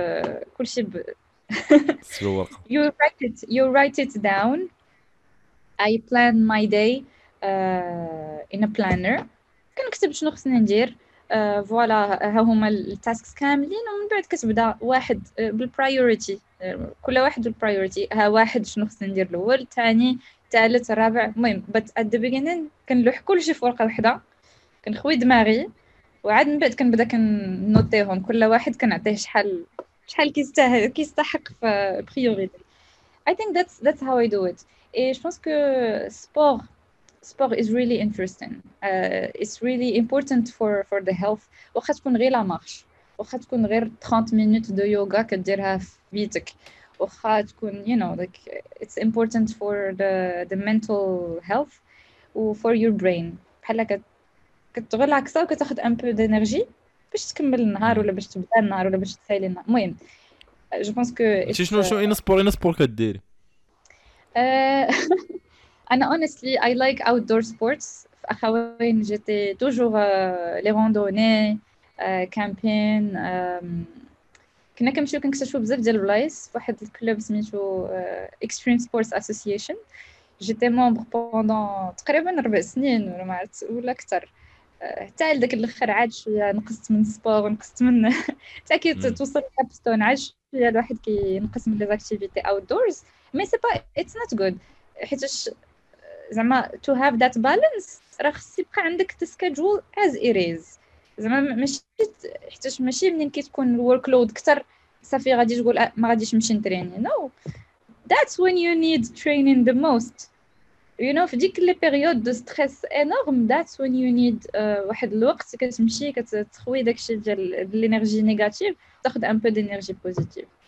you write it down. I plan my day in a planner. كنكتب شنو خصني ندير فوالا ها هما التاسكس كاملين، ومن بعد كتبدا واحد بالبرايورتي، كل واحد بالبرايورتي. ها واحد شنو خصني ندير الاول، الثاني، الثالث، الرابع. المهم but at the beginning كنلوح كلشي في ورقه وحده، كنخوي دماغي، وعاد من بعد كنبدا كنوتيهم كل واحد كنعطيه شحال كيستحق في بريوريتي. I think that's how I do it. Et je pense que sport is really interesting. It's really important for the health. واخا تكون غير لا مارش، واخا تكون غير 30 minutes دو يوغا كديرها في بيتك، واخا تكون you know like it's important for the mental health و for your brain. بحال كتغلعكسا وكتاخد ان بو دانرجي باش تكمل النهار ولا باش تبدا النهار ولا باش تسالي النهار. المهم جو بونس كو شنو اين سبور كديري؟ انا honestly I like outdoor sports. في اخوين جيتي توجور لي روندوني كامبين، كنا كنمشيو كنكتشفوا بزاف ديال البلايص في واحد الكلوب سميتو Extreme Sports Association. جيتي ممبر بوندون تقريبا 4 سنين ولا ما عرفت ولا اكثر، حتى لداك الاخر عاد شويه نقصت من سبور ونقصت من حتى كي توصل لابستون عاد شويه الواحد كينقص من لي زاكتيفيتي اوتدورز. مي سي با اتس نوت غود، حيتاش زعما تو هاف ذات بالانس راه خص يبقى عندك تسكادجول از ايريز. زعما ماشي حيتاش ماشي منين كتكون الورك لود كتر صافي غادي تقول ما غاديش نمشي نتريني. نو that's when you need training the most. you know في ديك لي بيريود دو ستريس انورم that's when you need واحد الوقت كتمشي كتخوي داكشي ديال الانرجي نيجاتيف تاخذ ان بو دينيرجي بوزيتيف.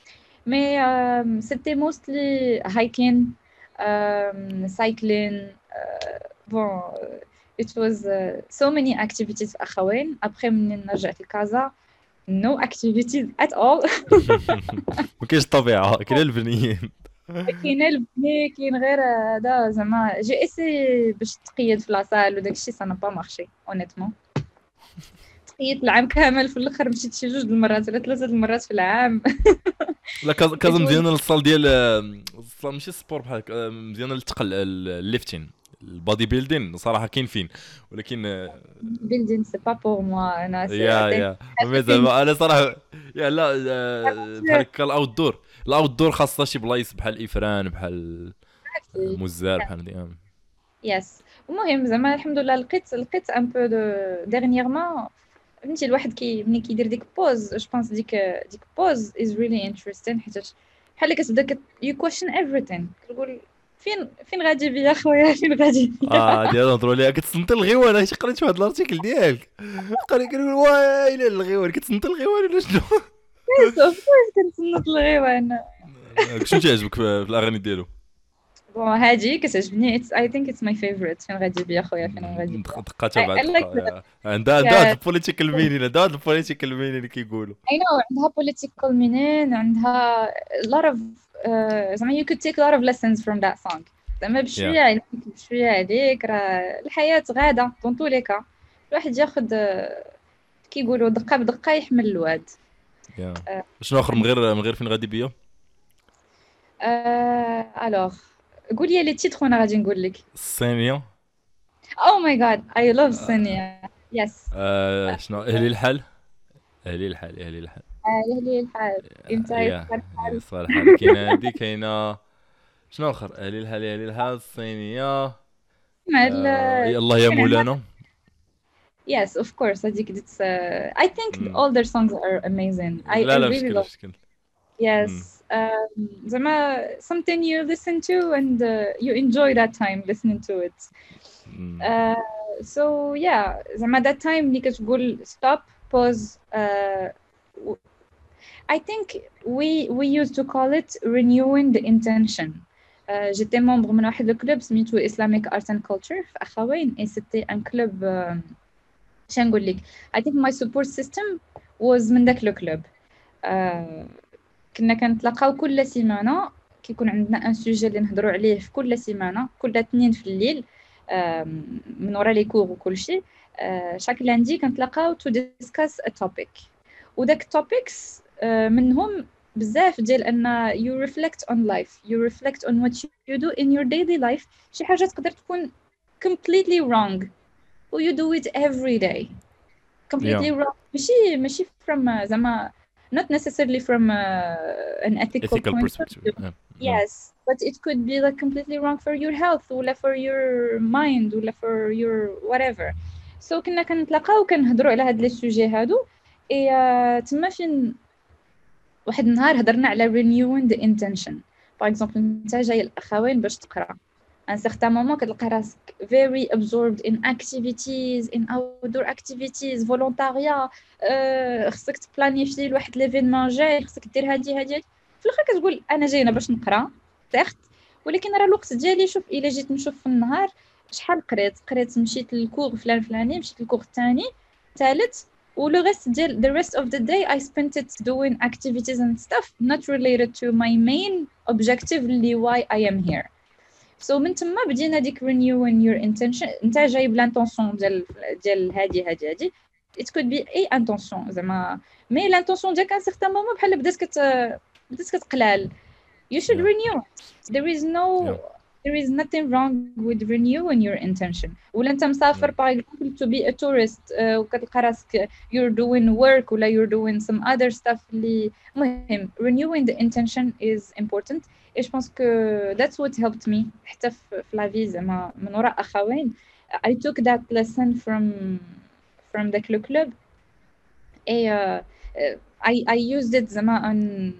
mais c'était mostly hiking, cycling. Bon, it was so many activities في أخوين. après من رجعت لكازا no activities at all. ما كاينش الطبيعه كاين البنيين. كاين البني كاين غير هذا زعما جي اسي باش تقيد في لاصال وداك الشيء سا با مارشي اونيتمون. تقيد العام كامل في الاخر مشيت شي 2 المرات ولا 3 المرات في العام. لا كازا مزيانه للصال ديال الصال ماشي السبور بحال مزيانه للثقل الليفتين البادي بيلدين صراحه كاين فين ولكن بيلدين سي با بور موا انا يا زعما انا صراحه يا لا بحال هكا الاوت دور خاصه شي بلايص بحال افران بحال مزار بحال هادي. يس المهم زعما الحمد لله لقيت ان بو دو ديرنييرمون. فهمتي الواحد ملي كيدير ديك بوز جو بونس ديك بوز از ريلي انتريستين حيت بحال كتبدا يو كويشن ايفريثين. كتقول فين غادي بيا خويا فين غادي بيا. ديال نهضروا ليها كتصنت الغيوان. انا قريت واحد الارتيكل ديالك كنقول وايلي الغيوان كتصنت الغيوان ولا شنو؟ كيف كنتصنت الغيوان. شنو تعجبك في الاغاني ديالو؟ بون هادي كتعجبني اي ثينك اتس ماي فيفورت فين غادي بيا خويا فين غادي بيا. دقاتها بعد عندها البوليتيكال مينين اللي كيقولوا اي نو عندها political meaning عندها a lot of زعما you could take a lot of lessons from that song. زعما بشويه عليك راه الحياه غاده دون تو لي كا الواحد ياخذ كيقولوا دقه بدقه يحمل الواد. شنو اخر من غير فين غادي بيا؟ الوغ قولي لي تيتر وانا غادي نقول لك. الصينيه. او ماي جاد اي لاف الصينيه. يس. شنو اهلي الحال انت الحال كاينه هادي كاينه شنو اخر اهلي الحال الصينيه مع الله يا مولانا. Yes, of course. هذيك I think all their songs are amazing. I really love. Yes. زعما something you listen to and you enjoy that time listening to it. So yeah, زعما that time اللي كتقول stop, pause. I think we used to call it renewing the intention. J'étais membre من واحد الكلوب سميتو Islamic Art and Culture في أخوين et c'était un club شنو نقول لك I think my support system was من داك الكلوب. كنا كنتلاقاو كل سيمانه كيكون عندنا ان سوجي اللي نهضروا عليه في كل سيمانه كل اثنين في الليل من ورا لي كور وكل شيء. شاك لاندي كنتلاقاو تو ديسكاس ا توبيك وداك التوبيكس منهم بزاف ديال ان you reflect on life, you reflect on what you do in your daily life. شي حاجه تقدر تكون completely wrong و you do it every day completely wrong. ماشي from زعما not necessarily from an ethical perspective. Yes, but it could be like completely wrong for your health or for your mind or for your whatever. So كنا كنتلاقاو كنهضروا على هاد لي سوجي هادو اي تما فين واحد النهار هضرنا على renewing the intention. باغ اكزومبل انت جاي الاخوين باش تقرا ان سيغتان مومون كتلقى راسك very absorbed in activities in outdoor activities فولونتاريا. خصك تبلانيفي لواحد ليفينمون جاي خصك دير هادي في الاخر كتقول انا جاينا باش نقرا تاخت ولكن راه الوقت ديالي شوف الا جيت نشوف في النهار شحال قريت مشيت للكور فلاني مشيت للكور الثاني ثالث ولو ريست ديال the rest of the day I spent it doing activities and stuff not related to my main objective اللي why I am here. So من تما بدينا ديك renewing your intention. انت جايب لانتونسيون ديال هادي it could be اي انتونسيون زعما مي لانتونسيون ديالك ان سيغتان مومون بحال بدات كتقلال. You should renew. There is nothing wrong with renewing your intention. ولا انت مسافر باغ example to be a tourist وكتلقى راسك you're doing work ولا you're doing some other stuff اللي مهم renewing the intention is important. et je pense que that's what helped me حتى في la vie زعما من وراء أخوين. I took that lesson from the club and I used it زعما on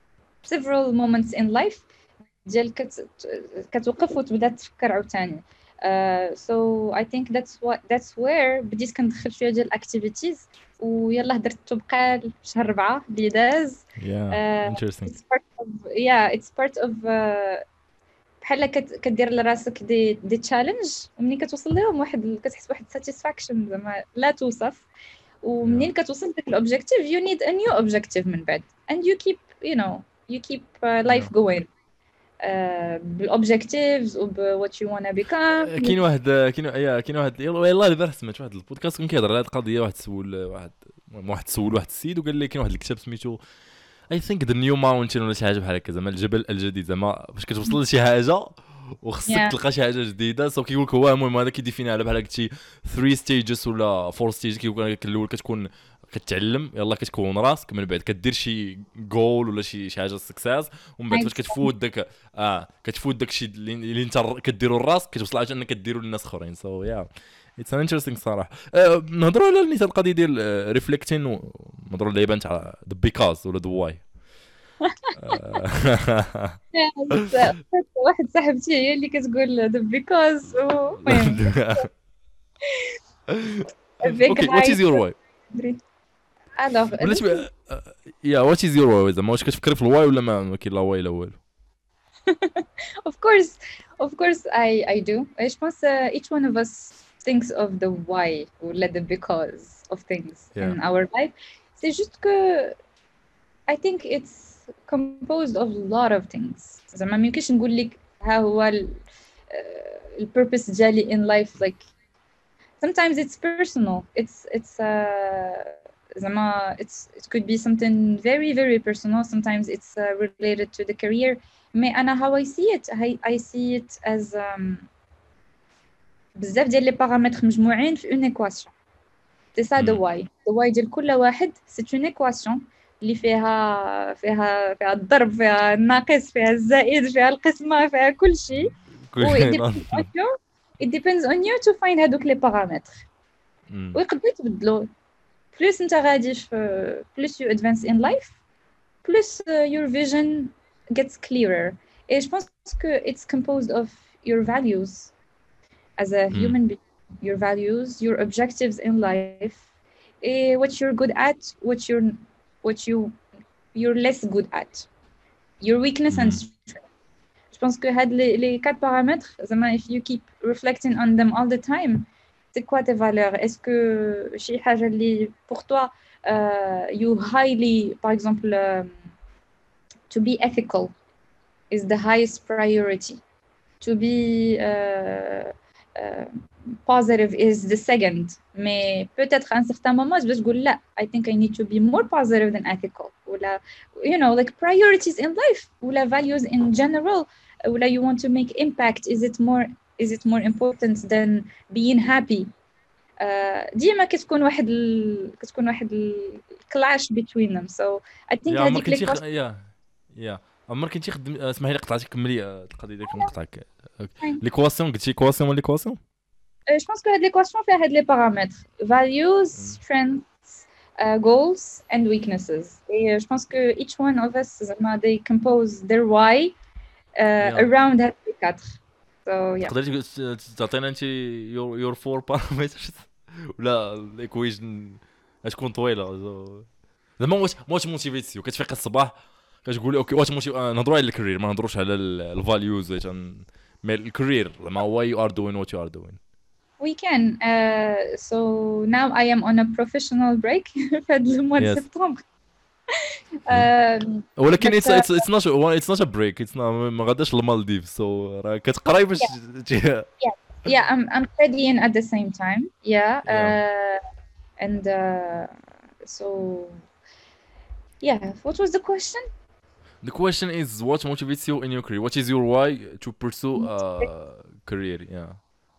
several moments in life ديال كتوقف وتبدا تفكر عاوتاني. so I think that's where بديت كندخل شويه ديال الاكتيفيتيز ويلا درت تبقى شهر 4 اللي داز. interesting. It's part of it's part of بحال كدير لراسك دي تشالنج ومنين كتوصل لهم كتحس بواحد ساتيسفاكشن زعما لا توصف. ومنين كتوصل داك الاوبجيكتيف you need a new objective من بعد and you keep life going بالobjectives what you wanna become. كاين واحد يلاه دابا سمعت واحد البودكاست كان كيهضر على هذه القضيه. واحد سول واحد السيد وقال لي كاين واحد الكتاب سميتو I think the new mountain ولا شي حاجه بحال هكا زعما الجبل الجديد زعما باش كتوصل لشي حاجه وخصك تلقى شي حاجه جديده. سو كيقول لك هو المهم هذا كيديفيني على بحال قلتي 3 ستيجز ولا 4 ستيجز. كيقول لك الاول كتكون كتعلم يلا كتكون راسك من بعد كدير شي جول ولا شي حاجه سكساس ومن بعد فاش كتفوت داك الشيء اللي انت كديرو لراسك كتوصل عاد انك كديرو للناس اخرين. سو يا اتس ان انتريستينغ صراحه. نهضروا على النيت القضيه ديال ريفليكتين ونهضروا على اللعيبه تاع ذا بيكاز ولا ذا واي. واحد صاحبتي هي اللي كتقول the because okay what is your why alors what is your why زعما واش كتفكري في الواي ولا ما كاين لا واي لا والو؟ of course I do. Je pense each one of us thinks of the why or the because of things in our life. C'est juste que I think it's composed of a lot of things. زعما ما يمكنش نقول لك ها هو البيربس ديالي in life. Like sometimes it's personal. It's زعما it could be something very very personal. Sometimes it's related to the career. Mais أنا how I see it as بزاف ديال لي بارامتر مجموعين في une équation. C'est ça the why. The why ديال كل واحد c'est une équation اللي فيها الضرب فيها الناقص فيها الزائد فيها القسمة فيها كل شيء. it depends on you to find هادوك لي بارامتر. ويقدروا يتبدلوا plus انت غادي plus you advance in life plus your vision gets clearer. Et je pense que it's composed of your values as a human being, your values, your objectives in life, and what you're good at, what you're less good at, your weakness and strength. Je pense que les 4 paramètres, if you keep reflecting on them all the time, c'est quoi tes valeurs? Est-ce que شي حاجة اللي pour toi you highly, par exemple, to be ethical is the highest priority. To be positive is the second. Mais peut-être à un certain moment, je vais dire لا, I think I need to be more positive than ethical. ولا, like priorities in life. ولا values in general. ولا you want to make impact. Is it more important than being happy? ديما كتكون واحد clash between them. So I think هذيك عمر كنتي خدم. اسمحي لي قطعتك كملي القضيه ديالك نقطعك. ليكواسيون قلتي كواسيون ولا ليكواسيون؟ جو بونس كو هاد ليكواسيون فيها هاد لي بارامتر values, strengths, goals and weaknesses. Et je pense que each one of us زعما they compose their why around هاد لي 4. So yeah. تقدري تعطينا انت your 4 parameters ولا الايكويشن تكون طويله زعما واش موتيفيتيو كتفيق الصباح كتقولي اوكي واش نهضروا على الكارير ما نهضروش على الفاليوز مي الكارير زعما why you are doing what you are doing. We can. So now I am on a professional break في هذا المواد سبتمبر. ولكن it's not a break. It's not ما غاداش للمالديف. سو راه كتقراي باش Yeah, I'm studying at the same time. And so yeah, what was the question? The question is what motivates you in your career? What is your why to pursue a career? Yeah.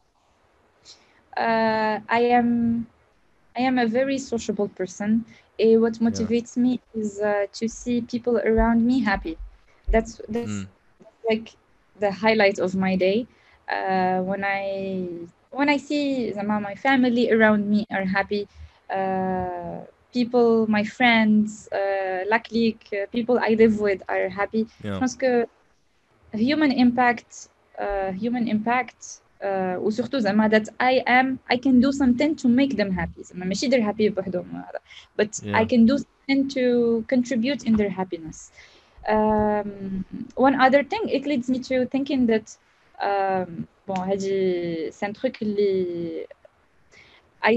I am a very sociable person. What motivates me is to see people around me happy. That's like the highlight of my day. When I see my family around me are happy, people, my friends, luckily people I live with are happy. Parce que human impact وسورتو زعما that I can do something to make them happy زعما ماشي they're happy بوحدهم هذا but I yeah can do something to contribute in their happiness. One other thing it leads me to thinking that bon هذه c'est un truc اللي I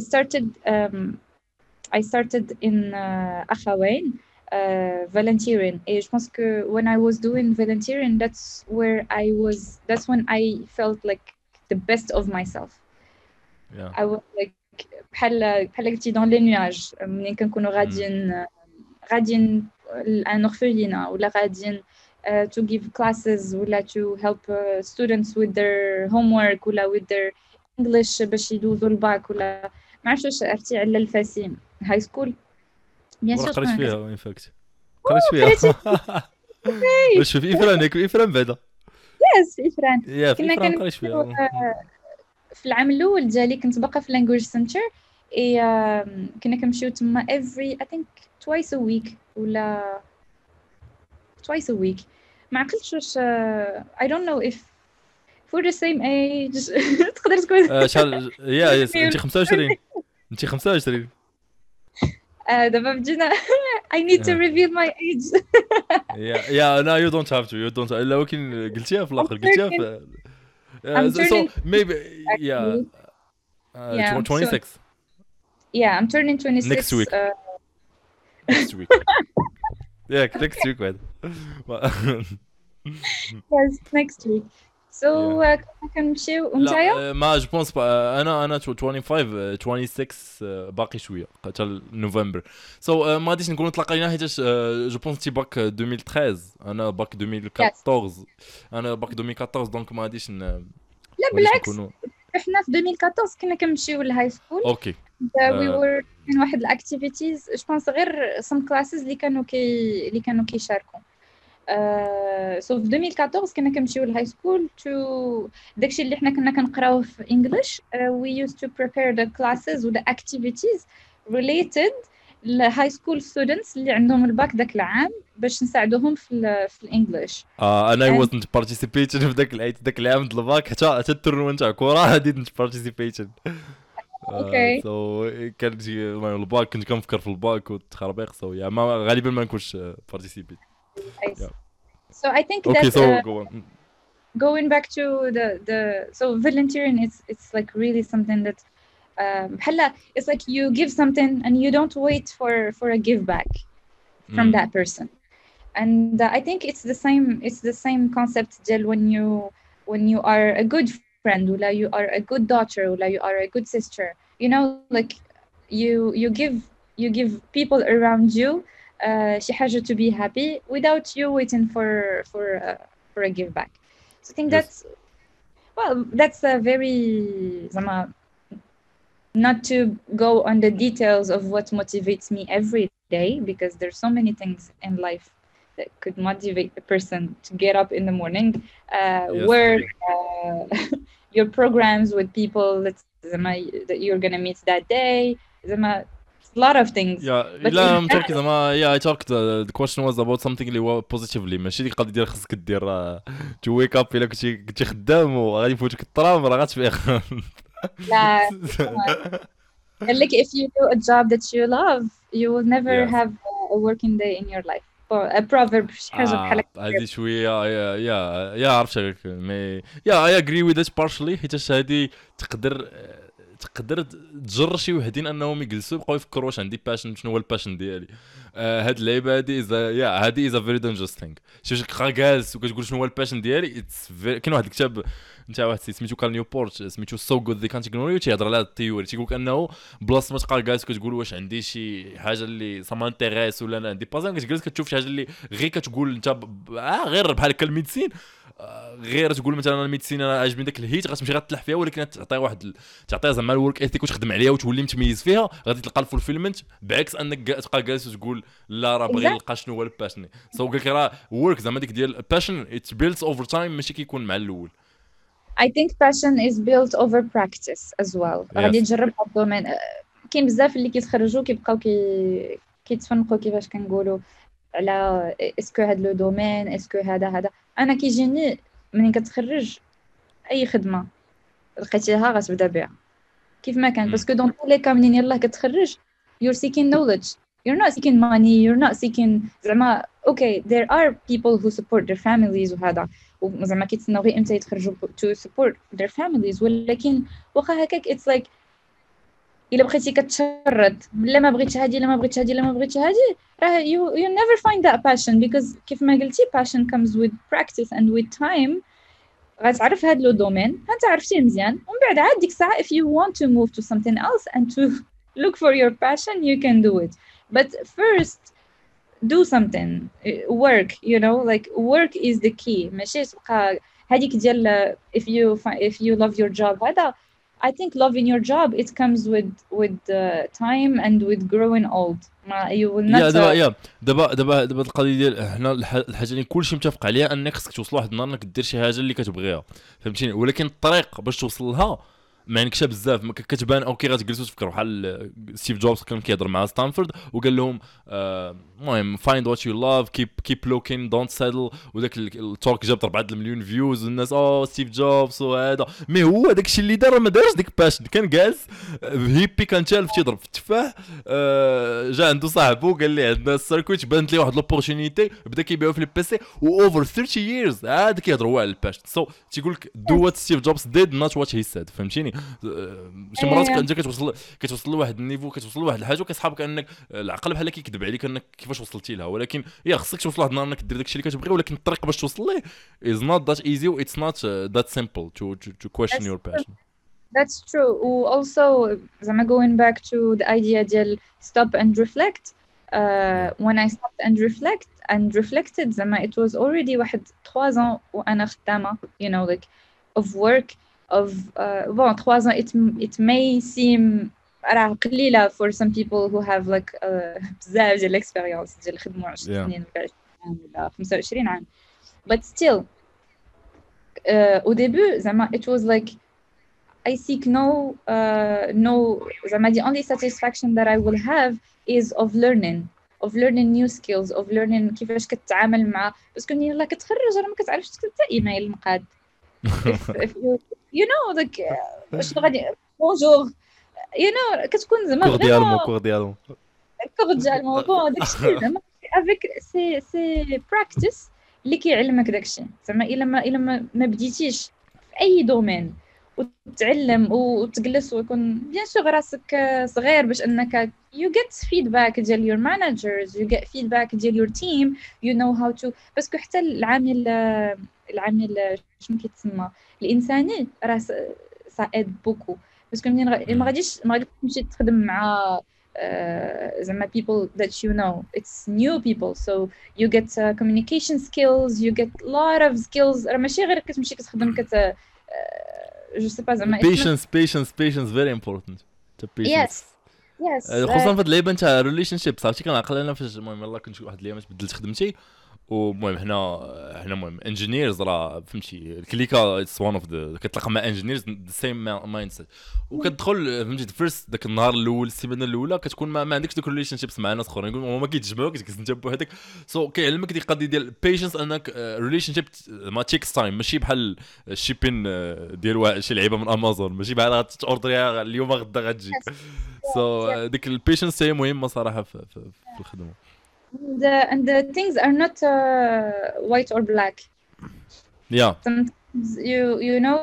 started in أخوين volunteering et je pense que when I was doing volunteering that's when I felt like the best of myself. yeah I was like بحال قلتي dans les nuages ملي كنكونوا غاديين لان orphelinat ولا غاديين to give classes ولا to help students with their homework ولا with their English باش يدوزوا الباك ولا ما عرفتش واش عرفتي على الفاسين هاي سكول بيان ورا سور قريت شكون فيها ان فاكت قريت قريتي فيها واش في افران ياك في افران بعدا ياس في فران يا في كنا افران قريت كنمشيو فيها في العام الاول ديالي كنت باقا في language center اي كنا كنمشيو تما every I think twice a week ولا twice a week ما عقلتش واش I don't know if for the same age تقدر تكون شحال يا انت 25 انت 25 دابا بدينا I need to reveal my age. يا لا you don't have to الا ولكن قلتيها في الاخر قلتيها في I'm so turning maybe yeah yeah 26 yeah I'm turning 26 next week next week yeah next week بعد yes next week so كنمشيو ونتايا لا ما جو بونس انا 25 26 باقي شويه حتى نوفمبر سو ما غاديش نكونوا تلاقينا حيت جو بونس تي باك 2013 انا باك 2014 انا باك 2014 دونك ما غاديش لا بالعكس احنا في 2014 كنا كنمشيو للهاي سكول اوكي we were كاين واحد الاكتيفيتيز جو بونس غير some classes اللي كانوا كيشاركوا سو في 2014 كنا كنمشيو للهاي سكول تو داكشي اللي حنا كنا كنقراوه في انجلش we used to prepare the classes ولا activities related للهاي سكول students اللي عندهم الباك داك العام باش نساعدوهم في الانجلش انا wasn't participating في داك العام د الباك حتى التورنمنت تاع كره didn't participate اوكي سو كان الباك كنت كنفكر في الباك والتخربيق سو يا ما غالبا ما نكونش participate. So I think okay, that so go on. Going back to the so volunteering it's like really something that it's like you give something and you don't wait for a give back from that person and I think it's the same concept when you are a good friend or you are a good daughter or you are a good sister you know like you give people around you شي حاجة to be happy without you waiting for a give back. So I think that's a very not to go on the details of what motivates me every day because there's so many things in life that could motivate a person to get up in the morning, work, your programs with people that you're gonna meet that day. A lot of things. لا I'm talking I talked the question was about something اللي هو positively ماشي ديك القضيه ديال خصك دير to wake up الا كنتي خدام وغادي يفوتك الطرام راه غتفيق لا قال لك if you do a job that you love you will never have a working day in your life or a proverb شي حاجه بحال هذه شويه يا عرفت عليك مي I agree with it partially حيت هذه تقدر تجر شي وحدين انهم يجلسوا يبقاو يفكروا واش عندي باشن شنو هو الباشن ديالي هاد اللعيبه هذه از ا فيري دينجرس ثينك شي كا جالس وكتقول شنو هو الباشن ديالي كاين واحد الكتاب نتاع واحد سميتو كارل نيوبورت سميتو سو جود ذي كانت اغنوري تيهضر على التيوري تيقول لك انه بلاصه ما تبقى جالس كتقول واش عندي شي حاجه اللي سا مانتيريس ولا انا عندي بازان كتجلس كتشوف شي حاجه اللي غير كتقول انت غير بحال هكا الميديسين غير تقول مثلا الميديسين انا عاجبني داك الهيت غتمشي غتلح فيها ولكن تعطيها تعطيها زعما الورك ايثيك وتخدم عليها وتولي متميز فيها غادي تلقى الفولفيلمنت بعكس انك تبقى جالس وتقول لا راه باغي نلقى شنو هو الباشن سو قال لك راه ورك زعما ديك ديال الباشن ات بيلدز اوفر تايم ماشي كيكون مع الاول. I think passion is built over practice as well. غادي تجرب هاد الدومين كاين بزاف اللي كيتخرجوا كيبقاو كيتفنقوا كيفاش كنقولوا على اسكو هاد لو دومين اسكو هذا انا كيجيني منين كتخرج اي خدمه لقيتيها غتبدا بها كيف ما كان باسكو دون لي كا منين يلاه كتخرج you're seeking knowledge, you're not seeking money, you're not seeking زعما okay there are people who support their families وهذا وزعما كيتسناو غير امتى يتخرجوا to support their families ولكن واخا هكاك it's like الا بقيتي كتشرد لا ما بغيتش هادي لا ما بغيتش هادي لا ما بغيتش هادي راه you never find that passion because كيف ما قلتي passion comes with practice and with time غتعرف هاد لو دومين انت عرفتيه مزيان ومن بعد عاد ديك الساعه if you want to move to something else and to look for your passion you can do it but first do something work you know like work is the key ماشي تبقى هذيك ديال if you love your job هذا I think loving your job it comes with time and with growing old you will not دابا القضيه ديال حنا الحاجه اللي كلشي متفق عليها انك خصك توصل واحد النهار انك دير شي حاجه اللي كتبغيها فهمتيني ولكن الطريق باش توصل لها ما عندكش بزاف ما كتبان اوكي غتجلسوا تفكروا بحال ستيف جوبز كان كيهضر مع ستانفورد وقال لهم المهم فايند وات يو لاف كيب لوكين دونت سيتل وداك التوك جاب 4 مليون فيوز والناس ستيف جوبز وهذا مي هو داكشي اللي دار ما دارش ديك باشن كان جالس هيبي كان تالف تيضرب في التفاح جا عنده صاحبو قال لي عندنا السيركويت بانت لي واحد لوبورتونيتي بدا كيبيعو في البيسي واوفر 30 ييرز عاد كيهضروا على الباشن سو تيقول لك دو وات ستيف جوبز ديد نوت وات هي سيد فهمتيني شي مرات انت كتوصل لواحد النيفو كتوصل لواحد الحاجه وكتحسب كانك العقل بحال كيكذب عليك انك كيفاش وصلتي لها ولكن يا خصك توصل لواحد النهار انك دير داكشي اللي كتبغي ولكن الطريق باش توصل ليه is not that easy or it's not that simple to question your passion. That's true. Also زعما going back to the idea ديال stop and reflect when I stopped and reflected زعما it was already واحد 3 ans وانا خدامه you know like of work of 3 ans it may seem راه قليله for some people who have like بزاف ديال الاكسبيرينس ديال الخدمه 10 سنين ولا 20 عام ولا 25 عام but still au début زعما it was like I seek no زعما the only satisfaction that I will have is of learning new skills of learning كيفاش كتعامل مع باسكو ملي يلاه كتخرج راه ما كتعرفش تكتب حتى ايميل مقاد if you know like شنو غادي bonjour you know كتكون زعما كور ديالهم bon داكشي زعما avec c'est practice اللي كيعلمك داكشي زعما الا ما بديتيش في اي دومين وتتعلم وتجلس ويكون بيان سور راسك صغير باش انك you get feedback ديال your managers you get feedback ديال your team you know how to باسكو حتى العامل شنو كيتسمى الانساني راه ساعد بوكو باسكو منين ما غاديش تمشي تخدم مع زعما people that you know it's new people so you get communication skills you get a lot of skills راه ماشي غير كتمشي كتخدم je sais pas زعما patience very important yes خصوصا في هاد اللعيبه نتاع ريليشن شيب صافي كنعقل انا فاش المهم يلاه كنت واحد الايام بدلت خدمتي ومهم حنا المهم انجينيرز راه فهمتي الكليكا اتس وان اوف ذا كتلاقى مع انجينيرز ذا سيم مايند سيت وكتدخل فهمتي فيرست داك النهار الاول السيمانه الاولى كتكون ما عندكش دوك ريليشن شيبس مع ناس اخرين يقولوا ما كيتجمعوك كتجلس انت بوحدك سو كيعلمك ديك القضيه ديال بيشنس انك ريليشن شيب ما تيكس تايم ماشي بحال الشيبين ديال شي لعيبه من امازون ماشي بحال غتوردريها اليوم غدا غتجي سو ديك البيشنس هي مهمه صراحه في الخدمه and the things are not white or black. Yeah. Sometimes you know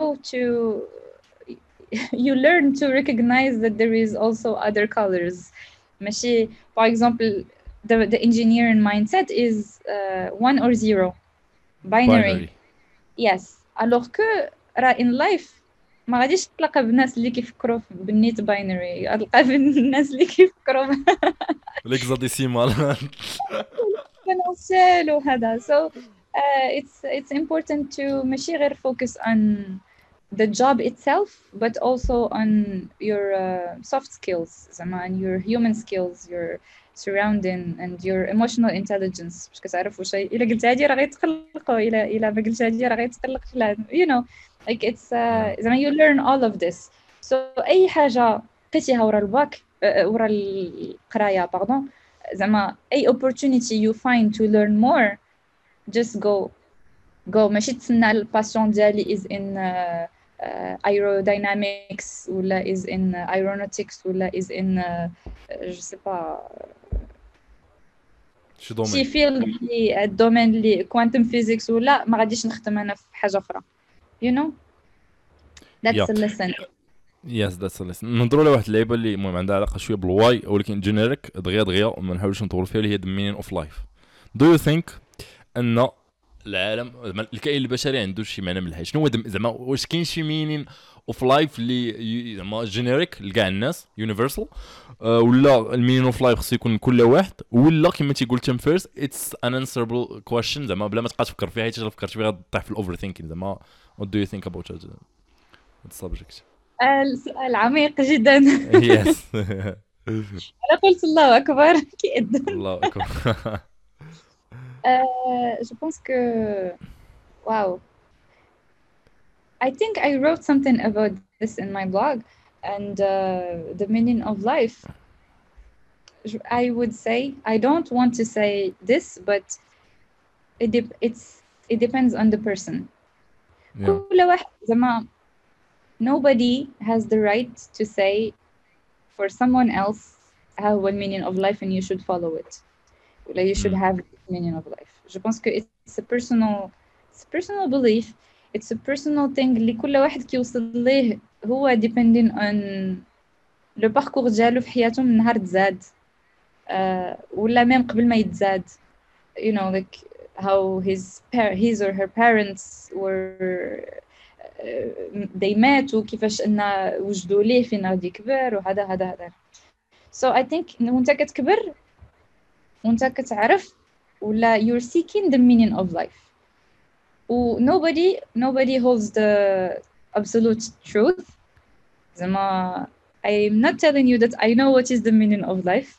you learn to recognize that there is also other colors. ماشي for example the engineering mindset is 1 or 0 binary. Yes. Alors que in life ما غاديش تلقى بالناس اللي كيفكروا بالنيت باينري غتلقى بالناس اللي كيفكروا ليكزاديسيمال كنوصل وهذا so it's important to ماشي غير focus on the job itself but also on your soft skills زعما on your human skills your surrounding and your emotional intelligence باش كتعرف واش الا قلت هادي راه غيتقلقوا الا ما قلت هادي راه غيتقلق فلان you know like it's زعما you learn all of this so اي حاجه لقيتيها ورا الباك ورا القرايه باردون زعما اي opportunity you find to learn more just go ماشي تسنى الباسيون ديالي is in aerodynamics ولا is in aeronautics ولا is in je sais pas شي دومين شي فيلد اللي الدومين اللي كوانتم فيزيكس ولا ما غاديش نخدم انا في حاجه اخرى you know that's a lesson. يس ذاتس ليسن. نهضروا على واحد اللعيبه اللي المهم عندها علاقه شويه بالواي ولكن جينيريك دغيا وما نحاولش نطول فيها، اللي هي the meaning of life. do you think ان العالم الكائن البشري عنده شي معنى من الحياه؟ شنو هو زعما واش كاين شي meaning of life اللي زعما جينيريك لكاع الناس يونيفرسال ولا المينين اوف لايف خصو يكون كل واحد ولا كما تيقول تيم فيرست اتس ان انسربل كويشن زعما بلا ما تبقى تفكر فيها حيت الا فكرت فيها غطيح في الاوفر ثينكينغ زعما what do you think about that subject؟ السؤال عميق جدا. يس انا قلت الله اكبر كيد. الله اكبر. je pense que wow, I think I wrote something about this in my blog and the meaning of life. I would say I don't want to say this, but it depends on the person. كل واحد زعما nobody has the right to say for someone else how the meaning of life and you should follow it. Like you should have the meaning of life. Je pense que it's a personal belief. It's a personal thing اللي كل واحد كيوصل ليه هو depending on le parcours ديالو في حياته من نهار تزاد ولا ميم قبل ما يتزاد. You know, like how his or her parents were they met وكيفاش ان وجدوا ليه فين غادي يكبر وهذا. So I think وانت كتكبر وانت كتعرف ولا you're seeking the meaning of life. Nobody holds the absolute truth. زعما I'm not telling you that I know what is the meaning of life.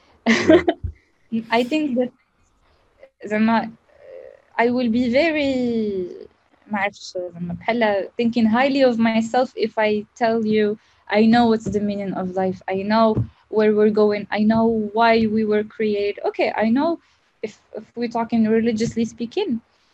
I think that زعما I will be very ما عرفتش زعما بحال thinking highly of myself if I tell you I know what's the meaning of life. I know where we're going. I know why we were created. Okay, I know if we're talking religiously speaking.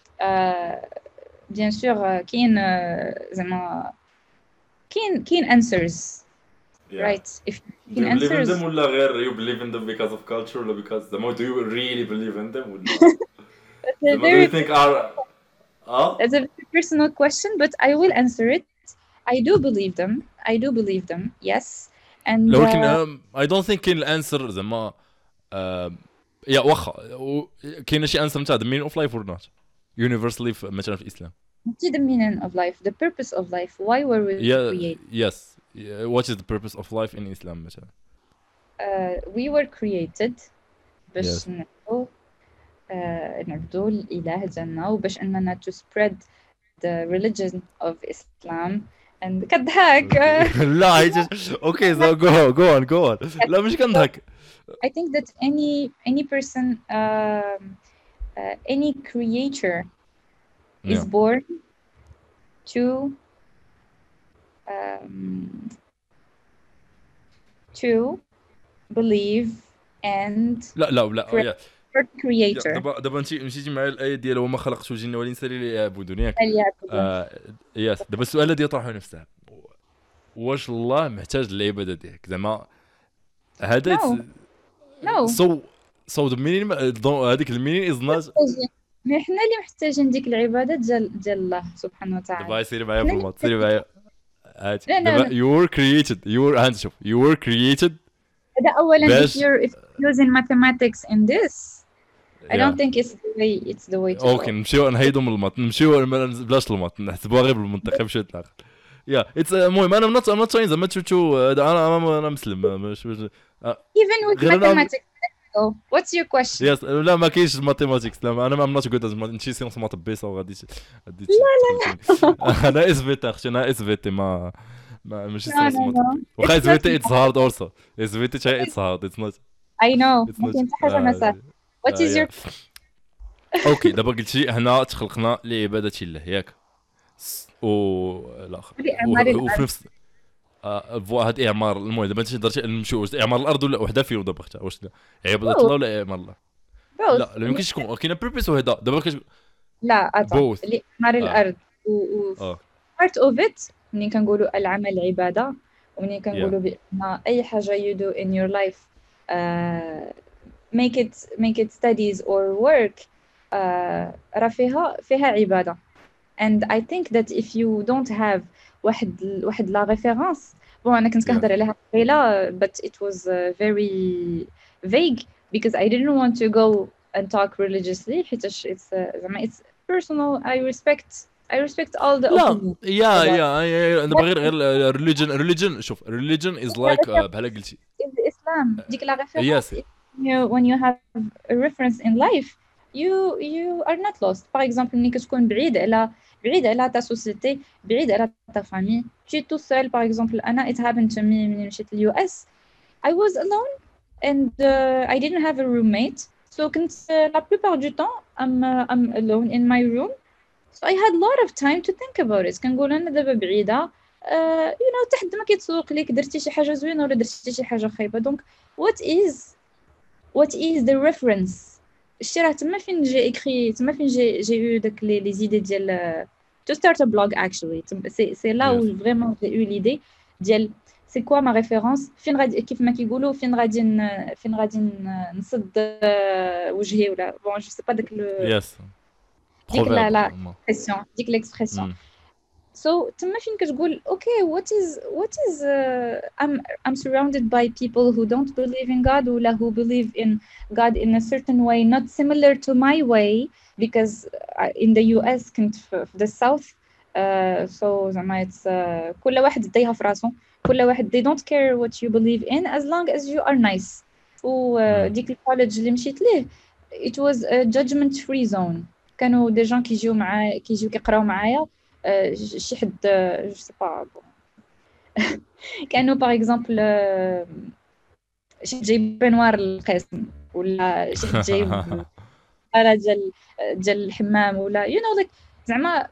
Bien sûr كاين زعما كاين answers. Right. If you believe in them ولا غير you believe in them because of culture ولا because do you really believe in them ولا do you think are That's a very personal question, but I will answer it. I do believe them. Yes. And لكن I don't think كاين الانسر زعما يا واخا كاين شي انسر نتاع the meaning of life or not universally مثلا في الاسلام. What's the meaning of life? The purpose of life. Why were we created? Yes. What is the purpose of life in Islam مثلا? We were created باش نعبدوا الإله ديالنا وباش أننا to spread the religion of Islam and كضحك. لا okay so go on. لا مش كنضحك. I think that any person any creature is born to believe and لا creator. دابا مشيتي مع الايه ديال وما خلقت الجن والانس الا ليعبدون ياك. ياس دابا السؤال الذي يطرح نفسه واش الله محتاج للعباده ديالك زعما هذا no. so the meaning هذيك المينين از نوت مي حنا اللي محتاجين ديك العباده ديال الله سبحانه وتعالى. دابا سيري معايا بالمات سيري معايا دابا you were created هذا اولا if you're using mathematics in this I don't think it's the way to اوكي نمشيو نهيدو من المات نمشيو بلاش المات نحسبوها غير بالمنطق مشيو الاخر يا اتس المهم انا not saying زعما تشوفوا انا مسلم even with mathematics. What's your question? Yes لا ما كاينش ماتيماتيكس لا انا not good at نمشي سيونس مات بيسا وغادي لا انا اس في تي اختي انا اس في تي ما ماشي سيونس مات وخا اس في تي اتس هارد اولسو اس في تي تاع اتس هارد اتس نوت I know ما كاين حتى حاجه ما سهله. What is your اوكي دابا قلتي هنا تخلقنا لعباده الله ياك الاخر وفي نفس هاد اعمار المهم دابا انت درتي نمشيو اعمار الارض ولا وحده فيهم دابا اختها واش عباده الله ولا اعمار الله؟ لا يمكنش تكون كاينه بيربيس وهذا دابا لا اعمار الارض و part of it منين كنقولوا العمل عبادة، ومنين yeah كنقولوا بأن أي حاجة you do in your life uh, make it studies or work راه فيها عبادة. and I think that if you don't have واحد لا référence bon أنا كنت yeah كنهضر عليها قبيلة but it was very vague because I didn't want to go and talk religiously حيتاش it's personal. I respect all the لا opinions about يا انا but بغير غير religion شوف religion is the like reference بحال قلتي is Islam. ديك la yes référence is when you have a reference in life you are not lost. par exemple ملي كتكون بعيد على ta société, بعيد على ta famille, tu es tout seul. par exemple أنا it happened to me ملي مشيت ل US. I was alone and I didn't have a roommate, so كنت la plupart du temps I'm alone in my room. so I had a lot of time to think about it. كنقول أنا دابا بعيدة you know تحد ما كيتسوق ليك درتي شي حاجة زوينة ولا درتي شي حاجة خايبة. donc what is the reference. الشي راه تما فين جي écrit, تما فين j'ai eu داك les idées ديال to start a blog actually. c'est là yes où vraiment j'ai eu l'idée ديال c'est quoi ma référence, فين غادي كيف ما كيقولوا فين غادي نصد وجهي ولا bon je sais pas داك yes ديك لا proverbe expression ديك l'expression. mm. so تما فين كتقول okay what is I'm surrounded by people who don't believe in God ولا who believe in God in a certain way not similar to my way because in the US كنت في the south so زعما it's كل واحد دايها في راسو, كل واحد they don't care what you believe in as long as you are nice. وديك الكوليدج اللي مشيت ليه it was a judgment free zone. كانوا دي جون كيجيو كيقراو معايا شي حد جو سي با كانوا باغ اكزومبل شي جايب بنوار القسم ولا شي حد جايب على ديال الحمام ولا you know like زعما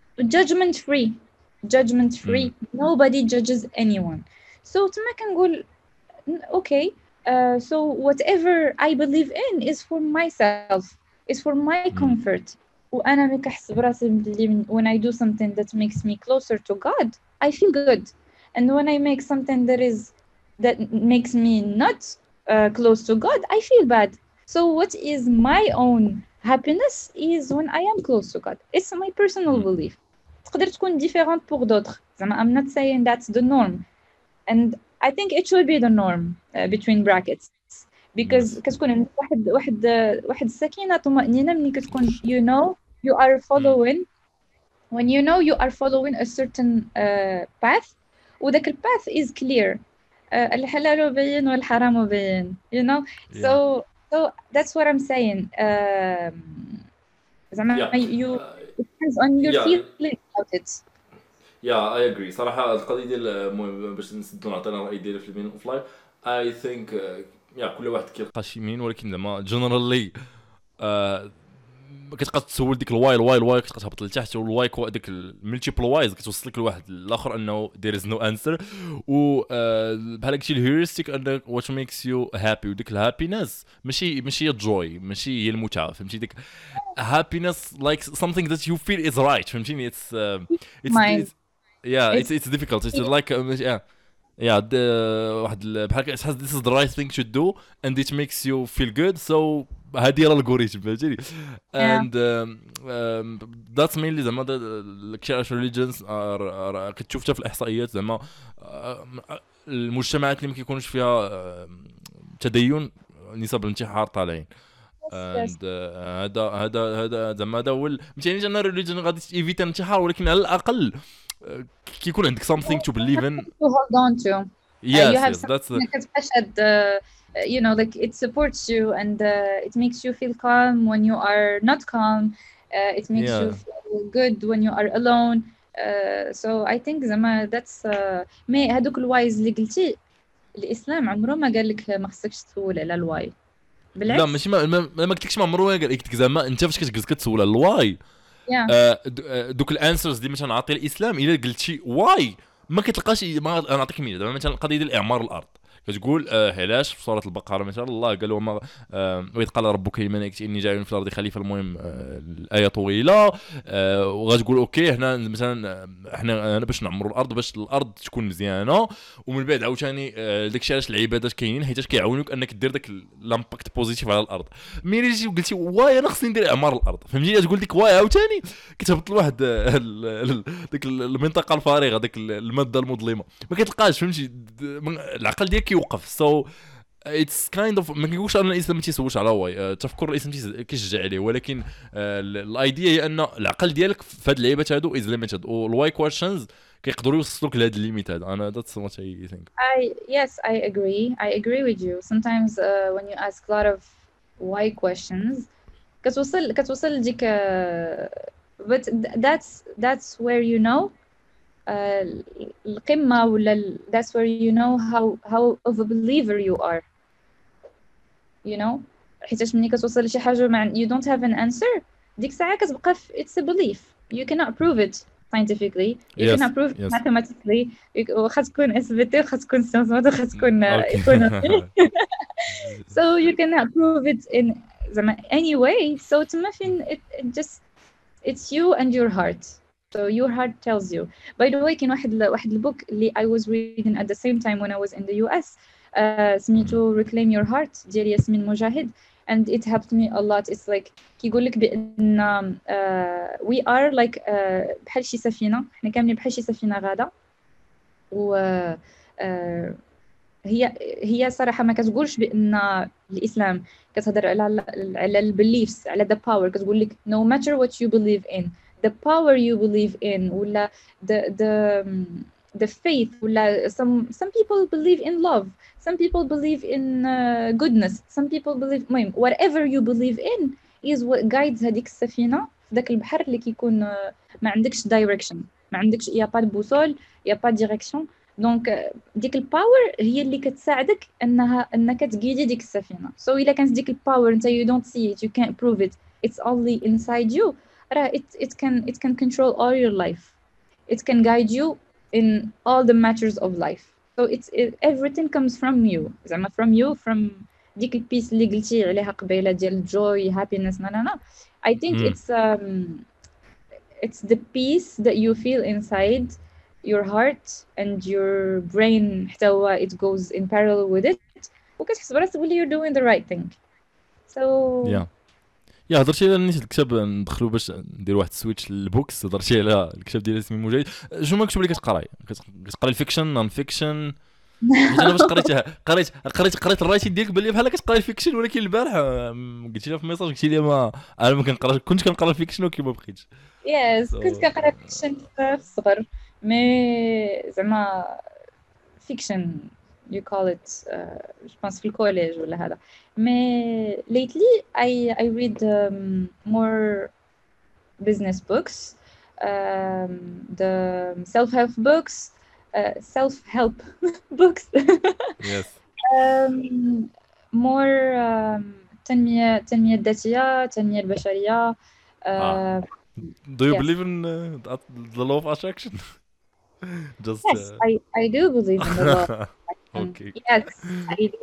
judgment free nobody judges anyone. so تما كنقول okay so whatever I believe in is for myself, is for my comfort. وأنا ملي كنحس براسي بلي when I do something that makes me closer to God I feel good, and when I make something that makes me not close to God I feel bad. so what is my own happiness is when I am close to God. It's my personal belief. تقدر تكون different pour d'autres. I'm not saying that's the norm, and I think it should be the norm between brackets because كتكون واحد السكينة طمأنينة ملي كتكون you know you are following when you know you are following a certain path وداك الpath is clear. الحلال بين والحرام بين, you know. so that's what I'm saying. زعما you it depends on your feeling about it. I agree صراحة. القضية ديال المهم باش نسدو نعطينا الرأي ديالي في المين اوف لايف I think كل واحد كيلقى شي مين, ولكن زعما جنرالي كتبقى تسول ديك الواي كتبقى تهبط لتحت, والواي ديك الملتيبل وايز كتوصلك لواحد الاخر انه there is no answer. و بحال قلتي الهيورستيك ان what makes you happy, وديك الهابينس ماشي هي الجوي, ماشي هي المتعه, فهمتي. ديك happiness like something that you feel is right, فهمتيني. it's it's difficult. it's like واحد بحال كتحس this is the right thing to do and it makes you feel good. so هادي راه الالغوريثم, فهمتيني. and that's mainly زعما the religions كتشوف في الاحصائيات زعما المجتمعات اللي ما كيكونوش فيها تدين نسب الانتحار طالعين. and هذا زعما هذا هو مثلا انا religion غادي ايفيت الانتحار, ولكن على الاقل كيكون عندك something to believe in, to hold on to. yes that's you know like it supports you and it makes you feel calm when you are not calm. it makes you feel good when you are alone. so I think زعما that's مي هذوك الوايز اللي قلتي الاسلام عمره ما قال لك ما خصكش تسول على الواي. بالعكس لا ماشي ما قلتلكش ما عمره ما قال لك زعما انت فاش كتجلس كتسول على الواي دوك الانسرز اللي مثلا عاطي الاسلام الا قلتي واي ما كتلقاش. ما نعطيك مثال دابا مثلا القضيه ديال اعمار الارض كتقول علاش في سوره البقره مثلا الله قال وما واذ قال ربك للملائكه اني جاعل في الارض خليفه. المهم الايه طويله وغتقول اوكي هنا مثلا احنا باش نعمروا الارض باش الارض تكون مزيانه، ومن بعد عاوتاني داكشي علاش العبادات كاينين حيت كيعاونوك انك دير داك لامباكت بوزيتيف على الارض. ملي جيتي وقلتي واي انا خصني ندير اعمار الارض فهمتي تقول ديك واي عاوتاني كتهبط لواحد ديك المنطقه الفارغه ديك الماده المظلمه ما كتلقاش فهمتي العقل ديالك كيوقف. سو اتس كايند اوف ما كنقولش ان الانسان ما تيسولش على واي تفكر الانسان كيشجع عليه، ولكن الايديا هي ان العقل ديالك في هاد اللعيبات هادو از ليميتد والواي كويشنز كيقدروا يوصلوك لهاد الليميت هذا. انا ذاتس وات اي ثينك. I agree with you. Sometimes when you ask a lot of why questions كتوصل لديك but that's where you know القمة ولا that's where you know how of a believer you are, you know. حيتاش ملي كتوصل لشي حاجة you don't have an answer ديك الساعة كتبقى it's a belief. You cannot prove it scientifically, you cannot prove it mathematically, واخا تكون اثبتي واخا تكون سيونس واخا تكون economy so you cannot prove it in any way. So تما فين it just it's you and your heart. So your heart tells you. By the way كاين واحد البوك اللي I was reading at the same time when I was in the US سميتو Reclaim Your Heart ديال ياسمين مجاهد, and it helped me a lot. It's like كيقول لك بان we are like بحال شي سفينة, احنا كاملين بحال شي سفينة غادة, و هي صراحة ما كتقولش بان الإسلام كتهضر على البيليفز على the power. كتقول لك no matter what you believe in, the power you believe in ولا the faith ولا some people believe in love, some people believe in goodness, some people believe whatever you believe in is what guides هذيك السفينة في ذاك البحر اللي كيكون ما عندكش direction, ما عندكش يا با بوصول يا با direction. دونك ديك الباور هي اللي كتساعدك انك تقيدي ديك السفينه. سو الا كانت ديك الباور انت you don't see it, you can't prove it, it's only inside you, راه it can control all your life, it can guide you in all the matters of life. So everything comes from you, زعما from ديك البيس اللي قلتي عليها قبيله ديال joy happiness. no I think it's the peace that you feel inside your heart and your brain حتى هو it goes in parallel with it, وكتحس براسك بلي you're doing the right thing. So يا هضرتي على نيت الكتاب ندخلوا باش ندير واحد السويتش للبوكس. هضرتي على الكتاب ديال ياسمين مجاهد. شنو مكتوب اللي كتقراي الفيكشن نون فيكشن؟ انا باش قريتها قريت الرايتين ديالك باللي بحال كتقراي الفيكشن, ولكن البارح قلتي لي في ميساج قلتي لي ما انا ما كنقراش, كنت كنقرا الفيكشن ولكن ما بقيتش. كنت كنقرا فيكشن في الصغر, مي زعما فيكشن you call it je pense في الكوليج ولا هذا. مي lately I read more business books, the self-help books, yes more تنمية الذاتية, التنمية البشرية. Do you believe in the law of attraction? Just yes, I do believe in the law of attraction. Okay. Yes, I do.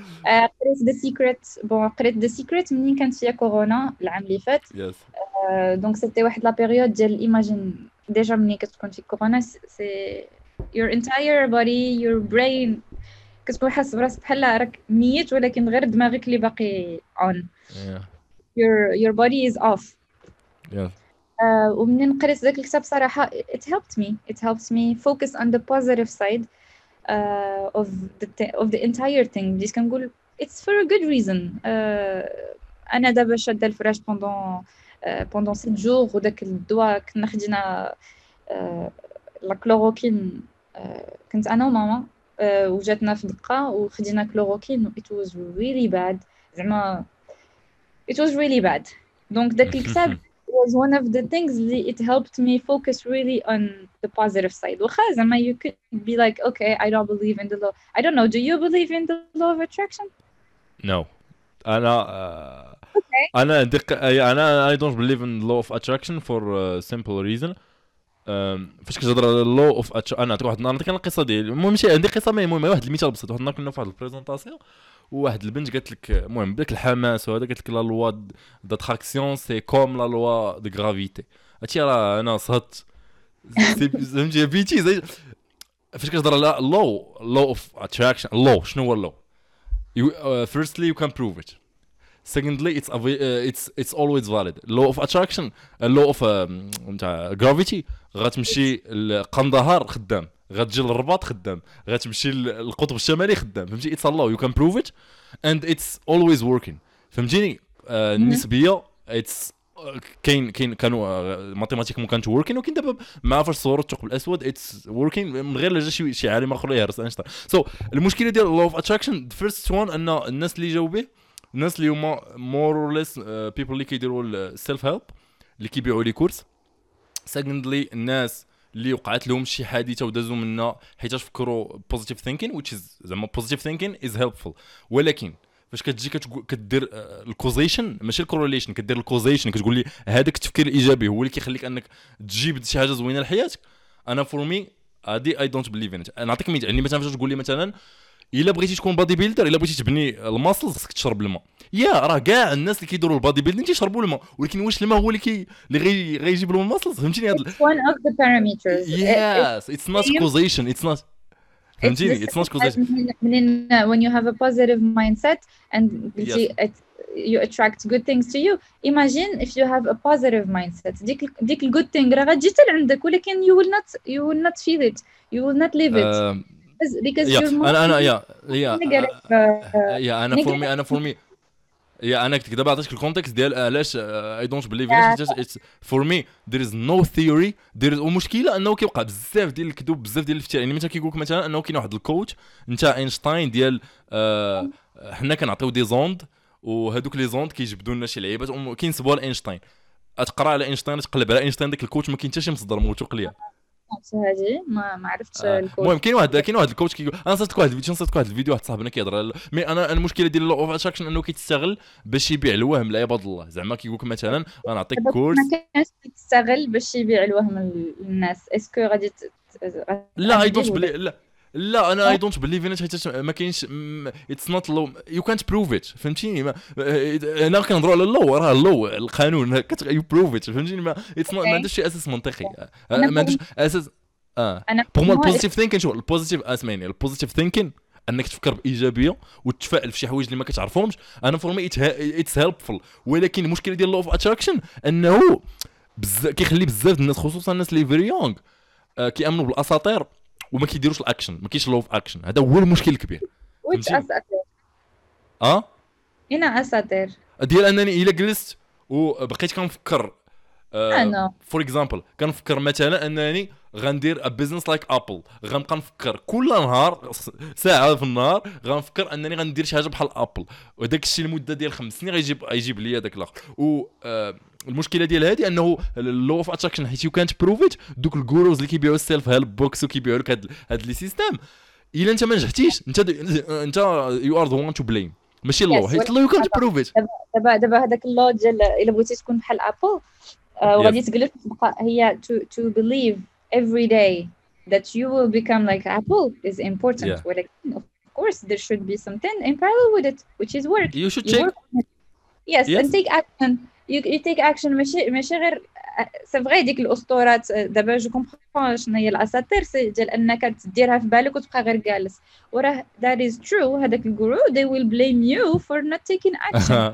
قريت The Secret منين كانت فيها كورونا العام اللي فات. Yes. دونك سيتي واحد لا بيريود ديال ايماجين ديجا منين كتكون في كورونا سي your entire body, your brain كتكون حاسس براسك بحال راك ميت ولكن غير دماغك اللي باقي on. Your body is off. Yeah. ومنين قريت ذاك الكتاب صراحة it helped me focus on the positive side of the entire thing. بديت كنقول it's for a good reason. أنا دابا شادة الفراش pendant 7 jours, وداك الدواء كنا خدينا لا كلوروكين, كنت أنا وماما وجاتنا في دقة وخدينا كلوروكين it was really bad, زعما it was really bad. دونك داك الكتاب was one of the things that it helped me focus really on the positive side. وخا زعما you could be like okay I don't believe in the law. I don't know, do you believe in the law of attraction? No. أنا I don't believe in the law of attraction for a simple reason. فاش كتهضر على اللو اوف انا نعطيك واحد نعطيك القصه ديالي. المهم ماشي عندي قصه، المهم واحد المثال بسيط. واحد النهار كنا في واحد البريزونطاسيون وواحد البنت قالت لك المهم بداك الحماس وهذا، قالت لك لا لوا داتراكسيون سي كوم لا لوا دو غرافيتي. هادشي راه انا صهدت فهمتي بيتي زي فاش كتهضر على لو اوف اتراكشن. لو شنو هو اللو؟ firstly you can prove it. Secondly it's always valid. Law of attraction, law of gravity. غتمشي لقندهار خدام، غتجي للرباط خدام، غتمشي للقطب الشمالي خدام. فهمتي؟ it's a law you can prove it and it's always working. فهمتيني؟ النسبيه it's كانوا ماتيماتيك مو كانت working، ولكن دابا مع فاش صوروا الثقب الاسود it's working من غير لا جا شي عالم اخر يهرس اينشتاين. المشكله ديال law of attraction the first one ان الناس اللي جاوا به الناس اللي هما more or less people اللي كيديروا السيلف هيلب اللي كيبيعوا لي كورس. secondly الناس اللي وقعت لهم شي حادثه ودازوا منها حيت فكروا positive thinking which is زعما positive thinking is helpful. ولكن فاش كتجي كدير الكوزيشن ماشي الكورليشن، كدير الكوزيشن كتقول لي هذاك التفكير الايجابي هو اللي كيخليك انك تجيب شي حاجه زوينه لحياتك. انا فور مي هادي اي دونت بليف ان ات. نعطيك مثال يعني مثلا فاش تقول لي مثلا الا بغيتي تكون بادي بيلدر، الا بغيتي تبني الماسل خصك تشرب الماء. راه كاع الناس اللي كيديروا البادي بيلدينغ تيشربوا الماء، ولكن واش الماء هو اللي غيجيب لهم الماسل؟ فهمتيني؟ هذا one of the parameters. yes it's not causation, it's not فهمتيني؟ it's not causation. when you have a positive mindset and you attract good things to you. Imagine if you have a positive mindset, ديك good thing راه غتجي حتى لعندك، ولكن you will not feel it, you will not live it because you're انا for me انا كنت دابا عطيتك الكونتكست ديال علاش اي دونت بليف ات. فور مي there is no theory there is. ومشكله انه كيوقع بزاف ديال الكذوب بزاف ديال الافتراء. يعني مثلا كيقول لك مثلا انه كاين واحد الكوتش نتا اينشتاين ديال حنا كنعطيو دي زوند وهذوك لي زوند كيجبدوا لنا شي لعيبات وكينسبوها لاينشتاين. تقرا على اينشتاين تقلب على اينشتاين داك الكوتش ما كاين حتى شي مصدر موثوق ليا. هذه ما عرفتش الكود. المهم كاين واحد الكوتش كيقول انا صيفط واحد الفيديو واحد صاحبنا كيهضر مي انا المشكله ديال لو اوف اتراكشن انه كيتستغل باش يبيع الوهم لعباد الله. زعما كيقول لك مثلا غنعطيك كورس ما كانش يستغل باش يبيع الوهم للناس. اسكو غادي لا اي دونت بلي لا انا اي دونت بليف ان حيت ما كاينش اتس نوت لو يو كانت بروف ات. فهمتيني؟ انا كنهضروا على اللو راه اللو القانون يو بروف ات. فهمتيني؟ ما عندوش شي اساس منطقي، ما عندوش اساس. بوغ مو البوزيتيف ثينكين شو البوزيتيف اسمعني البوزيتيف ثينكين انك تفكر بايجابيه وتتفائل في شي حوايج اللي ما كتعرفهمش. انا فور مي اتس هيلبفul. ولكن المشكله ديال لو اوف اتراكشن انه كيخلي بزاف الناس خصوصا الناس اللي فيري يونغ كيامنوا بالاساطير وما كيديروش الاكشن. ما كاينش لو اوف اكشن. هذا هو المشكل الكبير. ويتش اساطير هنا اساطير ديال انني الا جلست وبقيت كنفكر فور اكزامبل كنفكر مثلا انني غندير بيزنس لايك ابل. غنبقى نفكر كل نهار ساعه في النهار غنفكر انني غندير شي حاجه بحال ابل، وداك الشيء لمده ديال 5 سنين غيجيب لي داك الاخر. المشكله ديال هذه انه اللو اوف اتراكشن حيت يو كانت بروف ات. دوك الجوروز اللي كيبيعوا السيلف هيلب بوكس وكيبيعوا لك هاد لي سيستيم الا انت ما نجحتيش انت يو ار ذا وان تو بليم ماشي اللو حيت اللو يو كانت بروف ات. دابا هذاك اللو ديال الا بغيتي تكون بحال ابل وغادي تجلس تبقى هي to believe every day that you will become like Apple is important. Of course there should be something in parallel with it which is work. You should check. Yes, and take action. You take action. ماشي غير سي فغي ديك الاسطورات. دابا جو كومبرون شنو هي الاساطير ديال انك تديرها في بالك وتبقى غير جالس وراه that is true. هذاك الجرو they will blame you for not taking action.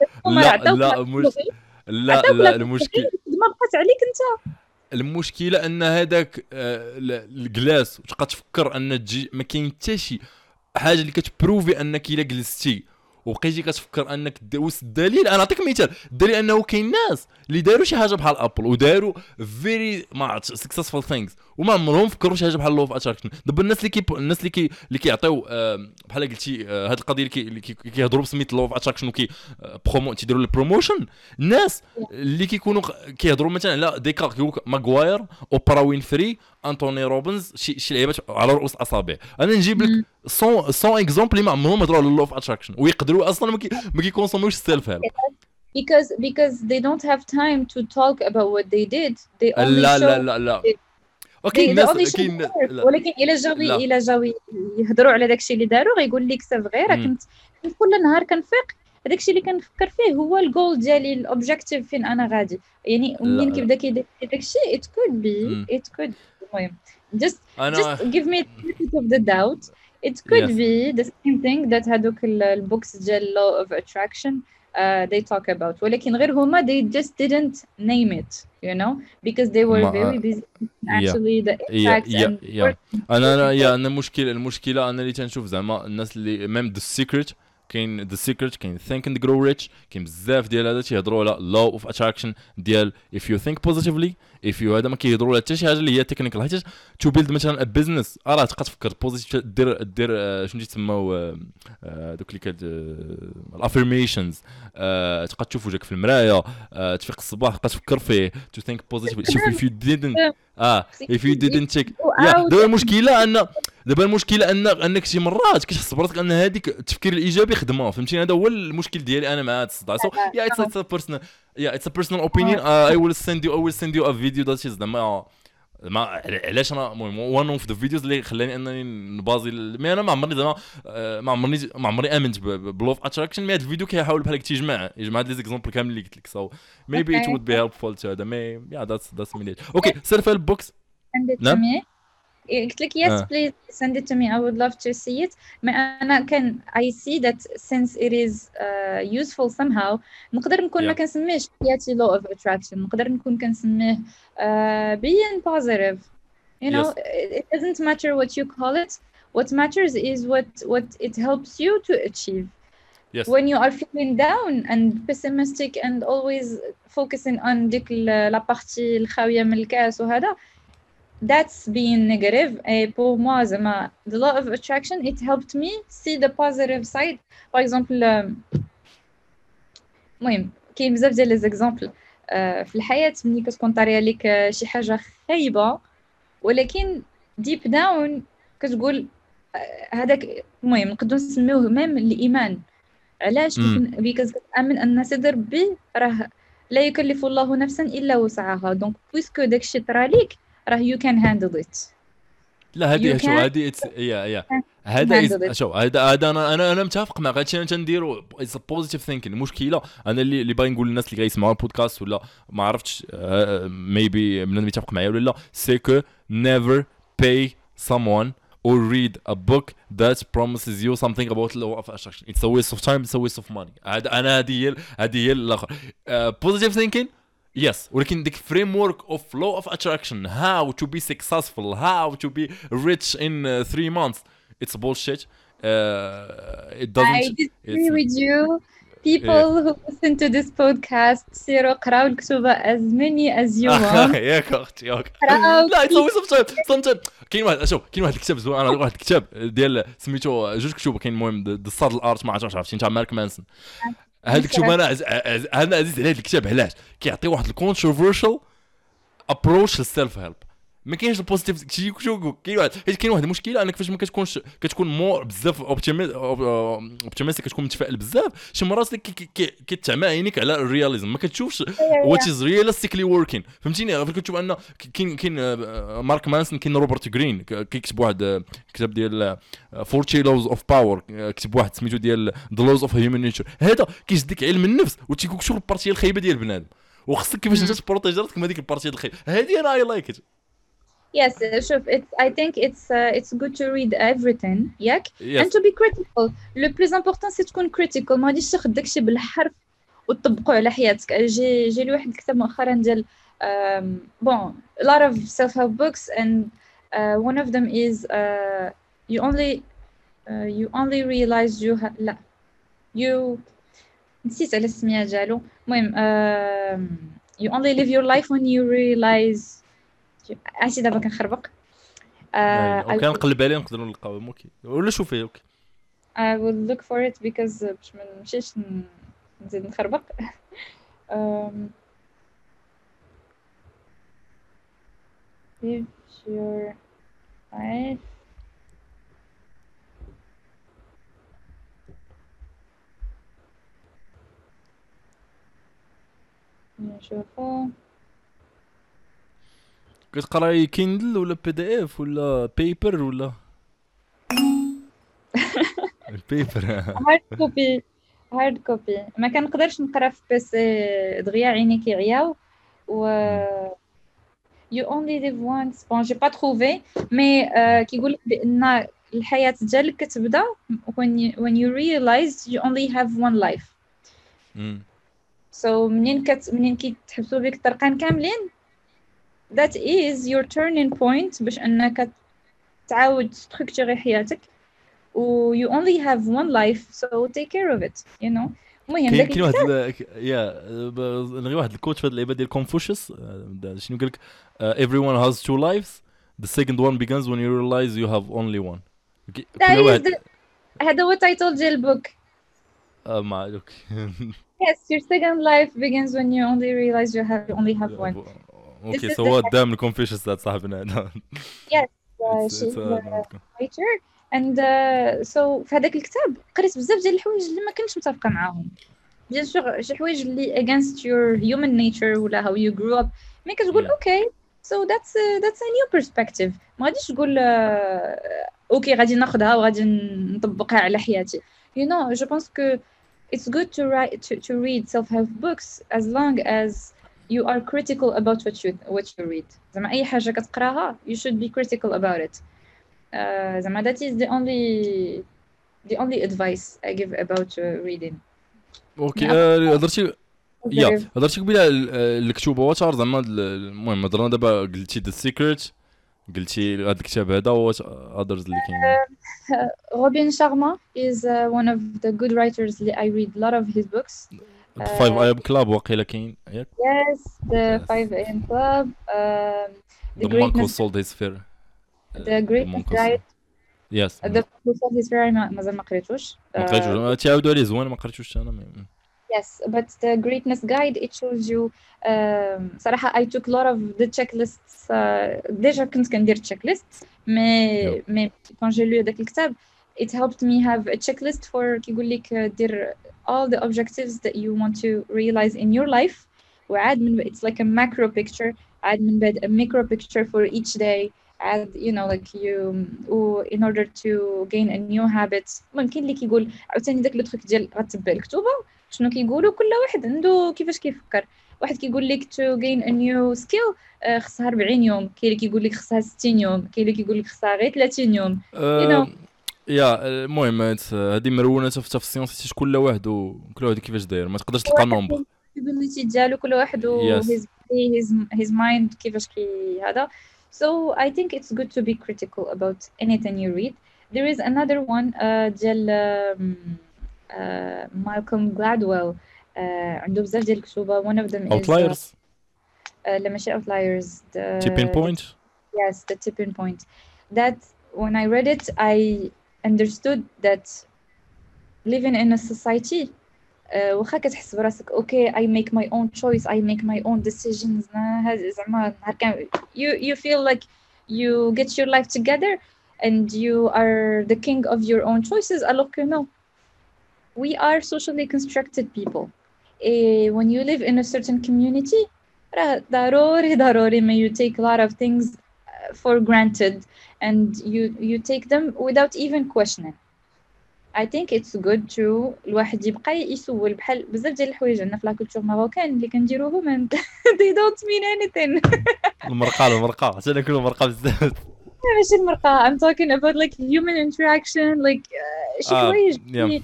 لا المشكل ما بقات عليك انت. المشكله ان هذاك الجلاس وتبقى تفكر ان تجي ما كاين حتى شي حاجه اللي كتبروفي انك الا جلستي وبقيتي كتفكر انك دوز الدليل. انا نعطيك مثال. الدليل انه كاين ناس اللي داروا شي حاجه بحال ابل وداروا فيري سكسسفul ثينكس وما عمرهم فكروا شي حاجه بحال لو اوف اتراكشن. دابا الناس اللي كيعطيو بحال قلتي هاد القضيه اللي كيهضروا بسميت لو اوف اتراكشن وكي تيديروا البروموشن. الناس اللي كيكونوا كيهضروا مثلا على ديكارت كيقول ماغواير اوبرا وينفري انتوني روبنز شي لعيبات على رؤوس الاصابع. انا نجيب لك 100 اكزامبل اللي ما عمرهم هضروا على لو اوف اتراكشن ويقدروا اصلا ما كيكونسوموش السيلف هيلب. because they don't have time to talk about what they did. They only لا show لا لا لا it. اوكي they الناس only show كاين the work. لا ولكن لا الا جاو يهضروا على داكشي اللي داروا غيقول لك سي فغي. راه مم. كنت كل نهار كنفيق داكشي اللي كنفكر فيه هو الجول ديالي، الاوبجيكتيف فين انا غادي. يعني لا منين لا كيبدا كيدير داكشي it could be مم. it could be. المهم just انا just give me the benefit of the doubt. It could يس be the same thing that هادوك البوكس ديال law of attraction they talk about. ولكن غير هما they just didn't name it, you know, because they were very ما busy يا actually the يا impacts يا and يا working انا people. يا انا المشكله انا اللي تنشوف زعما الناس اللي ميم ذا سيكريت، كاين ذا سيكريت، كاين ثينك اند جرو ريتش، كاين بزاف ديال هذا تيهضروا على لو اوف اتراكشن ديال if you think positively if you هذا ما كيهضروا على حتى شي حاجه اللي هي تكنيكال. حيت تو بيلد مثلا بزنس راه تبقى تفكر بوزيتيف، دير شنو تيسموا دوك اللي كاد الافيرميشنز، تبقى تشوف وجهك في المرايه، تفيق الصباح تبقى تفكر فيه to think positively. شوف if you didn't if you didn't check go يا out. دابا المشكله انك شي مرات كتحس براسك ان هذيك التفكير الايجابي خدمه، فهمتيني؟ هذا هو المشكل ديالي انا مع هذا الصداع. سو يا اتس بيرسونال، يا اتس بيرسونال اوبينيون. اي ويل سند يو ا فيديو ذات از زعما ما علاش انا المهم وان اوف ذا فيديوز اللي خلاني انني نبازي مي انا ما عمرني زعما ما عمري امنت بلوف اتراكشن. مي هذا الفيديو كيحاول بحال هكا يجمع هاد لي زيكزامبل كامل اللي قلت لك. سو ميبي ات Okay, وود بي هيلبفول تو هذا. مي يا ذاتس مي اوكي سيلف هيلب بوكس. send it to نعم me. قلت لك yes اه please send it to me, I would love to see it. ما أنا كان I see that since it is useful somehow نقدر نكون ما يا كنسميهش حياتي law of attraction، نقدر نكون كنسميه being positive. You know, يس it doesn't matter what you call it. What matters is what it helps you to achieve. يس When you are feeling down and pessimistic and always focusing on ديك la partie الخاوية من الكاس وهذا, that's being negative. Pour moi, the law of attraction, it helped me see the positive side. Par exemple, المهم كاين بزاف ديال لي زيكزامبل في الحياة ملي كتكون طاريه لك شي حاجة خايبة ولكن deep down كتقول هذاك. المهم نقدروا نسميوه ميم الإيمان. علاش؟ because كتآمن أن سيدي ربي راه لا يكلف الله نفسا إلا وسعها. دونك بويسكو داكشي طرا ليك راه you can handle it. لا You هذه شو can هذه يا هذا handle it. شو هذا انا متفق معك. هادشي انا تنديرو اتس بوزيتيف ثينكين. المشكله انا اللي باغي نقول للناس اللي غيسمعوا البودكاست ولا ما عرفتش ميبي من يتفق معايا ولا لا، سي كو never pay someone or read a book that promises you something about law of attraction. It's a waste of time, it's a waste of money. انا هذه هي الاخر positive thinking. Yes, ولكن ديك framework of law of attraction, how to be successful, how to be rich in 3 months, it's bullshit. It I doesn't. disagree It's with you. yeah. People who listen to this podcast, سيروا قراو الكتوبة as many as you want. ياك اختي ياك. قراو لا it's always sometimes كاين واحد شوف كاين واحد الكتاب زوين. انا واحد الكتاب ديال سميتو جوج كتب. كاين المهم ذا سادل ارت، ما عرفتش تاع مارك مانسون. هذا الكتاب انا انا عزيز على هذا الكتاب. علاش؟ كيعطي واحد الكونتروفيرشال ابروش للسيلف هيلب. ما كاينش البوزيتيف شي شو. كاين واحد حيت كاين واحد المشكله انك فاش ما كتكونش كتكون مور بزاف اوبتيميستيك، كتكون متفائل بزاف، شي مرات كتعمى عينيك على الرياليزم، ما كتشوفش وات از رياليستيكلي وركين. فهمتيني؟ كتشوف ان كاين مارك مانسون، كاين روبرت جرين كيكتب واحد كتاب ديال 40 لوز اوف باور، كتب واحد سميتو ديال ذا لوز اوف هيومن نيتشر. هذا كيشدك علم النفس وتيقول شو البارتيه الخايبه ديال بنادم وخصك كيفاش انت تبروتيجي راسك من هذيك البارتيه الخايبه. هذه انا اي لايك ات. Yes, شوف I think it's good to read everything ياك and يس to be critical. Le plus important c'est تكون critical. ما غاديش تاخذ داكشي بالحرف وتطبقه على حياتك. جي لي واحد الكتاب مؤخرا ديال bon a lot of self-help books and one of them is you only realize لا you نسيت على السميه ديالو. المهم you only live your life when you realize. عرفتي دابا كنخربق. اوكي نقلب عليه نقدروا نلقاو. اوكي ولا شوفيه. اوكي I will look for it because باش ما نمشيش نزيد نخربق. Live your life نشوفو كتقراي كيندل ولا بي دي اف ولا بيبر ولا البيبر؟ هارد كوبي ما كنقدرش نقرا في بيسي دغيا عيني كيعياو و you only live once bon j'ai pas trouvé mais كيقول بان الحياة ديالك كتبدا when you realize you only have one life so منين كيتحبسوا بك الطرقان كاملين that is your turning point باش انك تعاود تستركتوري حياتك و you only have one life so take care of it you know. المهم داك كاين واحد نغي واحد الكوتش في هاد اللعبه ديال كونفوشيوس شنو قال لك everyone has two lives the second one begins when you realize you have only one. كل واحد هذا هو تايتل ديال البوك. ما اوكي. Yes, your second life begins when you only realize you only have one. Okay, so what damn Confucius that صاحبنا هذا. Yes, she's a writer and so في هذاك الكتاب قريت بزاف ديال الحوايج اللي ما كنتش متفقه معاهم. بيان سور شي حوايج اللي against your human nature ولا how you grew up مي كتقول okay so that's a new perspective. ما غاديش تقول اوكي غادي ناخذها وغادي نطبقها على حياتي. You know, je pense que it's good to read self-help books as long as you are critical about what you read. زعما اي حاجه كتقراها you should be critical about it. زعما that is the only advice I give about reading. اوكي هضرتي قبيله الكتوبه واتر زعما المهم هضرنا دابا قلتي ذا سيكريت قلتي هذا الكتاب هذا واش اذرز اللي كاين. روبين شارما is one of the good writers اللي I read a lot of his books. 5 AM Club واقيلا كاين ياك. Yes, the 5 AM Club. The Monk Who Sold His Fear. The Greatness Guide. Yes. The Monk Who Sold His Fear مازال ما قريتوش. تعاودوا عليه زوين ما قريتوش انا. Yes, but the Greatness Guide it shows you صراحة I took a lot of the checklists. déjà كنت كندير checklists mais quand j'ai lu هذاك الكتاب it helped me have a checklist for كيقول لك دير all the objectives that you want to realize in your life وعاد من it's like a macro picture عاد من بعد a micro picture for each day عاد you know like you in order to gain a new habit. ممكن اللي كيقول عاوتاني داك لو تروك ديال غتبع الكتوبه شنو كيقولوا كل واحد عنده كيفاش كيفكر. واحد كيقول لك to gain a new skill خصها 40 يوم كاين اللي كيقول لك خصها 60 يوم كاين اللي كيقول لك خصها غير 30 يوم you know. يا المهم هذه مرونه في السيونس كل واحد وكل واحد كيفاش داير ما تقدرش تلقى نومبر الابيليتي ديالو كل واحد و his mind كيفاش هذا. So I think it's good to be critical about anything you read. There is another one ديال Malcolm Gladwell عنده بزاف ديال الكتوبة. one of them Outliers. لا ماشي Outliers. Tipping Point. Yes, the Tipping Point. That when I read it I understood that living in a society واخا كتحس براسك okay I make my own choice I make my own decisions زعما you feel like you get your life together and you are the king of your own choices alors que no, we are socially constructed people. When you live in a certain community ضروري ما you take a lot of things for granted and you take them without even questioning. I think it's good to الواحد يبقى يسول بحال بزاف ديال الحوايج عندنا في لا كولتور ماروكان اللي كنديروهم they don't mean anything. المرقه حتى ناكلوا مرقه بزاف. ماشي المرقه I'm talking about like human interaction like شي حوايج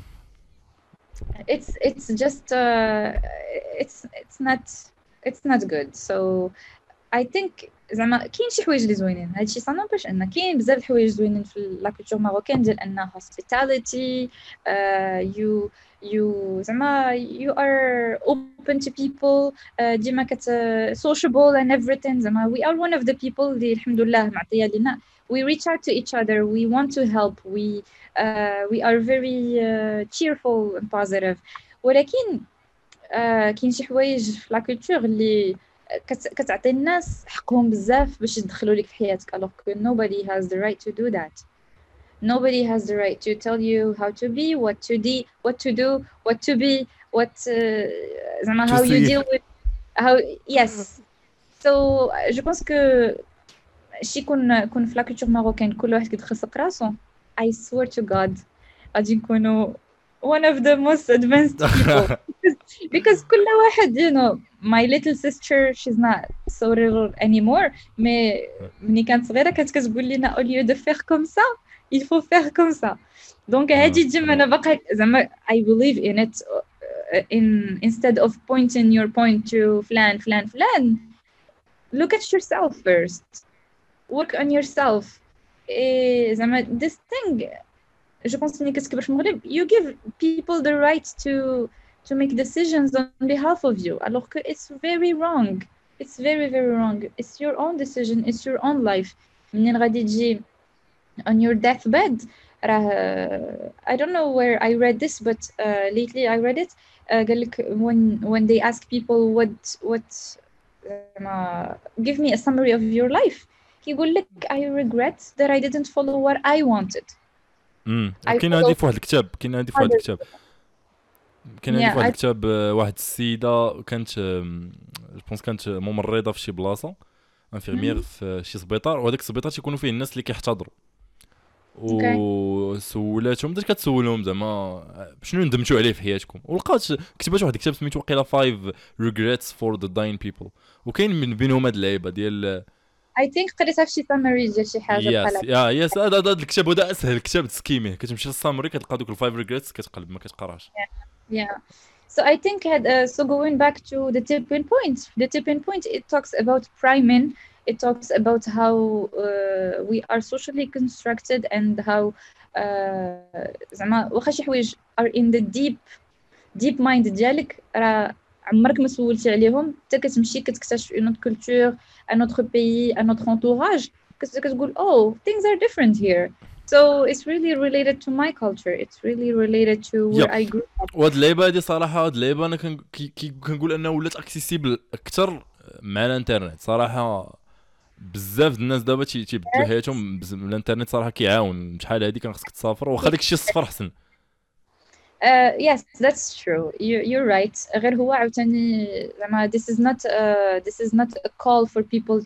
it's just it's not good. So I think زعما كاين شي حوايج اللي زوينين هادشي صانو باش ان كاين بزاف الحوايج زوينين في لا كولتور ماروكان ديال ان hospitality you زعما you are open to people ديما sociable and everything زعما we are one of the people اللي الحمد لله معطيه لينا we reach out to each other we want to help we are very cheerful and positive. ولكن كاين شي حوايج في لا كولتور اللي كتعطي الناس حقهم بزاف باش يدخلوا لك في حياتك alors que nobody has the right to do that. Nobody has the right to tell you how to be, what to do, what to be, what زعما how you deal with how yes. So je pense que شي كون في لا كولتور ماروكان كل واحد كيدخل راسو. I swear to God غادي نكونوا one of the most advanced people because كل واحد you know my little sister she's not so little anymore mais ملي كانت صغيرة كانت كتقول لنا au lieu de faire comme ça il faut faire comme ça donc هادي ديما أنا باقا زعما I believe in it instead of pointing your point to فلان look at yourself first work on yourself زعما this thing je pense ملي كتكبر في المغرب you give people the right to make decisions on behalf of you alors que it's very wrong it's very wrong it's your own decision it's your own life منين غادي تجي on your deathbed I don't know where I read this but lately I read it قال لك when they ask people what give me a summary of your life يقول لك I regret that I didn't follow what I wanted. كاين هذه في واحد الكتاب كاين هذه في واحد الكتاب واحد السيده كانت جوبونس كانت ممرضه في شي بلاصه انفيرميير في شي سبيطار وهذاك السبيطار تيكونوا فيه الناس اللي كيحتضروا وسولاتهم بدات كتسولهم زعما شنو ندمتوا عليه في حياتكم ولقات كتبات واحد الكتاب سميتو وقيلا 5 regrets for the dying people وكاين من بينهم هاد اللعيبه ديال I think قريتها في شي سامري ديال شي حاجه بحال يس هذا الكتاب هذا اسهل كتاب تسكيميه كتمشي للسامري كتلقى دوك ال5 regrets كتقلب ما كتقراش so I think so going back to the tipping point it talks about priming it talks about how we are socially constructed and how زعما واخا شي حوايج are in the deep mind ديالك راه عمرك ما سولتي عليهم حتى كتمشي كتكتشف une autre culture un autre pays un autre entourage كتقول oh things are different here so it's really related to my culture it's really related to where I grew up وهاد اللعيبه هادي صراحه هاد اللعيبه انا كنقول انها ولات اكسيسيبل اكثر مع الانترنت صراحه بزاف الناس دابا تيبدلوا حياتهم الانترنت صراحه كيعاون شحال هادي كان خصك تسافر واخا داكشي الصفر احسن yes that's true you're right غير هو عاوتاني زعما this is not a call for people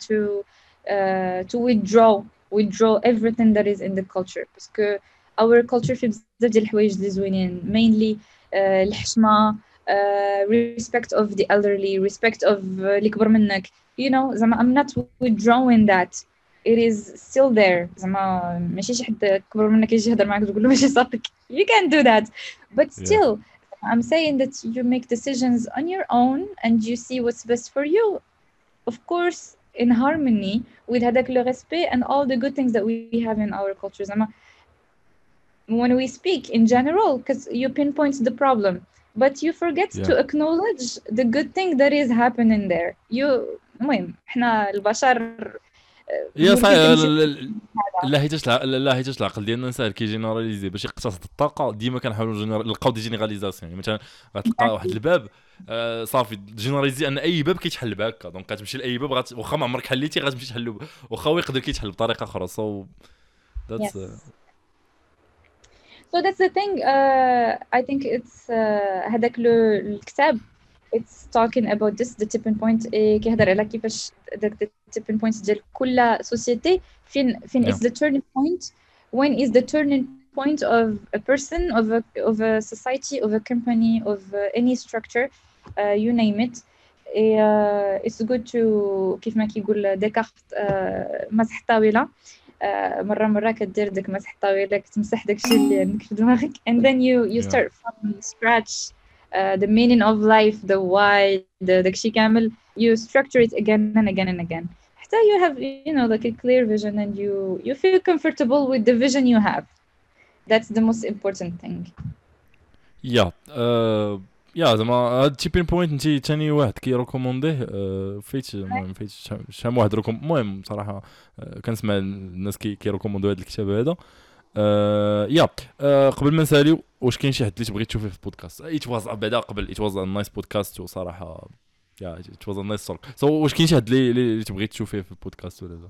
to withdraw everything that is in the culture because our culture فيه بزاف ديال الحوايج اللي زوينين mainly الحشمه respect of the elderly respect of اللي كبر منك you know زعما I'm not withdrawing that it is still there زعما ماشي شي حد كبر منك يجي يهضر معاك تقول له ماشي صافيك you can't do that but still I'm saying that you make decisions on your own and you see what's best for you of course in harmony with هذاك le respect and all the good things that we have in our culture زعما when we speak in general because you pinpoint the problem but you forget to acknowledge the good thing that is happening there المهم احنا البشر يا صحيح لا حيتاش العقل ديالنا ساهل كيجينيراليزي باش يقتصد الطاقه ديما كنحاولوا نلقاو دي جينيراليزاسيون يعني مثلا غتلقى واحد الباب صافي جينيراليزي ان اي باب كيتحل بهكا دونك غتمشي لاي باب واخا ما عمرك حليتي غتمشي تحلو واخا هو يقدر كيتحل بطريقه اخرى سو that's so that's the thing I think it's هذاك الكتاب it's talking about this the tipping point كيهضر على كيفاش the tipping point ديال كل society فين is the turning point when is the turning point of a person of a society of a company of any structure you name it it's good to كيف ما كيقول ديكارت مسح الطاوله مره كدير داك مسح الطاوله كتمسح داكشي اللي عندك في دماغك and then you start from scratch the meaning of life the why داكشي كامل you structure it again and again and again حتى you have you know like a clear vision and you feel comfortable with the vision you have that's the most important thing يا زعما هاد تيبين بوينت انت ثاني واحد كيريكومونديه فايت شحال واحد المهم صراحه كنسمع الناس كيريكوموندو هذا الكتاب هذا قبل ما نساليو واش كاين شي حد اللي تبغي تشوفيه في البودكاست ايتواز بعدا قبل ايتواز نايس بودكاست وصراحه ايتواز نايس توك سو واش كاين شي حد اللي تبغي تشوفيه في البودكاست ولا لا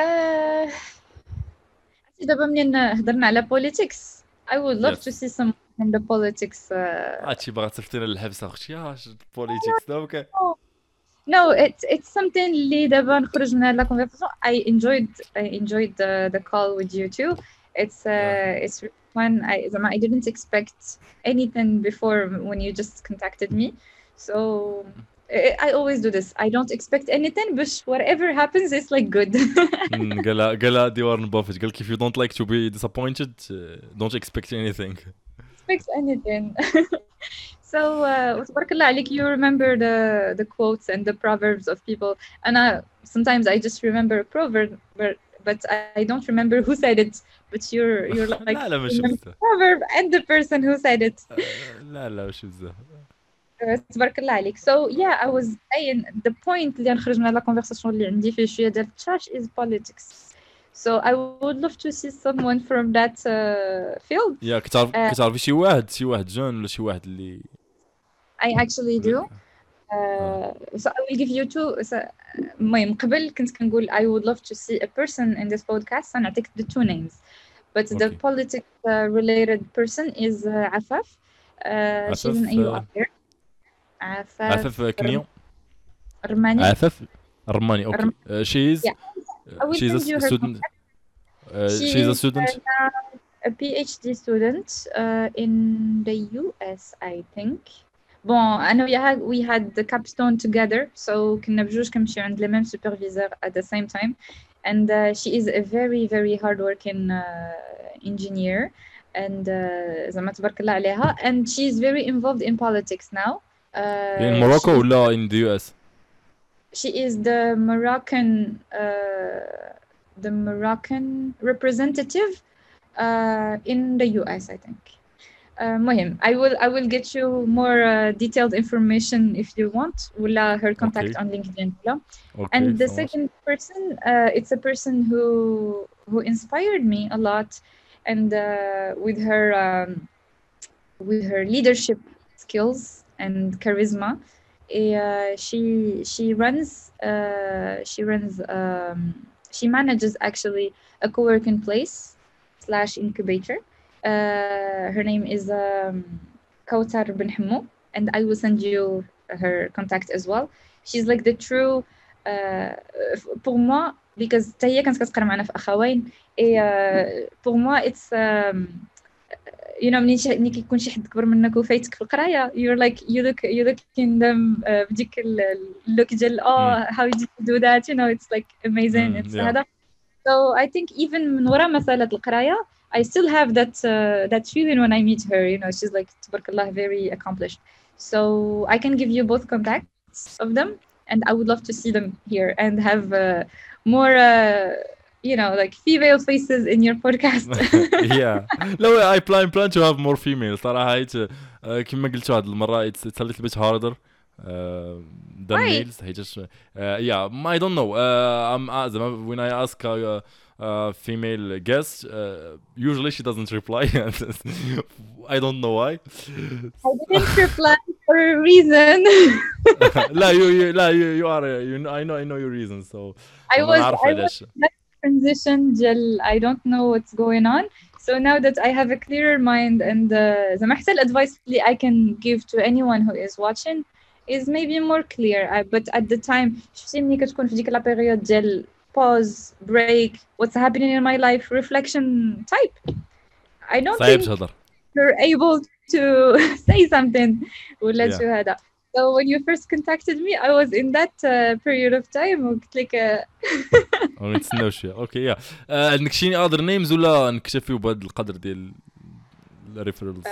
دابا منين هضرنا على politics I would love to see some and the politics. هادشي باغا تفتينا للحبس اختي بوليتيكس اوكي No, it's something اللي دابا نخرج من هاد la conversation. I enjoyed the call with you too. It's really fun. I didn't expect anything before when you just contacted me. So I always do this. I don't expect anything, but whatever happens, it's like good. قالها دي وارن بافيت قال if you don't like to be disappointed don't expect anything Expect anything. So تبارك الله عليك, you remember the quotes and the proverbs of people. And sometimes I just remember a proverb, but I don't remember who said it. But you're like لا ماشي بزاف proverb and the person who said it. لا ماشي بزاف تبارك الله عليك. So yeah, I was saying the point اللي نخرج من هذا conversation اللي عندي فيه شوية ديال trash is politics. So I would love to see someone from that field. يا كتعرفي شي واحد جون ولا شي واحد اللي I actually do. So I will give you two. المهم قبل كنت كنقول I would love to see a person in this podcast and I take the two names. But the politics related person is Afaf. She's an AU up there. عفاف كنيو رماني. عفاف رماني okay she's a student she's a student a PhD student in the US I think. Bon, أنا وياها we had the capstone together, so كنا بجوج كنمشيو عند le même superviseur at the same time, and she is a very very hardworking engineer, and زعما تبارك الله عليها, and she is very involved in politics now. in Morocco ولا in the US? She is the Moroccan representative in the US I think. مهم I will get you more detailed information if you want ولا her contact on LinkedIn. And the second person it's a person who inspired me a lot, and with her leadership skills and charisma. She manages actually a co-working place / incubator. Her name is Kautar Ben Hammo, and I will send you her contact as well. She's like the true pour moi, because هي كانت كتقرا معنا في أخوين. pour moi it's you know ملي كيكون شي حد كبر منك وفايتك في القرايه, you look in them بديك اللوك ديال how did you do that, you know, it's like amazing. It's هذا. So I think even من ورا مسألة القرايه I still have that feeling when I meet her, you know, she's like tabarakallah very accomplished. So I can give you both contacts of them, and I would love to see them here and have more you know, like female faces in your podcast. Yeah. No, I plan to have more females. صراحة كما قلت واحد المرة it's a little bit harder than males. Yeah, I don't know. When I ask female guest, usually she doesn't reply. I don't know why. I didn't reply for a reason. you are I know your reasons, so I was that transition gel. I don't know what's going on. So now that I have a clearer mind, and the محسن advice I can give to anyone who is watching is maybe more clear. But at the time شفتي ملي كتكون في ديك لا بيريود ديال pause, break, what's happening in my life, reflection type. I don't think you're able to say something ولا to هذا. So when you first contacted me, I was in that period of time وقلت لك نتسناوش. اوكي عندك شي other names ولا نكتفيو بهذا القدر ديال الريفرالز؟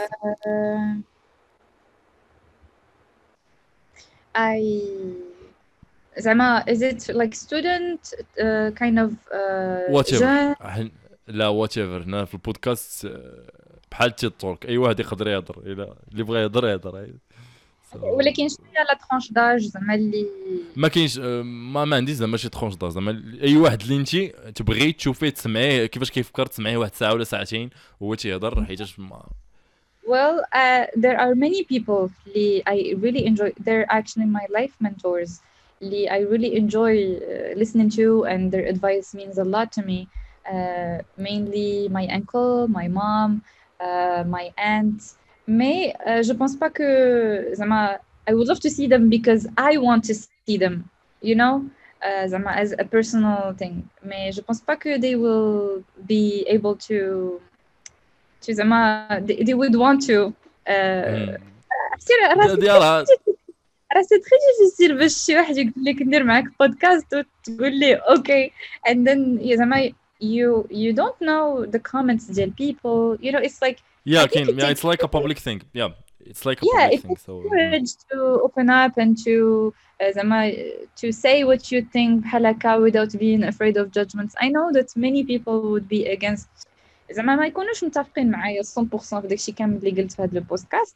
زعما is it like student kind of whatever. لا whatever. هنا في البودكاست بحال تيتورك اي واحد يقدر يهضر, اللي بغى يهضر ولكن شنو هي لا ترونش داج زعما اللي ما كاينش ما عنديش زعما شي ترونش داج, زعما اي واحد اللي انت تبغي تشوفيه تسمعيه كيفاش كيفكر تسمعيه واحد ساعه ولا ساعتين وهو تيهضر حيتاش Well, there are many people I really enjoy. They're actually my life mentors. I really enjoy listening to, and their advice means a lot to me. Mainly my uncle, my mom, my aunt, mais je pense pas que زعما I would love to see them because I want to see them, you know, زعما as a personal thing. Mais je pense pas que they will be able to زعما they would want to ديالها. راه سي تري ديفيسيل باش شي واحد يقول لك ندير معاك بودكاست وتقول لي اوكي and then زعما you don't know the comments ديال people, you know, it's like Yeah, it's like a public thing. Yeah, it's like a public thing. So courage to open up and to زعما to say what you think بحال هكا without being afraid of judgments. I know that many people would be against زعما ما يكونوش متفقين معايا 100% في داكشي كامل اللي قلت في هذا البودكاست.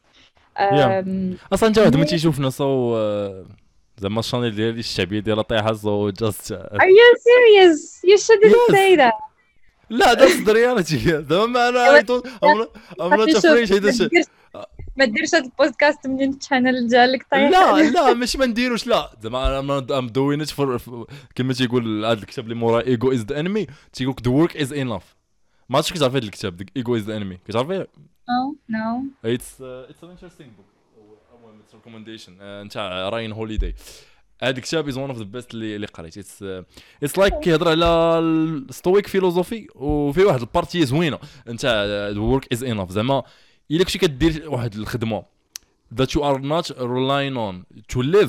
اصلا انت واحد ما تيشوفنا سو زعما الشانيل ديالي الشعبيه ديالها طايحه سو جاست Are you serious? You shouldn't say that. لا that's the reality. زعما انا I'm not afraid هذا ما ديرش هذا البودكاست منين الشانل ديالك طايح. لا ماشي ما نديروش، لا زعما I'm doing it for كما تيقول هذا الكتاب اللي مورا ego is the enemy تيقول the work is enough. ما عرفتش كتعرف هذا الكتاب ego is the enemy كتعرفيه؟ No. It's an interesting book. It's a recommendation. نتاع راين هوليداي. هذا الكتاب is one of the best اللي قريت. It's like كيهضر على الستويك فيلوزوفي وفي واحد البارتي زوينه نتاع the work is enough. زعما الا كنتي كدير واحد الخدمه that you are not relying on to live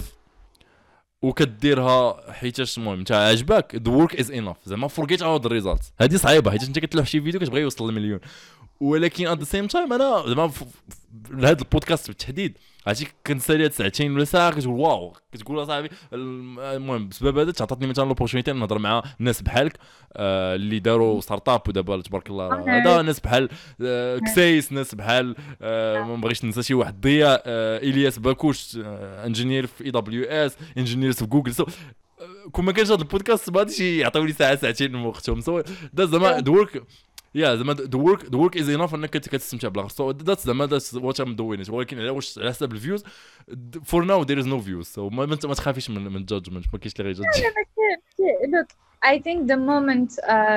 وكديرها حيتاش المهم نتا عجبك the work is enough. زعما forget about the results. هذه صعيبه حيت انت كتلوح شي فيديو كتبغي يوصل للمليون، ولكن at the same time انا زعما هذا البودكاست بالتحديد عرفتي كنسالي هاد ساعتين ولا ساعه كتقول واو، كتقول اصاحبي المهم بسبب هذا تعطاتني مثلا لوبورتونيتي نهضر مع ناس بحالك اللي داروا ستارت اب ودابا تبارك الله هذا ناس بحال كسيس، ناس بحال ما بغيتش ننسى شي واحد ضياء الياس باكوش انجينير في اي دبليو اس، انجينير في جوجل. سو كون ما كانش هذا البودكاست ما غاديش يعطيو لي ساعه ساعتين من وقتهم. سو دا زعما دورك زعما the work is enough انك كتستمتع بالغ. so that's زعما that's what I'm doing it. ولكن على واش على حسب الفيوز for now there is no views. so ما تخافيش من judgment، ما كاينش اللي غيجادج. Look, I think the moment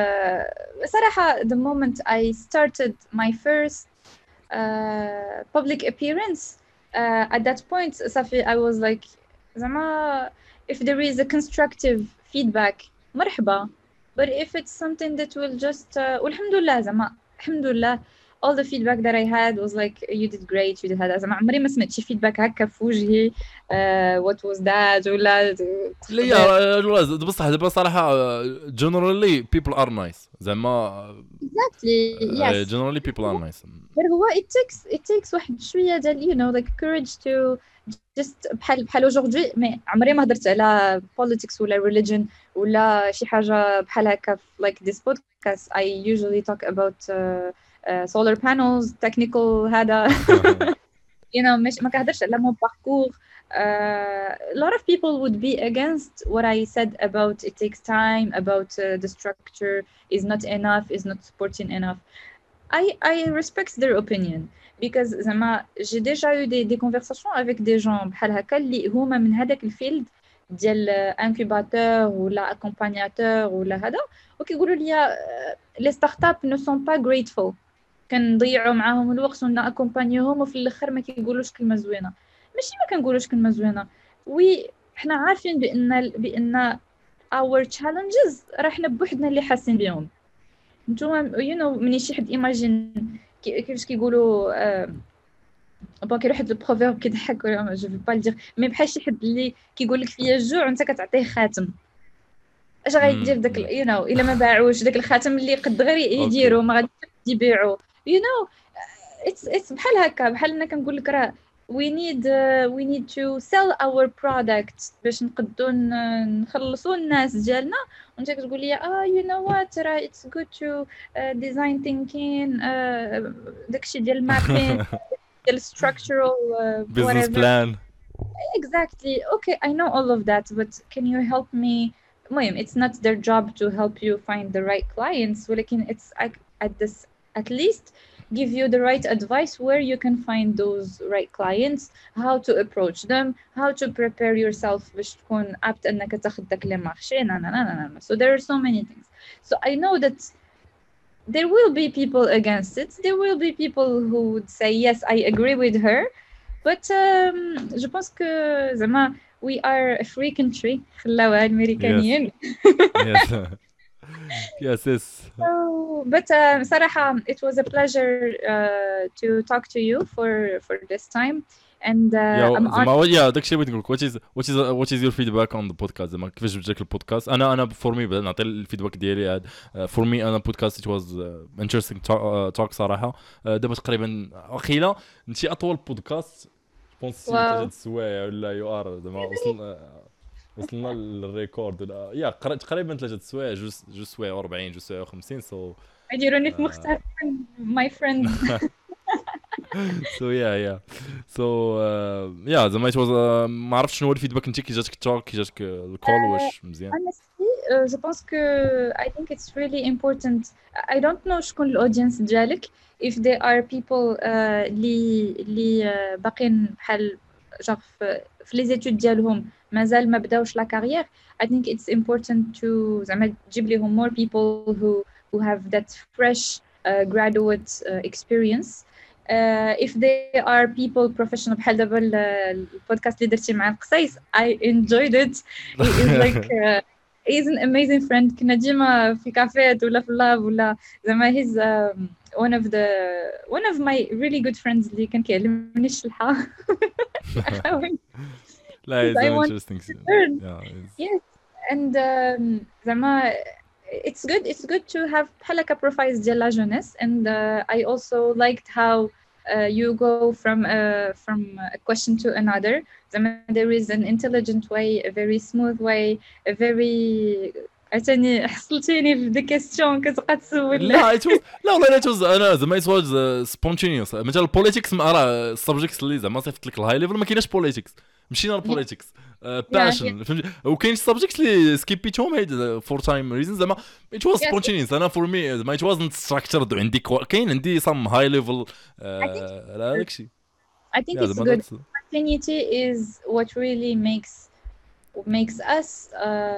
صراحة the moment I started my first public appearance at that point صافي I was like زعما if there is a constructive feedback مرحبا. But if it's something that will just والحمدلله زعما الحمدلله all the feedback that I had was like you did great, you did هذا. زعما عمري ما سمعت شي feedback هكا في وجهي what was that ولا لا بصح دابا صراحه generally people are nice. زعما exactly yes generally people are nice. but هو it takes واحد شويه ديال you know like courage to just بحال aujourd'hui mais عمري ما هضرت على politics ولا religion ولا شي حاجه بحال هكا like this podcast. I usually talk about solar panels technical هذا you know مش ما كنهضرش على mon parcours. A lot of people would be against what I said about it takes time, about the structure is not enough, is not supporting enough. I respect their opinion because زعما j'ai déjà eu des conversations avec des gens بحال هكا اللي هما من هذاك الفيلد ديال انكوباتور ولا اكومبانياتور ولا هذا وكيقولوا لي لي ستارت اب نو سون با grateful. كنضيعوا معاهم الوقت ونا اكومبانيوهم وفي الاخر ما كيقولوش كلمه زوينه. ماشي ما كنقولوش كلمه زوينه وي حنا عارفين بان our challenges راه حنا بوحدنا اللي حاسين بهم. نتوما you know مني شي حد imagine كيفاش كيقولوا بون كاين واحد البروفيرب كيضحك ولا جو في با لدير مي بحال شي حد اللي كيقول لك فيا الجوع وانت كتعطيه خاتم اش غيدير داك you know الا ما باعوش داك الخاتم اللي قد غير يديروا ما غاديش يبيعوا you know it's بحال هكا بحال انا كنقول لك راه we need to sell our product باش نقدروا نخلصوا الناس ديالنا وانت كتقول لي you know what راه it's good to design thinking داكشي ديال mapping ديال structural business plan. Exactly. Okay, I know all of that, but can you help me? It's not their job to help you find the right clients, ولكن it's at least give you the right advice where you can find those right clients, how to approach them, how to prepare yourself باش تكون apt انك تاخذ داك لي مارشي. So there are so many things. So I know that there will be people against it. There will be people who would say yes, I agree with her. But je pense que زعما we are a free country. خلاوها الأمريكانيين. Yes. Yes, yes. But صراحة it was a pleasure to talk to you for this time. And I'm زعما داك الشيء بغيت نقول لك what is your feedback on the podcast زعما كيفاش جاك البودكاست انا for me نعطي الفيدباك ديالي for me انا podcast it was interesting talk صراحه دابا تقريبا واخيلا نتي اطول بودكاست بونس 3 السوايع ولا يو ار زعما وصلنا للريكورد ولا يا تقريبا 3 السوايع جوج سوايع 40 جوج سوايع 50 سو يديروني في مختلف my friend. So زعما it was ما عرفتش شنو هو الفيدباك انت كي جاتك التوك كي جاتك الكول واش مزيان. honestly je pense que I think it's really important. I don't know شكون الاودينس ديالك if they are people اللي باقين بحال genre في لي زيتود ديالهم مازال ما بداوش لا كارير. I think it's important to زعما تجيب لهم more people who have that fresh graduate experience. If they are people professional بحال دابا البودكاست اللي درتي مع القصيص I enjoyed it. He is like he's an amazing friend. كنا ديما في كافيات ولا في اللاب ولا زعما he's one of my really good friends اللي كان كيعلمني الشلحة. لا it's interesting. Yes and زعما it's good to have بحال هكا profiles ديال la jeunesse and I also liked how you go from a question to another. There is an intelligent way, a very smooth way, a very عتاني حصلتيني في دي كيستيون كتبقى تسول. لا والله it was انا زعما it was spontaneous. مثلا البوليتيكس راه السبجيكتس اللي زعما صيفط لك الهاي ليفل ما كايناش بوليتيكس مشينا للبوليتيكس باشن فهمتي وكاين سبجيكتس اللي سكيبيتهم هاد فور تايم ريزن زعما it was spontaneous. انا فور مي زعما it wasn't structured عندي كاين عندي some high level لا داكشي. I think it's good. Spontaneity is what really makes us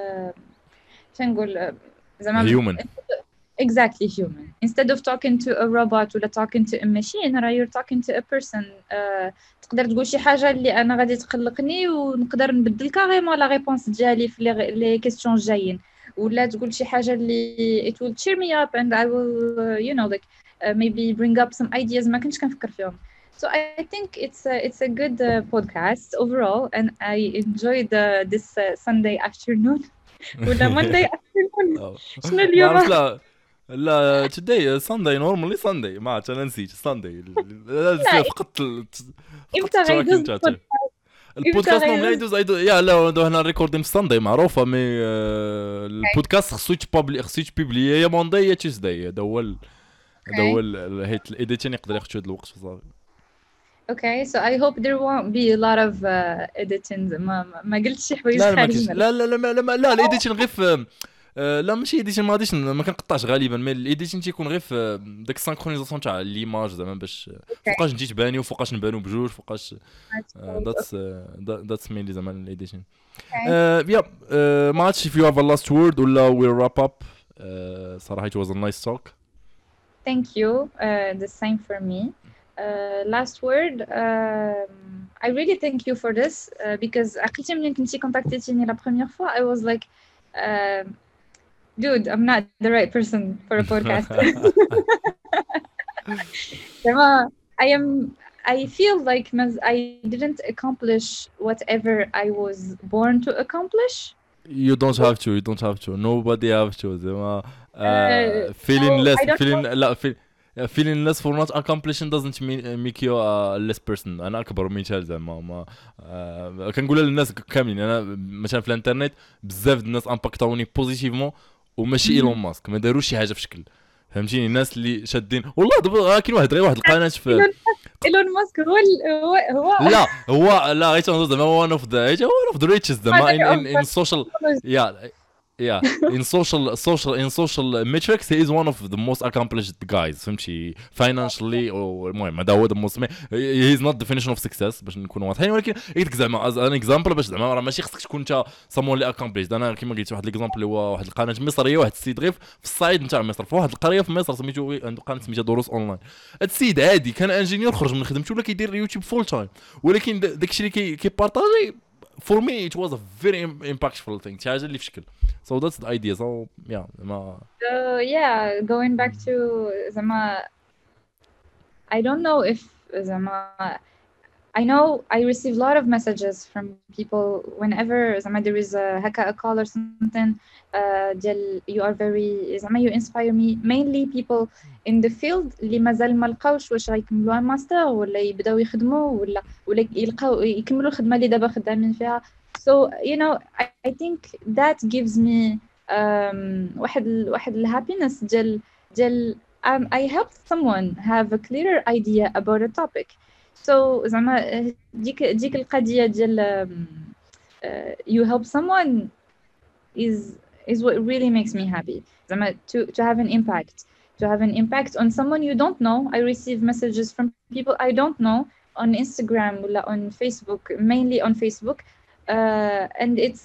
تنقول زعما human. Exactly human. Instead of talking to a robot or talking to a machine, you're talking to a person. تقدر تقول شي حاجة اللي أنا غادي تقلقني ونقدر نبدل كاريمون لا ريبونس ديالي في لي كيستيون جايين ولا تقول شي حاجة اللي it will cheer me up and I will you know like maybe bring up some ideas ما كنتش كنفكر فيهم. So I think it's a good podcast overall and I enjoyed this Sunday afternoon ولا Monday afternoon. شنو اليوم؟ لا today Sunday normally Sunday ما انا نسيت Sunday لا فقط امتى غيدوز البودكاست نورمالي يدوز يا لا هنا ريكوردين في Sunday معروفه مي البودكاست خصو يتبابلي يا موندي يا تيوزداي هذا هو هيت الايديتين يقدر ياخذ شويه الوقت صافي. Okay, so I hope there won't be a lot of editing. ما قلتش شي حوايج خارجين. لا الايديتين غير في لا ماشي ايديتين ما غاديش ما كنقطعش غالبا مي الايديتين تيكون غير في داك السانكرونيزاسيون تاع ليماج زعما باش فوقاش نجي تباني وفوقاش نبانو بجوج فوقاش that's mainly زعما الايديتين. ما عرفتش if you have a last word ولا we'll wrap up. صراحه it was a nice talk. Thank you. The same for me. Last word, I really thank you for this because عقلتي ملي كنتي كونتاكتيتيني la première fois I was like dude I'm not the right person for a podcast. I feel like I didn't accomplish whatever I was born to accomplish. You don't have to nobody have to feeling less for not accomplishing doesn't make you a less person. انا اكبر مثال زعما ما كنقولها للناس كاملين. انا مثلا في الانترنت بزاف الناس امباكتاوني بوزيتيفمون وماشي ايلون ماسك ما داروش شي حاجه في شكل فهمتيني. الناس اللي شادين والله دابا كاين واحد القناه في ايلون ماسك هو لا غير زعما one of the richest زعما in social yeah in social metrics he is one of the most accomplished guys فهمتي financially او المهم هذا هو the most he is not definition of success باش نكونوا واضحين ولكن قلت زعما ان اكزامبل باش زعما راه ماشي خصك تكون انت someone اللي accomplished. انا كما قلت واحد الاكزامبل اللي هو واحد القناه مصريه واحد السيد غير في الصعيد نتاع مصر في واحد القريه في مصر سميتو عنده قناه سميتها دروس اونلاين. هاد السيد عادي كان انجينيور خرج من خدمته ولا كيدير يوتيوب فول تايم ولكن داكشي اللي كيبارطاجي for me it was a very impactful thing حاجه اللي في شكل. So that's the idea. So yeah So yeah, going back to زعما I don't know if زعما I know I receive a lot of messages from people whenever زعما there is a call or something ديال you are very زعما you inspire me, mainly people in the field اللي مازال ما لقاوش واش غيكملوا ماستر ولا يبداو يخدموا ولا يلقاو يكملوا الخدمه اللي دابا خدامين فيها. So you know I think that gives me واحد الهابينس ديال I helped someone have a clearer idea about a topic. So زعما ديك القضيه ديال you help someone is what really makes me happy. زعما to have an impact on someone you don't know. I receive messages from people I don't know on Instagram or on Facebook, mainly on Facebook, and it's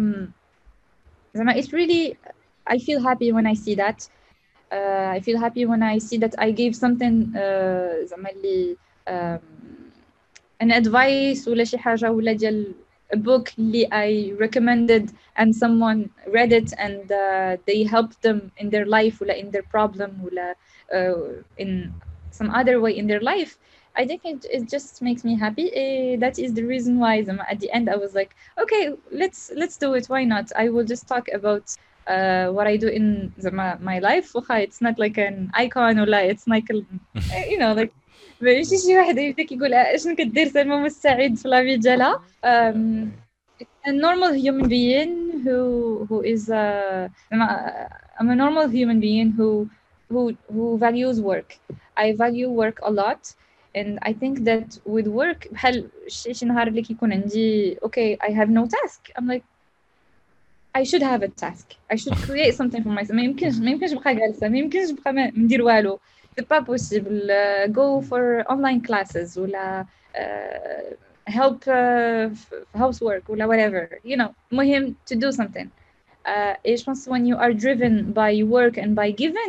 it's really, I feel happy when I see that. I feel happy when I see that I gave something زعما اللي an advice ولا شي حاجة ولا ديال a book اللي I recommended and someone read it and they helped them in their life ولا in their problem ولا in some other way in their life. I think it just makes me happy. That is the reason why at the end I was like, okay, let's do it. Why not? I will just talk about what I do in my life. It's not like an icon or like it's like you know like ماشي شي واحد يبدا كيقول اشنو كدير سلمى مستعد في لافي ديالها. A normal human being who is I'm a normal human being who values work. I value work a lot. And I think that with work بحال شي نهار اللي كيكون عندي okay I have no task, I'm like I should have a task. I should create something for myself. ما يمكنش نبقى جالسة, ما يمكنش نبقى ما ندير والو. C'est pas possible. Go for online classes ولا help housework ولا whatever. You know, مهم to do something. Et je pense when you are driven by work and by giving,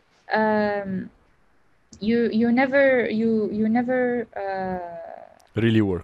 you never really work.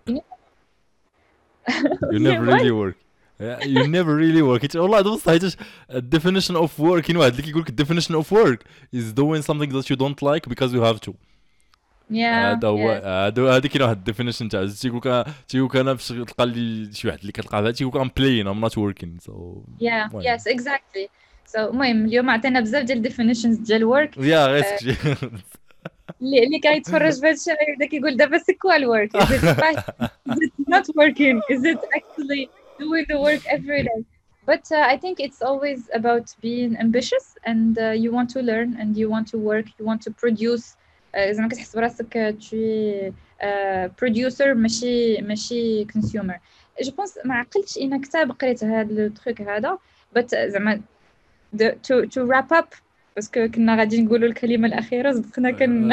You never really work. You never really work. والله هذا بصح حيتاش definition of work واحد اللي كيقول لك definition of work is doing something that you don't like because you have to. هذا هو هذا كاين واحد definition تاع تيقول لك انا باش تلقى لي شي واحد اللي كتلقى تيقول لك I'm playing I'm not working. So yeah yes exactly. So المهم اليوم عطينا بزاف ديال definitions ديال work. غير اللي كيتفرج في هادشي غيبدا كيقول دابا سي كوا الورك. Is it not working? Is it actually doing the work every day? But I think it's always about being ambitious and you want to learn and you want to work, you want to produce. زعما كتحس براسك شي producer ماشي consumer. جو بونس ما عقلتش ان كتاب قريت هذا التروك هذا but زعما to wrap up باسكو كنا غادي نقولوا الكلمه الاخيره صدقنا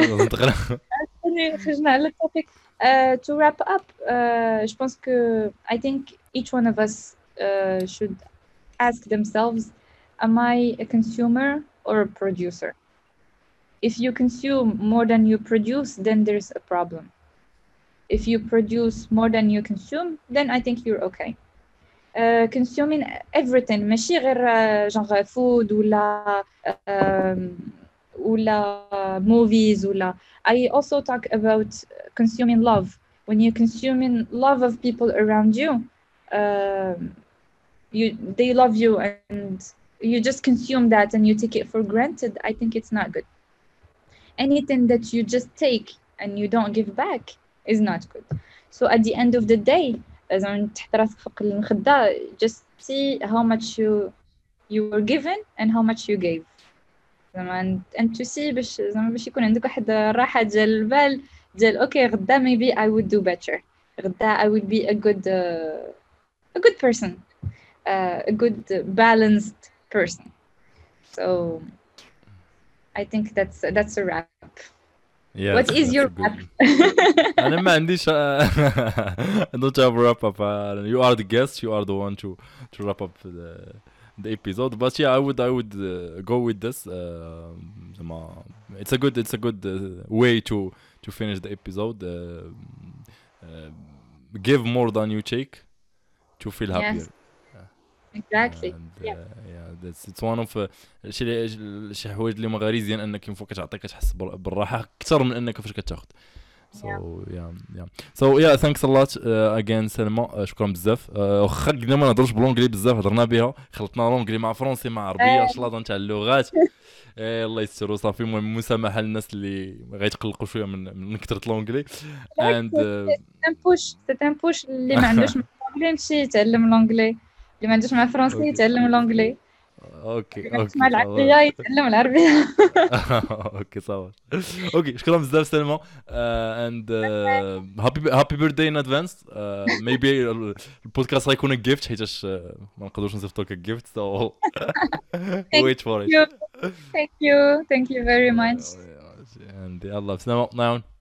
خرجنا على التوبيك. To wrap up, je pense que I think each one of us should ask themselves, am I a consumer or a producer? If you consume more than you produce, then there's a problem. If you produce more than you consume, then I think you're okay. Consuming everything ماشي غير genre food ولا movies ولا. I also talk about consuming love. When you're consuming love of people around you, they love you and you just consume that and you take it for granted. I think it's not good. Anything that you just take and you don't give back is not good. So at the end of the day, تحت راسك فوق المخدة, just see how much you were given and how much you gave. and to see باش يكون عندك واحد الراحة ديال البال ديال اوكي غدا maybe I would do better. غدا I would be a good person, a good balanced person. So I think that's a wrap. Yes, What is that's your a wrap? good. أنا ما عنديش I don't have a wrap up. You are the guest. You are the one to wrap up the episode. But yeah, I would go with this. It's a good way to finish the episode. Give more than you take to feel Yes, happier. exactly. And Yeah, yeah, it's one of شي حوايج اللي مغاريزيان انك ينفوك كتعطيك كتحس بالراحه اكثر من انك فاش كتاخذ. So yeah. So yeah, thanks a lot again سلمى. شكرا بزاف. واخا قلنا ما نهضرش بالونجلي بزاف هضرنا بها خلطنا لونجلي مع فرونسي مع عربيه شلاضه نتاع اللغات. الله يستر وصافي. المهم مسامحه للناس اللي غيتقلقوا شويه من كثره لونجلي. and c'est un push اللي ما عندوش مع الانجلي يمشي يتعلم الانجلي، اللي ما عندوش مع الفرنسي يتعلم الانجلي، اوكي اللي ما عندوش مع العربيه يتعلم العربيه. اوكي صافي. اوكي شكرا بزاف سلمى. and happy birthday in advance. maybe البودكاست غيكون gift حيتاش ما نقدروش نصيفطوا لك gift. so wait for it. Thank you very much. and يلا بسلامة.